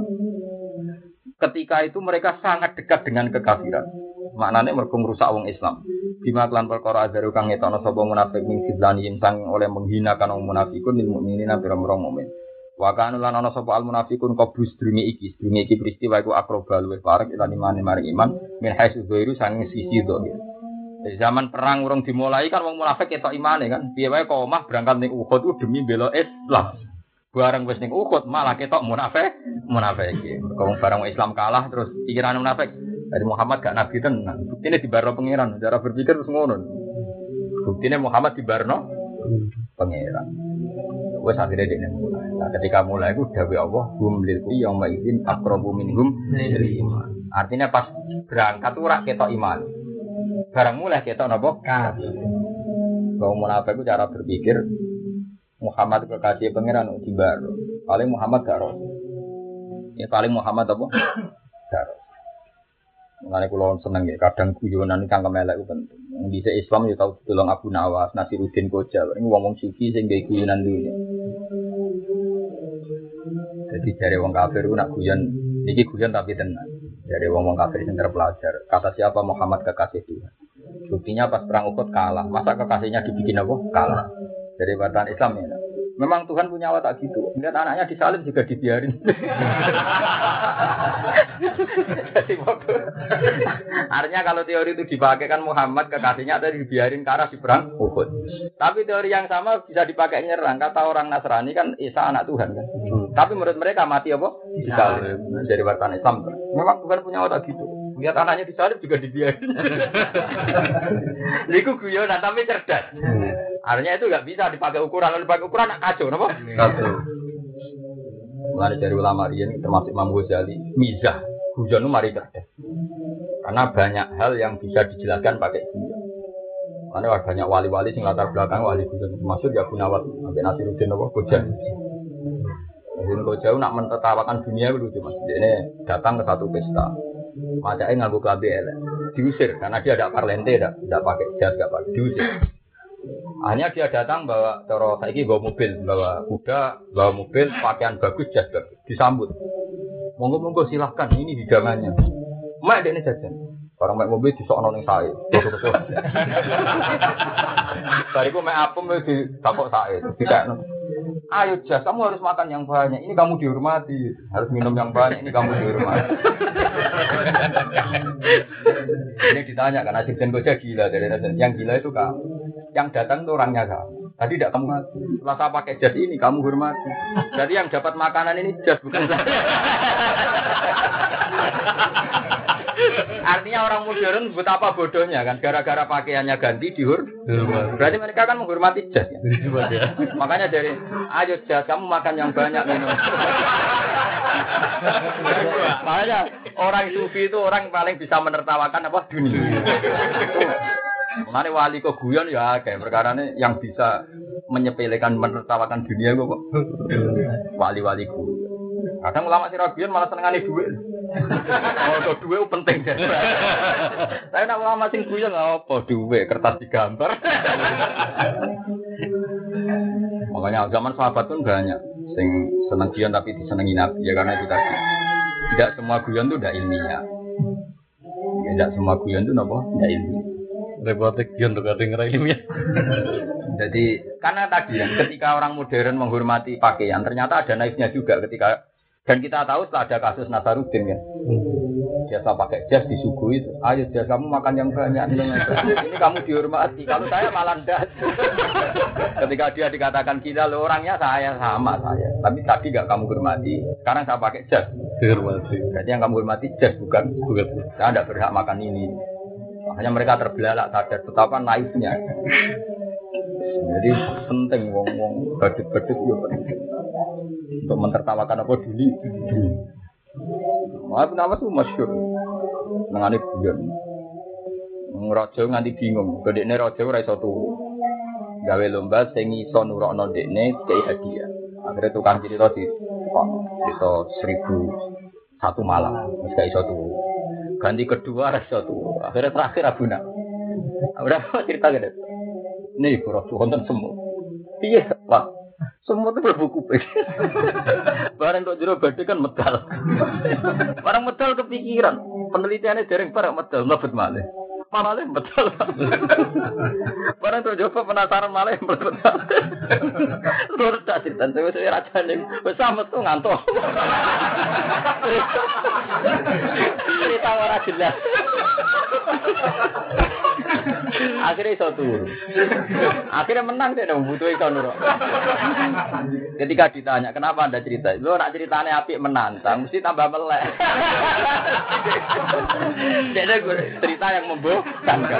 Ketika itu mereka sangat dekat dengan kekafiran. Maknane mergo ngrusak wong Islam. Bima lan perkara ajaru kang ngetono sapa munafik ning sidlani sang oleh menghinakan wong munafikun lil mukminina pira-pira mukmin. Wa kana lan ana sapa al munafikun qabus drunge iki peristiwa iku akroba luwih parek lan imane maring iman min haitsu dzairu sang sisi dzahir. Di zaman perang urung dimulai kan wong munafik ketok imane kan. Piye wae kok omah berangkat ning Uhud ku demi bela Islam. Barang wis ning Uhud malah ketok munafik iki. Kok barang Islam kalah terus pikiran munafik dari Muhammad gak nabi tenan. Buktine dibarno pangeran, cara berpikir terus ngono. Buktine Muhammad dibarno pangeran. Wes akhire dekne mulai. Nah, ketika mulai iku dawuh Allah, hum lil yauma idzin aqrabu minhum lil iman. Artinya pas berangkat ora ketok iman. Barang mulai ketok napa? Kafir. Kaum munafik itu cara berpikir Muhammad kekasih pangeran dibarno. Paling Muhammad gak rasul. Ya paling Muhammad apa? Gak rasul. Mengenai kulon seneng ya, kadang guyonan kang kemelek itu penting. Di Islam ya tahu tolong Abu Nawas, Nasiruddin Koja. Ini ngomong suci sehingga guyonan dulu. Jadi dari wong kafir itu nak guyon, ini guyon tapi tenang. Dari wong kafir yang terpelajar. Kata siapa Muhammad kekasih Tuhan. Buktinya pas perang Uhud kalah. Masa kekasihnya dibikin apa? Kalah. Dari batasan Islam ya. Memang Tuhan punya watak gitu. Lihat anaknya disalib juga dibiarin. Jadi artinya kalau teori itu dipakai kan Muhammad kekasihnya ada dibiarin ke arah di perang Uhud. Tapi teori yang sama bisa dipakai nyerang. Kata orang Nasrani kan Isa anak Tuhan kan. Tapi menurut mereka mati apa? Disalib. Dari batasan Islam. Memang Tuhan punya watak gitu. Lihat anaknya disalib juga dibiarin. Niku guyonan tapi cerdas. Artinya itu nggak bisa dipakai ukuran. Kalau dipakai ukuran kacau, apa? Kacau. Mulai dari ulama riyen termasuk Imam Ghazali, mizah guyon itu mari cerdas. Karena banyak hal yang bisa dijelaskan pakai guyon. Karena banyak wali-wali sing latar belakang wali guyon. Maksud ya Gunawat sampai Nasiruddin apa Gojan. Jadi Gojan nak mentertawakan dunia itu lucu Mas. Ini datang ke satu pesta. Macaknya nganggo klambi elek. Diusir karena dia ada parlente, tidak pakai jas, tidak pakai diusir. Hanya dia datang bawa cara saiki bawa mobil, bawa kuda, bawa mobil, pakaian bagus, jas bagus, disambut. Monggo silahkan, ini hidangannya. Mak dekne jajan. Orang mek mobil disokno ning sae. Bariku mek apem di takok sae, dikakno. Ayo jas, kamu harus makan yang banyak. Ini kamu dihormati. Harus minum yang banyak. Ini kamu dihormati. Ini ditanya karena Asisten Koja gila dari yang gila itu kamu. Yang datang itu orangnya kamu. Tadi tidak kamu mati. Setelah saya pakai jas ini kamu hormati. Jadi yang dapat makanan ini jas bukan saya. Artinya orang modern betapa bodohnya kan, gara-gara pakaiannya ganti berarti mereka kan menghormati jas ya? Makanya dari ayo jas kamu makan yang banyak minum. Makanya orang sufi itu orang paling bisa menertawakan apa dunia. Mengenai wali kok guyon ya kayak perkara ini yang bisa menyepelekan menertawakan dunia kok wali-wali guyon. Kadang ulama sirabian malah senengane duit. Oh, duit penting. Saya nak ulama sing guyon apa duit kertas digambar. Makanya zaman sahabat pun banyak sing seneng guyon tapi disenengi Nabi ya karena itu tadi. Tidak semua guyon itu tidak ilmiah. Tidak semua guyon itu apa? Tidak ilmiah. Repotek guyon untuk ada yang ilmiah. Jadi karena tadi ya, ketika orang modern menghormati pakaian, ternyata ada naifnya juga ketika dan kita tahu setelah ada kasus Nasaruddin kan. Biasa pakai jas disuguhi itu. Ayo jas kamu makan yang banyak. Ini kamu dihormati. Kalau saya malah ndak. Ketika dia dikatakan kita lo orangnya saya sama saya. Tapi tadi enggak kamu hormati. Sekarang saya pakai jas. Dihormati. Berarti yang kamu hormati jas bukan. Saya enggak berhak makan ini. Makanya mereka terbelalak sadar betapa naifnya. Jadi penting wong-wong badut-badut yo penting. Untuk mentertawakan apa dulu. Apa nama tuh masyhur. Nangane guyon. Raja nganti bingung, gedene raja ora iso turu. Gawe lomba sing iso nurokno dekne kei hadiah. Akhire tukang cerita di cerita 1001 malam, wis gak iso turu. Ganti kedua ora iso turu. Akhire terakhir Abuna. Udah cerita gede. Nih raja wonten semut. Piye, Pak? Semua itu berbuku kuping. Barang untuk jero badhe kan medal. Barang medal kepikiran. Penelitiannya dereng barang medal mlebet malih. Malih medal. Barang untuk coba penasaran malih mlebet. Terus tak cerita wis rajane wis metu ngantuk. Cerita ora jelas. Akhirnya iso turu. Akhirnya menang deh dong butuh iso nurut. Ketika ditanya kenapa Anda cerita, lo nak ceritanya apik menantang, mesti tambah melek. Jadi cerita yang membosankan.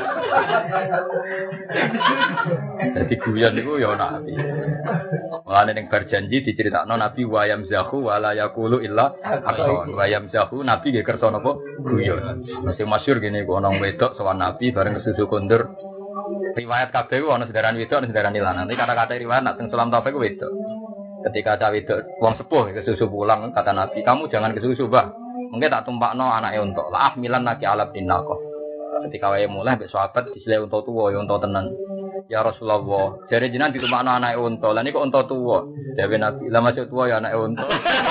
Jadi guyon itu ya nabi. Mulane ning berjanji diceritakno Nabi wa yamzahu wa la yaqulu illa haqqan. Wa yamzahu Nabi nggih kersa napa guyon. Masih masyhur gini kok ana wedok sowan Nabi bareng kesusu kondur. Riwayat kabeh ku ana sedaran wedok ana sedaran lanang. Nanti kata-kata riwayat nak teng Sulam Taufik ku wedok. Ketika ada wedok wong sepuh kesusu pulang kata Nabi, "Kamu jangan kesusu, Mbah. Mungkin tak tumpakno anake unta. Lah milan laki alab dinaqah." Ketika wae mulai mbek sahabat disile unta tuwa ya unta tenan. Ya Rasulullah, jare jenengan ditumpakno anake unta. Lah niku unta tuwa. Dewe Nabi, "Lah masuk tuwa ya anake unta."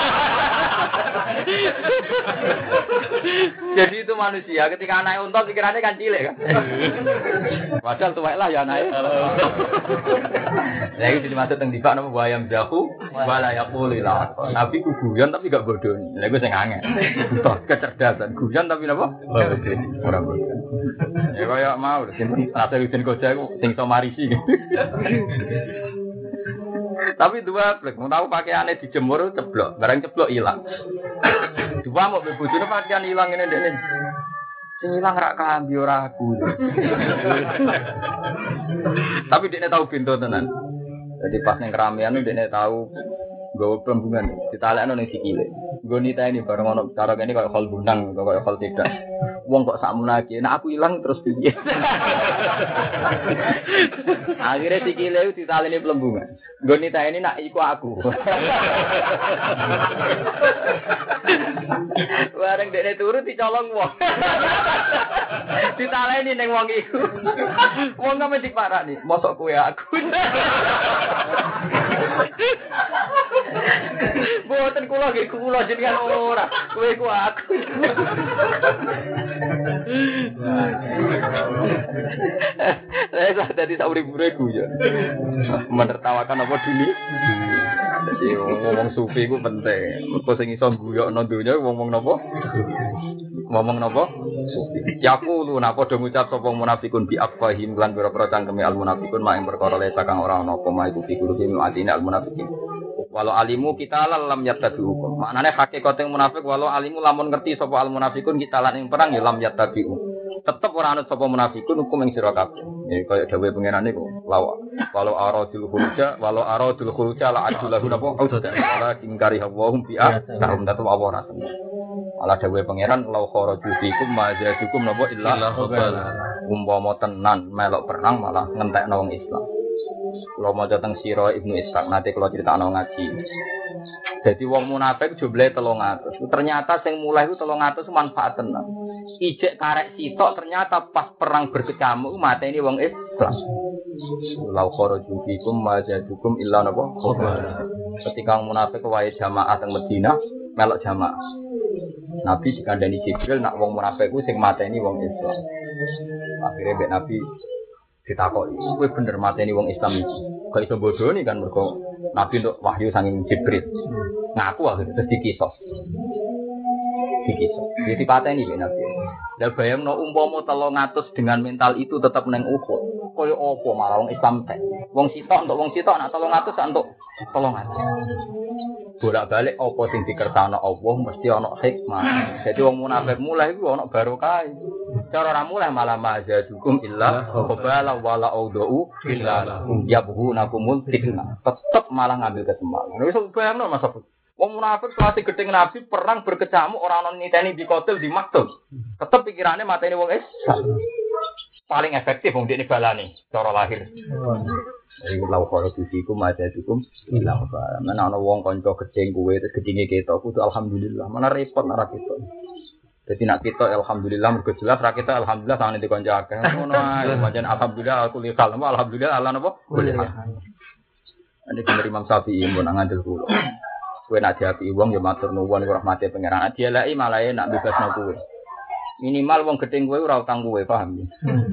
Jadi itu manusia ketika anake unta pikirannya kan cilik kan. Padahal tuwek lah ya anake. Lah iki dimaksud teng dibak napa bayam jahu wala yaqulu la. Nabi ku guyon tapi gak bodoh. Lah iku sing angel. Kecerdasan guyon tapi napa? Ora bodoh. Ya kaya mau sing Nasiruddin Koja iku sing iso marisi. Tapi dua plek, mau tahu pakaiannya dijemur ceblok, barang ceblok hilang. Dua mau bebujune pakaian hilang ini dene. Sing hilang rak kambi ora aku. Tapi dekne tahu pintu tenan. Jadi pas ning keramaian dekne tahu Nggawa plembungan ditalekno ning sikile. Nggo niteni bareng ono cara kene koyo hol bundang koyo hol tidak. Wong kok sakmunake, nek aku ilang terus piye? Akhirnya sikile ditaleni plembungan. Nggo niteni nak iku aku. Bareng dene turu dicolong wong. Ditaleni ning wong iku. Wong kok mesti parani, mosok kowe aku. Boten kula jenengan ora. Kowe ku aku. Saya dadi sak urip-uripku ya. Menertawakan apa dulu? Jadi ngomong sufi ku penting. Mergo sing iso guyokno donya ngomong napa? Ngomong napa? Sufi. Yaqulu napa padha ngucap sapa munafikun bi afwahim lan pira-pira cangkeme al munafikun mak ing perkara le sakang ora ana apa mak iku fikuluhim atine al munafikin. Walau alimu kita lam yattabi'u. Maknane hakikate munafik walau alimu lamun ngerti sapa al munafikun kita lan ing perang ya lam yattabi'u. Tetep ora anut sapa munafikun hukum ing sira kabeh. Ya kaya dawuhe pangeran niku. Walau aradul khuruja la adulahu napa auda. Wala ingkari hawahum bi'a kahum datu awara. Ala dawuhe pangeran law kharaju fikum ma jadukum napa illa khabala. Umpama tenan melok perang malah ngentekno wong Islam. Kalau mau datang Siro Ibnu Ishaq nanti kalau cerita ngaji. Jadi wong munafik jumlahe 300. Ternyata sing mulai itu 300 manfaat tenan. Ijek karek sitok ternyata pas perang berkecamuk mateni wong Islam. Lau kharaju fikum ma jadukum illa napa khabara. Ketika munafik wae jamaah teng Madinah melok jamaah. Nabi dikandani Jibril nak wong munafik ku sing mateni wong Islam. Akhirnya mbek Nabi ditakoki, kowe bener mateni wong Islam iki. Kok iso bodoni kan mergo Nabi untuk wahyu saking Jibril. Ngaku akhirnya terus dikisos. Jadi pateni ben Nabi. Lah bayangno umpama 300 dengan mental itu tetap nang Uhud. Kaya apa malah wong Islam teh. Wong sitok untuk wong sitok nak 300 untuk 300. Bolak-balik apa sing dikersakno Allah mesti ana hikmah. Jadi wong munafik mulai iku ana barokah. Cara ora mulai malah majadukum illa qabala wala audhu illa yabhunakumul fitnah. Tetep malah ngambil kesempatan. Wis bayangno Mas Abu. Wong munafik selasi gedeng Nabi perang berkecamuk ora ana niteni di kotel di maktul. Tetep pikirane mateni wong Islam. Paling efektif wong dekne balani cara lahir. Iku law karo disiku majadukum illa qabala. Mana ana wong kanca gedeng kowe terus gedenge ketok kudu alhamdulillah. Mana repot ora ketok. Jadi nak kita alhamdulillah mergo jelas ra kita alhamdulillah tangan di kanca akeh. Ngono ae pancen alhamdulillah aku li kalem alhamdulillah Allah napa? Boleh. Ane bener Imam Syafi'i mun ngandel kula. Kowe nak diapi wong ya matur nuwun rahmate pangeran. Dieleki malah nak bebasno kowe. Minimal wong gedeng kowe ora utang kowe, paham ya?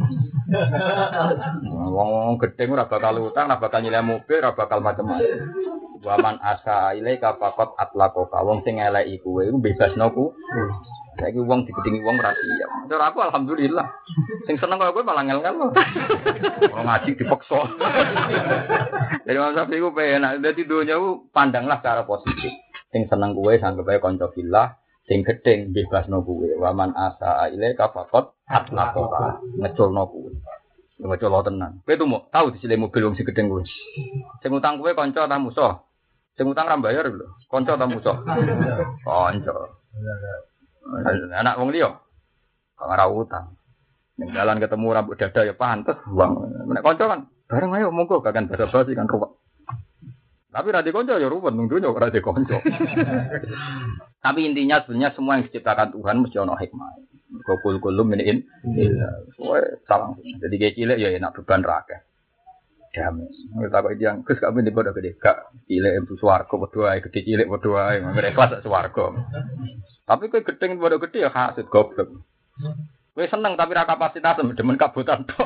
Wong gedeng ora bakal utang, ora bakal nyileh mobil, ora bakal macam-macam. Waman asa ilaika faqat atlaqaka. Wong sing eleki kowe iku bebasno ku. Saiki wong digedingi wong ra siap. Cara aku alhamdulillah. Sing seneng kaya kowe malah ngel-ngel. Wong ngaji dipaksa. Jadi masa iku penak. Dadi donya ku pandanglah secara positif. Sing seneng kowe sanggep ae kanca fillah, sing gedeng bebasno kowe. Waman asa ilaika faqat atlaqaka. Ngeculno kowe. Ngecul tenan. Kowe tuh mau tahu disilih mobil wong sing gedeng kowe. Sing utang kowe kanca ta musuh? Sing utang ra bayar lho. Kanca ta musuh? Kanca. Anak wong liya kok ora utang. Ning dalan ketemu rambut dada ya pantes uang. Nek kanca kan bareng ayo monggo kakan basa-basi kan ruwet. Tapi ra di kanca ya ruwet nang donya ora di kanca. Tapi intinya sebenarnya semua yang diciptakan Tuhan mesti ana hikmah. Kul-kulum min kowe salah. Jadi kayak cilik ya enak beban ra akeh. Damai. Kita kok yang Gus kami di bodoh gede gak cilik itu swarga padha ae gede cilik padha ae ngene kelas swarga. Tapi kowe gedeng bodoh gede ya hasud goblok. Kowe seneng tapi ra kapasitas demen kabutan tok.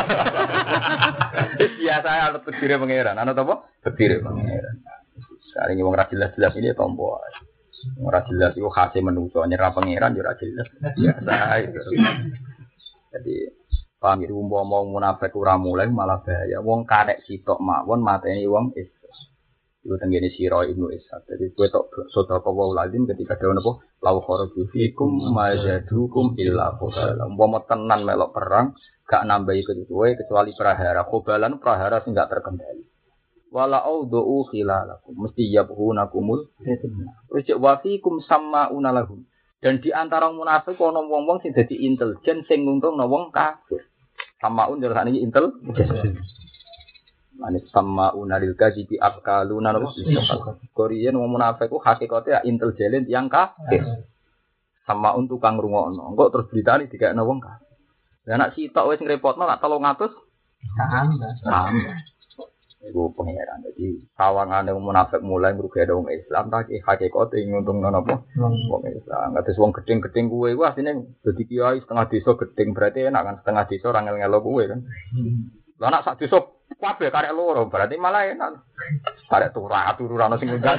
Biasa ana tegire pangeran, ana apa? Tegire pangeran. Saring wong ra jelas-jelas ini tompo. Ora jelas iku khase menungso nyerah pangeran yo ora jelas. Biasa ae. Jadi pamir umpama munafik ora mulai malah bahaya. Wong karek sitok mawon mateni wong Islam. Iku tenggene Siro Ibnu Ishaq. Jadi kowe tok sedekah wa lazim ketika dhewe napa law kharaju fikum majadukum illa qabala. Umpama tenan melok perang gak nambahi kowe kecuali prahara. Qabalan prahara sing gak terkendali. wala audu khilalakum mesti yabhunakumul fitnah. Terus wa fikum sama'una lahum. Dan di antara munafik ana wong-wong sing dadi intelijen sing nguntungno wong kafir. Samaun terus sakniki intelijen. Manis sama'una lil kadhibi akaluna napa? Korean wong munafik ku hakikate intelijen yang kafir. Samaun tukang rungokno. Engko terus beritane dikekno wong kafir. Lah nek sitok wis ngrepotno lak 300 tambah. Iku pengeran. Jadi sawangane munafik mulai ngrugekno wong Islam tak hakikate nguntungno napa? Wong Islam. Kados wong gedeng-gedeng kuwe iku asline dadi kiai setengah desa gedeng berarti enak kan setengah desa ora ngel-ngelo kuwe kan. Lah nek sak desa kabeh karek loro berarti malah enak. Karek turu-turu sing ngundang.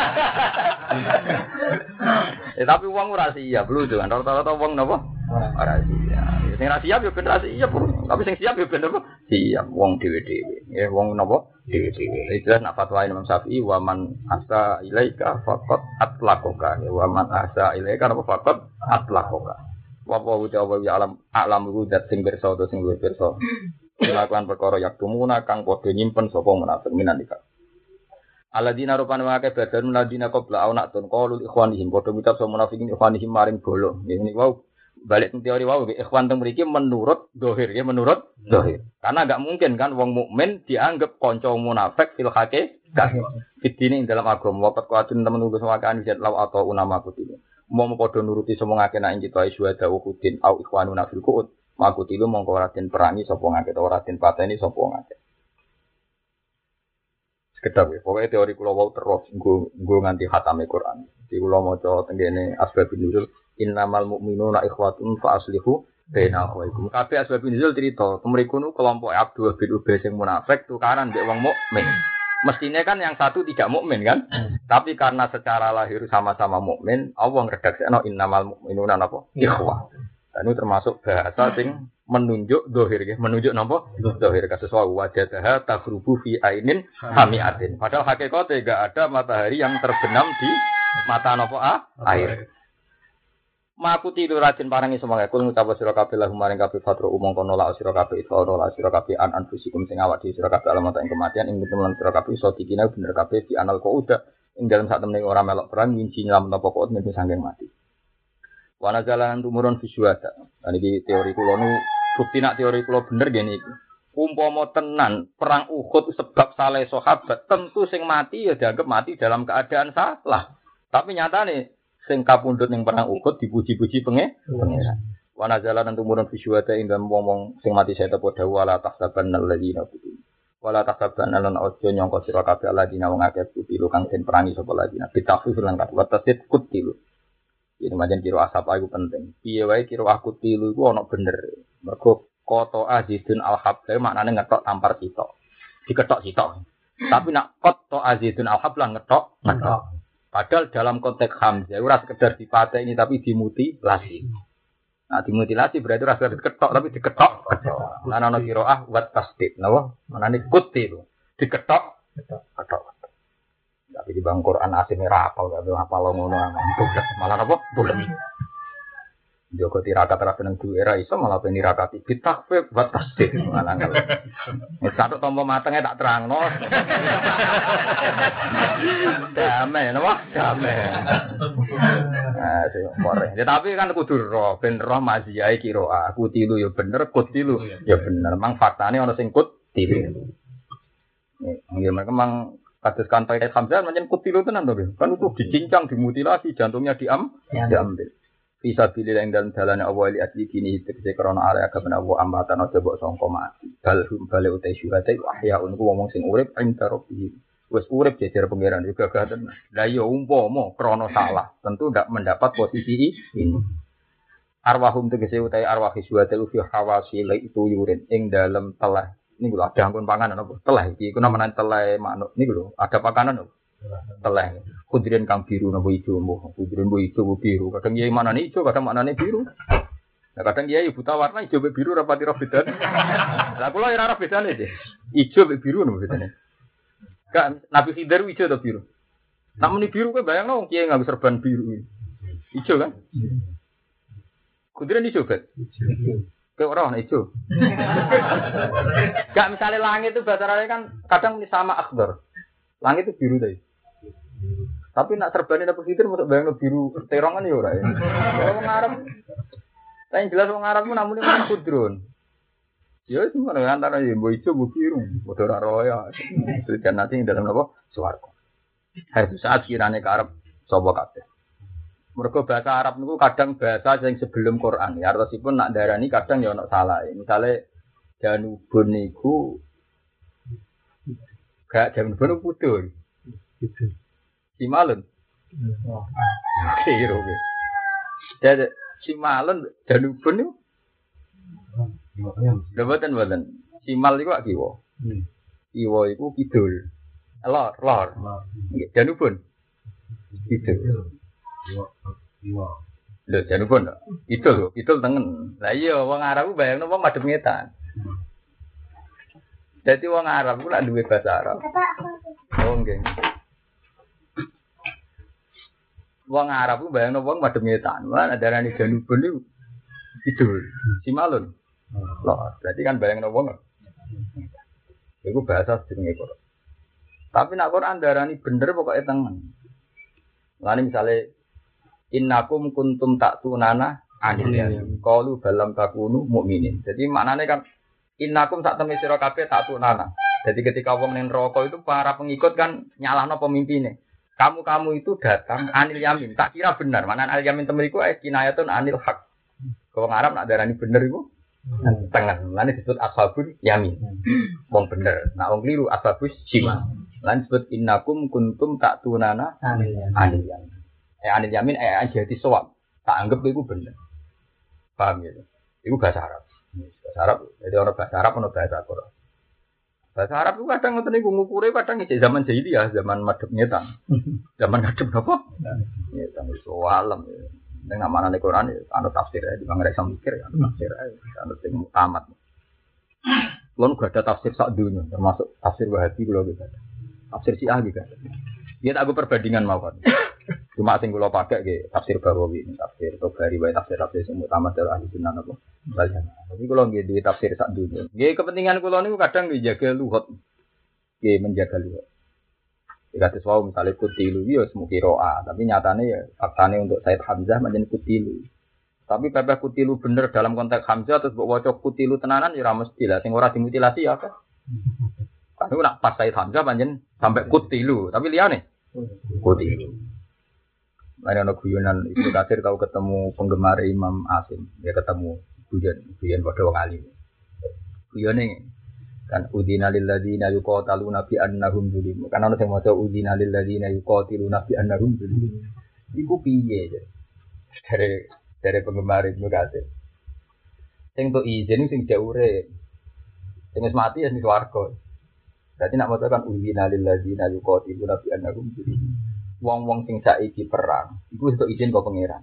Tapi wong ora siap lho kan rata-rata wong napa? Ora siap. Sing ra siap yo ben ra siap, tapi sing siap yo ben apa? Siap wong dhewe-dhewe. Wong napa? Dhewe-dhewe. Jelas nak fatwa Imam Syafi'i wa man asa ilaika faqat atlaqaka. Wa man asa ilaika apa faqat atlaqaka. Wa wa ya alam rudat sing pirsa utawa sing luwih pirsa. Melakukan perkara yak tumuna kang padha nyimpen sapa munafik minan ika. Aladina rupane wae badan ladina qabla aunatun qaulul ikhwanihim padha ngucap sapa munafikin ikhwanihim maring bolo. Ngene wau balik teori wau ikhwan teng mriki menurut zahir ya menurut zahir. Karena enggak mungkin kan wong mukmin dianggap kanca munafik fil haqiqah. Fitine ing dalam agama wakat kuatun temen nulis wakaan jet law atau unama kutine. Mau padha nuruti sapa ngake nek kita iswada ukudin au ikhwanuna fil qud. Makutilu mongko ora den perangi sapa ngake ora den pateni sapa ngake. Sekedap ya, pokoknya teori kula wau terus nggo nganti khatame Quran. Di kula maca tengene asbabun nuzul innamal mu'minuna ikhwatun fa aslihu baina akhwaikum. Kabeh asbabun nuzul cerita, mriku nu kelompok Abdullah bin Ubay sing munafik tukaran mbek wong mukmin. Mestinya kan yang satu tidak mukmin kan? Tapi karena secara lahir sama-sama mukmin, Allah ngredaksekno innamal mu'minuna napa? Ikhwah. Dan itu termasuk bahasa sing menunjuk dohir ya, menunjuk napa? Dohir kasus wajadaha taghrubu fi ainin hamiatin. Padahal hakikatnya enggak ada matahari yang terbenam di mata napa air. Makuti itu rajin parangi semangat kul ngucap sira kabeh lahum maring kabeh fatru umum kono la sira kabeh iso la sira kabeh an anfusikum sing awak dhewe sira kabeh alamat ing kematian ing temen sira kabeh iso dikina bener kabeh di anal qauda ing dalem sak temene ora melok perang winci nyalam napa kok mesti sanging mati. Wana jalan tumurun visuada. Dan ini teori kula nu bukti nak teori kula bener gini iki. Umpama tenan perang Uhud sebab saleh sahabat, tentu sing mati ya dianggap mati dalam keadaan salah. Tapi nyatane sing kapundhut ning perang Uhud dipuji-puji pangeran. Wana jalan tumurun visuada ing dalem wong sing mati saya tepo dawu ala tahsabanal ladina kutu. Wala tahsabanal lan ojo nyangka sira kabeh ladina wong akeh kutilu kang den perangi sapa ladina. Bitafsir lan kat watasit kutilu. Ini macam kiro asap aku penting. Piye wae kiro aku tilu iku ana bener. Mergo koto azidun al-habla maknane ngetok tampar sitok. Diketok sitok. Tapi nak koto azidun al-habla ngetok. Padahal dalam konteks Hamzah ora sekedar dipateni tapi dimutilasi. Nah dimutilasi berarti ora sekedar diketok tapi diketok. Lan ana qiraah wat tasdid. Napa? Maknane kutilu. Diketok. Ketok. Tapi di bang Quran asine ra apal gak apal ngono malah apa boleh Joko tirakat ra seneng duwe ra iso malah ben nirakati bitakfif wa tasdid malah wis satu tombo matenge tak terangno damai napa damai sing korek tapi kan kudu roh ben roh maziyai kira aku tilu ya bener kut tilu ya bener mang faktane ana sing kut tilu nggih memang kados kantai Hamzah macam kutilu tenan to kan itu dicincang dimutilasi jantungnya diambil bisa pilih yang dalam dalane Allah li asli kini tegese krana area agama Allah ambatan aja mbok sangka mati balhum bale utai syuhate ahya unku wong sing urip ing tarobi wis urip jejer pangeran juga gaten la ya umpama krana salah tentu ndak mendapat posisi ini arwahum tegese utai arwah syuhate fi hawasi itu yurin ing dalam telah. Ini lho ada angkun panganan apa? Teleh iki ku namane teleh manuk. Niku lho, ada pakanan lho. Teleh. Kudiren kang biru napa ijo mbok. Kudiren mbok ijo biru. Kadang kiai manane ijo, kadang manane biru. Nah kadang kiai buta warna ijo mbek biru rapati ro bedane. Lah kula ora ora bedane deh. Ijo mbek biru napa bedane? Kan Nabi Khidir ijo to biru. Nek muni biru kowe bayangno wong kiai nganggo serban biru. Ijo kan? Kudiren ijo bet. Kayak orang hijau. Gak misalnya langit itu bahasa Arabnya kan kadang sama akhdar. Langit itu biru tadi. Tapi nak terbani apa situ untuk bayang biru terongan ya ora ya. Wong Arab. Tapi jelas wong Arab ku namune men kudrun. Ya semua antara ya mbok ijo mbok biru, padha ora roya. Dan nanti dalam apa? Swarga. Itu saat kirane karep sapa kabeh. Mergo bahasa Arab niku kadang bahasa sing sebelum Quran. Ya artosipun nak darani kadang ya ono salah. Misale Janubun niku gak Janubun pudul. Gitu. Simalun. Kiro ge. Dadi Simalun Janubun niku. Lha boten. Simal iku kiwa. Kiwa iku kidul. Lor. Nggih, Janubun. Kidul. Lho Janubun. Kidul tengen. Lah iya wong Arab bayangno wong madhep ngetan. Dadi wong Arab ku lak duwe bahasa Arab. Oh nggih. Wong Arab ku bayangno wong madhep ngetan. Lan darani Janubun niku kidul. Simalun. Loh, berarti kan bayangno wong. Iku bahasa jenenge Quran. Tapi nak Quran darani bener pokoke tengen. Lane misale innakum kuntum ta'tunana anil yamin. Qalu balam takunu mukminin. Jadi maknane kan innakum sak temne sira kabeh ta'tunana. Jadi ketika wong ning neraka itu para pengikut kan nyalahno pemimpinnya. Kamu itu datang anil yamin. Tak kira benar. Mana anil yamin temeriku kinayatun anil haq. Wong Arab nak darani bener iku tengen. Lan disebut ashabul yamin. Wong bener. Nah wong kliru ashabus shimal. Lan disebut innakum kuntum ta'tunana anil yamin. Anil yamin jadi sawab. Tak anggap iku bener. Paham ya? Iku bahasa Arab. Bahasa Arab. Jadi orang bahasa Arab ono bahasa Quran. Bahasa Arab itu kadang ngoten niku ngukure kadang iki zaman jahiliyah, zaman madhep ngetan. Zaman madhep napa? Ngetan iso alam. Ning amanane Quran ana tafsir ya, di mangre mikir ya, tafsir ana sing tamat. Kulo gak ada tafsir sak dunya, termasuk tafsir Wahabi kulo gitu. Tafsir Syiah juga. Dia tak aku perbandingan mawon. Cuma sing kula pakai nggih tafsir Bawawi, tafsir Tobari wae tafsir sing utama dari ahli sunnah napa. Tapi kula nggih duwe tafsir sak dunya. Nggih kepentingan kula niku kadang nggih jaga luhut. Nggih menjaga luhut. Dikate wae misale kutilu ya semuki roa, tapi nyatane ya faktane untuk Said Hamzah menjadi kutilu. Tapi pepeh kutilu bener dalam konteks Hamzah terus mbok waca kutilu tenanan ya ora mesti lah sing ora dimutilasi ya apa. Kan nak pas Said Hamzah panjen sampai kutilu, tapi liyane kutilu. Ada anak guyonan Ibnu Katsir tahu ketemu penggemar Imam Asim, dia ketemu guyon pada wong alim. Guyone kan udina lil ladzina yuqataluna bi annahum zulim. Kan ana sing maca udina lil ladzina yuqatiluna bi annahum zulim. Iku piye ya? Dari penggemar Ibnu Katsir. Sing tok izin sing jaure. Sing wis mati ya sing swarga. Berarti nak maca kan udina lil ladzina yuqatiluna bi annahum zulim. Wong-wong sing saiki perang, itu untuk izin kok pangeran.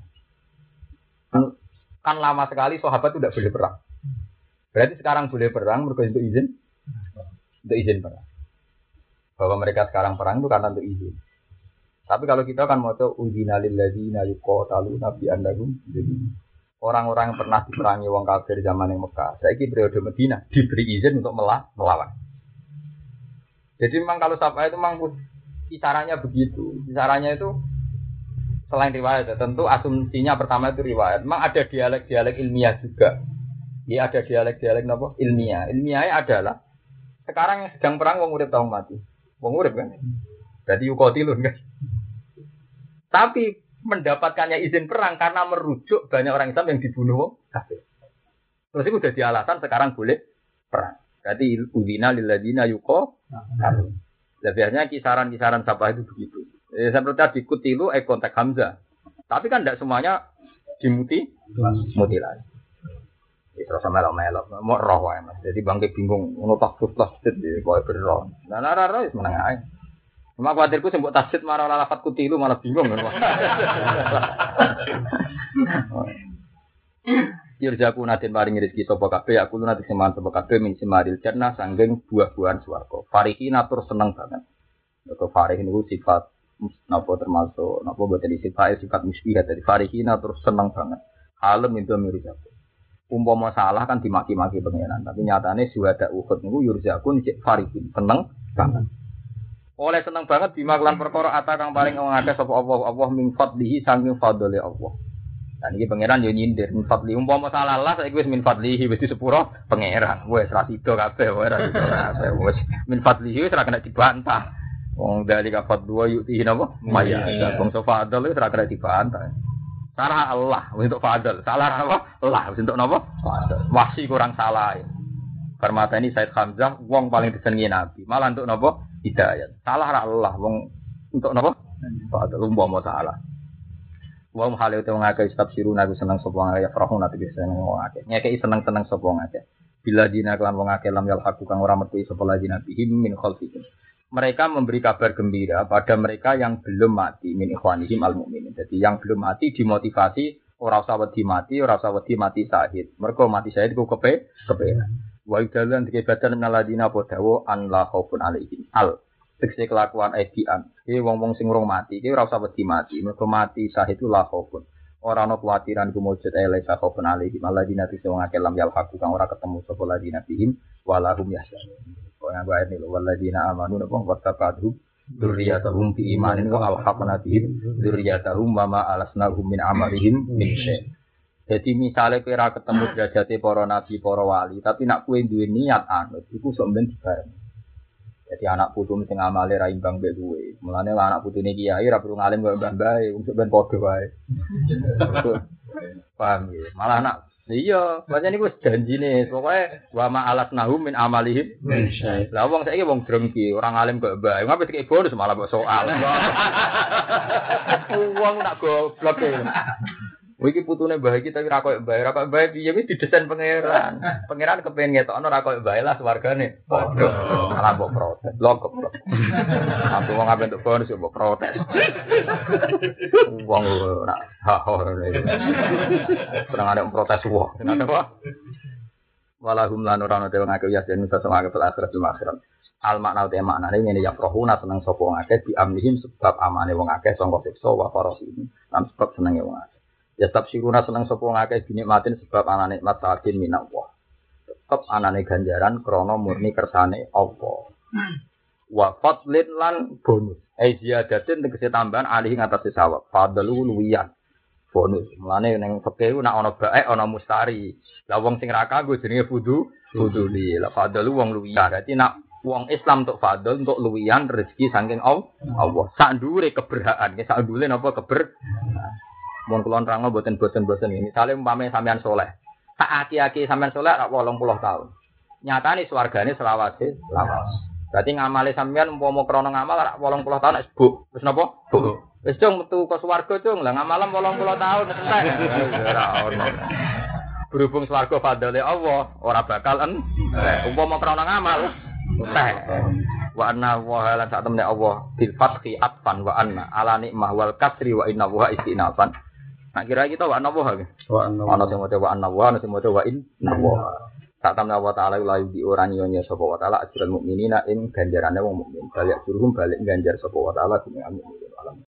Kan lama sekali sahabat itu tidak boleh perang. Berarti sekarang boleh perang mergo untuk izin. Untuk izin perang. Bahwa mereka sekarang perang itu karena untuk izin. Tapi kalau kita kan mau tahu udina lil ladzina yuqataluna bi annahum. Jadi orang-orang yang pernah diperangi wong kafir zaman yang Mekah, saiki periode Madinah diberi izin untuk melawan. Jadi memang kalau sampai itu memang kisarannya begitu. Kisarannya itu selain riwayat, tentu asumsinya pertama itu riwayat. Memang ada dialek-dialek ilmiah juga. Ya ada dialek-dialek apa? Ilmiah. Ilmiahnya adalah sekarang yang sedang perang wong urip tau mati. Wong urip kan. Berarti yuqatilun kan. Tapi mendapatkannya izin perang karena merujuk banyak orang Islam yang dibunuh wong kafir. Terus itu udah alasan sekarang boleh perang. Berarti udina lil ladzina yuqatalun. Biasanya kisaran-kisaran siapa itu begitu. Seperti tadi kutilu konteks Hamzah. Tapi kan tidak semuanya mutilasi. Terus melok-melok, mau roh wae Mas. Jadi bangke bingung ngono takfur tasdid kowe berro. Lah ora wis meneng ae. Cuma kuwatirku sing mbok tasdid marang ora lafat kutilu malah bingung kan. Yurjaku naden paring rezeki sapa kabeh aku nanti semangat sapa kabeh min simaril jannah sanggeng buah-buahan swarga. Farihin atur seneng banget. Kok farih niku sifat napa termasuk napa boten sifat musbihah dari farihin atur seneng banget. Halem itu mirjaku. Umpama salah kan dimaki-maki pangeran, tapi nyatane suhada Uhud niku yurjaku cek farihin seneng banget. Oleh seneng banget bima kelan perkara ata kang paling ngakeh sapa Allah min fadlihi saking fadlile Allah. Dan iki pangeran yo nyindir min fadli umpama salah lah saiki wis min fadlihi wis disepuro pangeran. Wis ra sida kabeh wae ra sida kabeh wis min fadlihi wis ra kena dibantah. Wong dari kafat dua yuti napa? Maya. Bangsa fadl wis ra kena dibantah. Salah Allah untuk fadl. Salah apa? Allah untuk napa? Fadl. Wahsi kurang salah. Permata ini Said Hamzah wong paling disenengi Nabi. Malah untuk napa? Hidayat. Salah ra Allah wong untuk napa? Fadl umpama salah. Wong hale utawa ngake tafsiruna aku seneng sapa ngake farahun ati seneng wong akeh. Ngekeki seneng-seneng sapa ngake. Bila dina kelan wong akeh lam yal haku kang ora metu sapa lagi nabihim min khalfihim. Mereka memberi kabar gembira pada mereka yang belum mati min ikhwanihim al-mu'minin. Jadi yang belum mati dimotivasi ora usah wedi mati syahid. Mergo mati syahid ku kepenak. Wa idalan dikebatan naladina podawo an la khaufun alaihim al tekse kelakuan edian iki wong-wong sing urung mati iki ora usah wedi mati mergo mati syahid itu la khaufun ora ana kuwatiran kumujud ele sa khaufun alaihim aladina tise wong akeh lam yal haku kang ora ketemu sapa ladina bihim walahum yahzanun kok nganggo ayat iki waladina amanu napa wattaqadhum dzurriyyatahum bi imanin wa alhaqna bihim dzurriyyatahum wa ma alasnahum min amalihim min syai'. Jadi misalnya kira ketemu derajate para nabi, para wali, tapi nak kowe duwe niat anut, iku sok ben dibareng. Jadi anak putu sing amale ra imbang mbek kowe. Mulane anak putune kiai ra perlu ngalim kaya mbah-mbah, wong sok ben padha wae. Paham ya? Malah anak iya, pancen iku wis janjine, pokoke wa ma alasnahum min amalihim. Lah wong saiki wong drengki, ora ngalim kaya mbah. Ngapain dikek bonus malah kok soal. Wong nak goblok e. Iki putune mbah iki tapi ra koyo mbah piye wis didesain pangeran. Pangeran kepengin ngetokno ra koyo mbah lah swargane. Padha. Malah mbok protes. Lho goblok. Aku wong ape entuk bonus mbok protes. Wong ora ha-ha. Kurang ada protes wong. Kenapa? Walahum lan ora ono te wong akeh ya den iso akeh pel akhirat cuma akhirat. Al makna te maknane ngene ya rohuna seneng sapa wong akeh di amlihim sebab amane wong akeh sangka siksa wa farasihim. Lan sebab senenge wong akeh. Ya tafsiruna seneng sapa ngakeh dinikmatin sebab ana nikmat sakin minallah. Tetep anane ganjaran krana murni kersane Allah. Wa fadlin lan bonus. Ziyadatin tegese tambahan alih ngatasi sawab. Fadlu luwiyan. Bonus. Mulane ning fikih nek ana baik ana mustari. Lah wong sing ra kanggo jenenge fuduli. Lah fadlu wong luwiyan. Dadi nek wong Islam untuk fadl untuk luwiyan rezeki saking Allah. Sak ndure keberhaan. Sak ndure napa Mun kula nerangno boten-boten ini. Misale umpame sampean saleh. Sak aki-aki sampean saleh rak 80 tahun. Nyatane swargane selawase. Berarti ngamale sampean umpama krana ngamal rak 80 tahun nek sebuk. Wis napa? Buk. Wis cung metu ke swarga cung. Lah ngamalam 80 tahun entek. Ora ono. Berhubung swarga fadhole Allah, ora bakal umpama krana ngamal entek. Wa anna wa lan sak temne Allah bil fathi atfan wa anna ala nikmah wal kasri wa inna wa istinafan. Nak kira kita wa anna wa ana sing maca wa anna wa ana sing maca wa inna wa. Sak temne Allah taala la yudi ora nyonya sapa wa taala ajrul mukminina ing ganjarane wong mukmin. Balik suruhum balik ganjar sapa wa taala